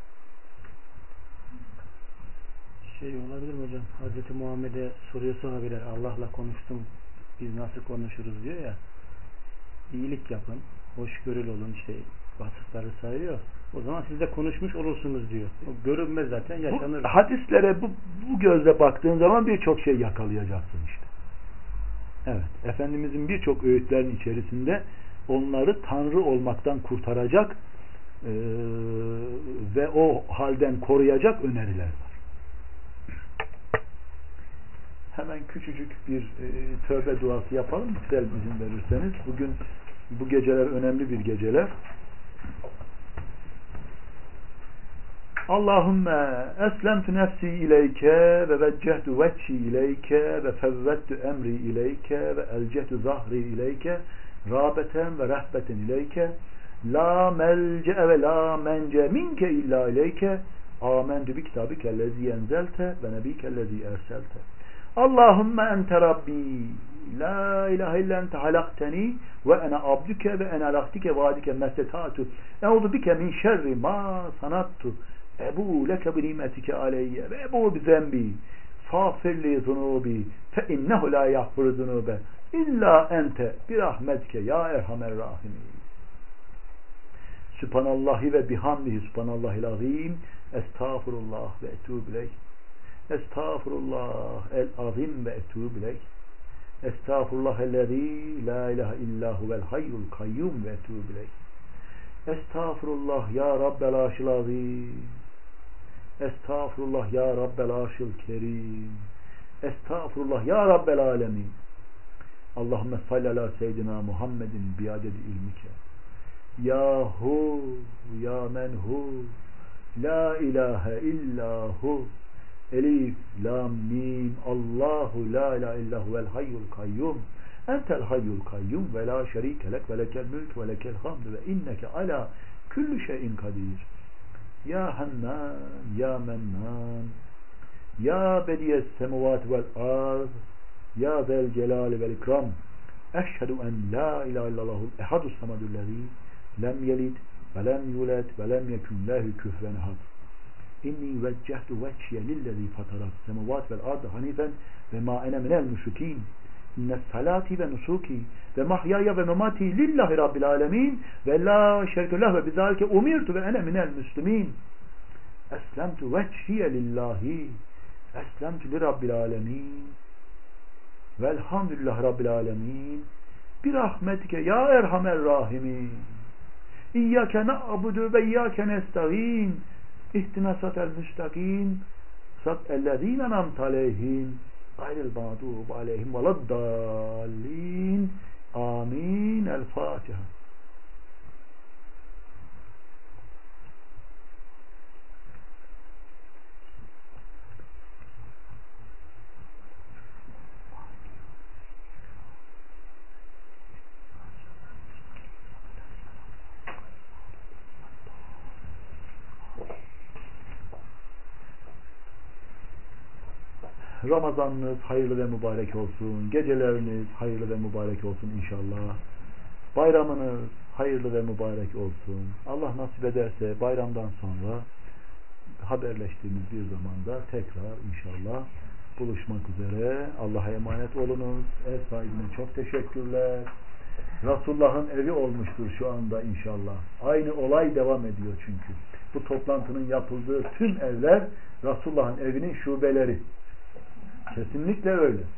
Şey olabilir mi hocam? Hazreti Muhammed'e soruyor sahabeler, Allah'la konuştum, biz nasıl konuşuruz diyor ya. İyilik yapın, hoşgörülü olun, şey vasıfları sayıyor. O zaman siz de konuşmuş olursunuz diyor. O görünmez zaten, yaşanır. Bu hadislere bu, bu gözle baktığın zaman birçok şey yakalayacaksın işte. Evet. Efendimizin birçok öğütlerin içerisinde onları Tanrı olmaktan kurtaracak e, ve o halden koruyacak öneriler var. Hemen küçücük bir e, tövbe duası yapalım. Güzel izin verirseniz. Bugün bu geceler önemli bir geceler. Allahümme eslemtu nefsi ileyke ve veccehtu vecci ileyke ve fevvettu emri ileyke ve elcehtu zahri ileyke râbeten ve rehbeten ileyke la melce'e ve la mence minke illa ileyke amentu bi kitabikellezi enzelte ve nebikellezi erselte Allahümme ente Rabbi la ilahe illa ente halakteni ve ene abduke ve ene alaktike vaadike mestetatu euzu bike min şerri ma sanattu ebu leke bi nimetike aleyye ve ebu bi zembi fâfirli zunubi fe innehu la yahfuru zunube illa ente bi rahmetike ya erhamer rahimin. Sübhanallahi ve bihamdihi subhanallahil azim estağfurullah ve etûbü ileyh. Estağfurullah el-azim ve etûbü ileyh. Estağfurullah ellezî la ilahe illa huvel hayyul kayyum ve etûbü ileyh. Estağfurullah ya Rabbel arşil azim. Estağfurullah ya Rabbel arşil kerim. Estağfurullah ya Rabbel alemin. Allahümme salli ala seyyidina Muhammedin biadedi ilmike. Ya hu ya men hu la ilahe illa hu elif lam mim Allahu la ilahe illa huvel hayyul kayyum entel hayyul kayyum ve la şerike lek ve lekel mülk ve lekel hamd ve inneke ala kulli şeyin kadir. Ya Hannan ya Mennan ya bediyes semuvat vel arz ya zel celali vel ikram eşhedü en la ilahe illallahul ehadus samadüllezî lem yelid ve lem yulad ve lem yekun lehu küfuven ahad. İnni veccehtu vecciye lillezî fatarat semuvat vel ardı hanifen ve ma ene minel müşrikîn. İnne salati ve nusuki ve mahyaya ve memati lillahi rabbil alemin ve la şerike leh ve bizalike umirtu ve ene minel müslimin. Eslemtu vecciye lillahi eslemtu li rabbil alemin velhamdülillahi rabbil alemin bir rahmetike ya erhamer rahimin. İyyâke na'budu ve iyyâke nesta'in İhtina satel müstakim sat ellezîne namte aleyhim gayril mağdûb aleyhim veleddâllîn amin. El Fatiha. Ramazanınız hayırlı ve mübarek olsun. Geceleriniz hayırlı ve mübarek olsun inşallah. Bayramınız hayırlı ve mübarek olsun. Allah nasip ederse bayramdan sonra haberleştiğimiz bir zamanda tekrar inşallah buluşmak üzere. Allah'a emanet olunuz. Ev sahibine çok teşekkürler. Resulullah'ın evi olmuştur şu anda inşallah. Aynı olay devam ediyor çünkü. Bu toplantının yapıldığı tüm evler Resulullah'ın evinin şubeleri. Kesinlikle öyle.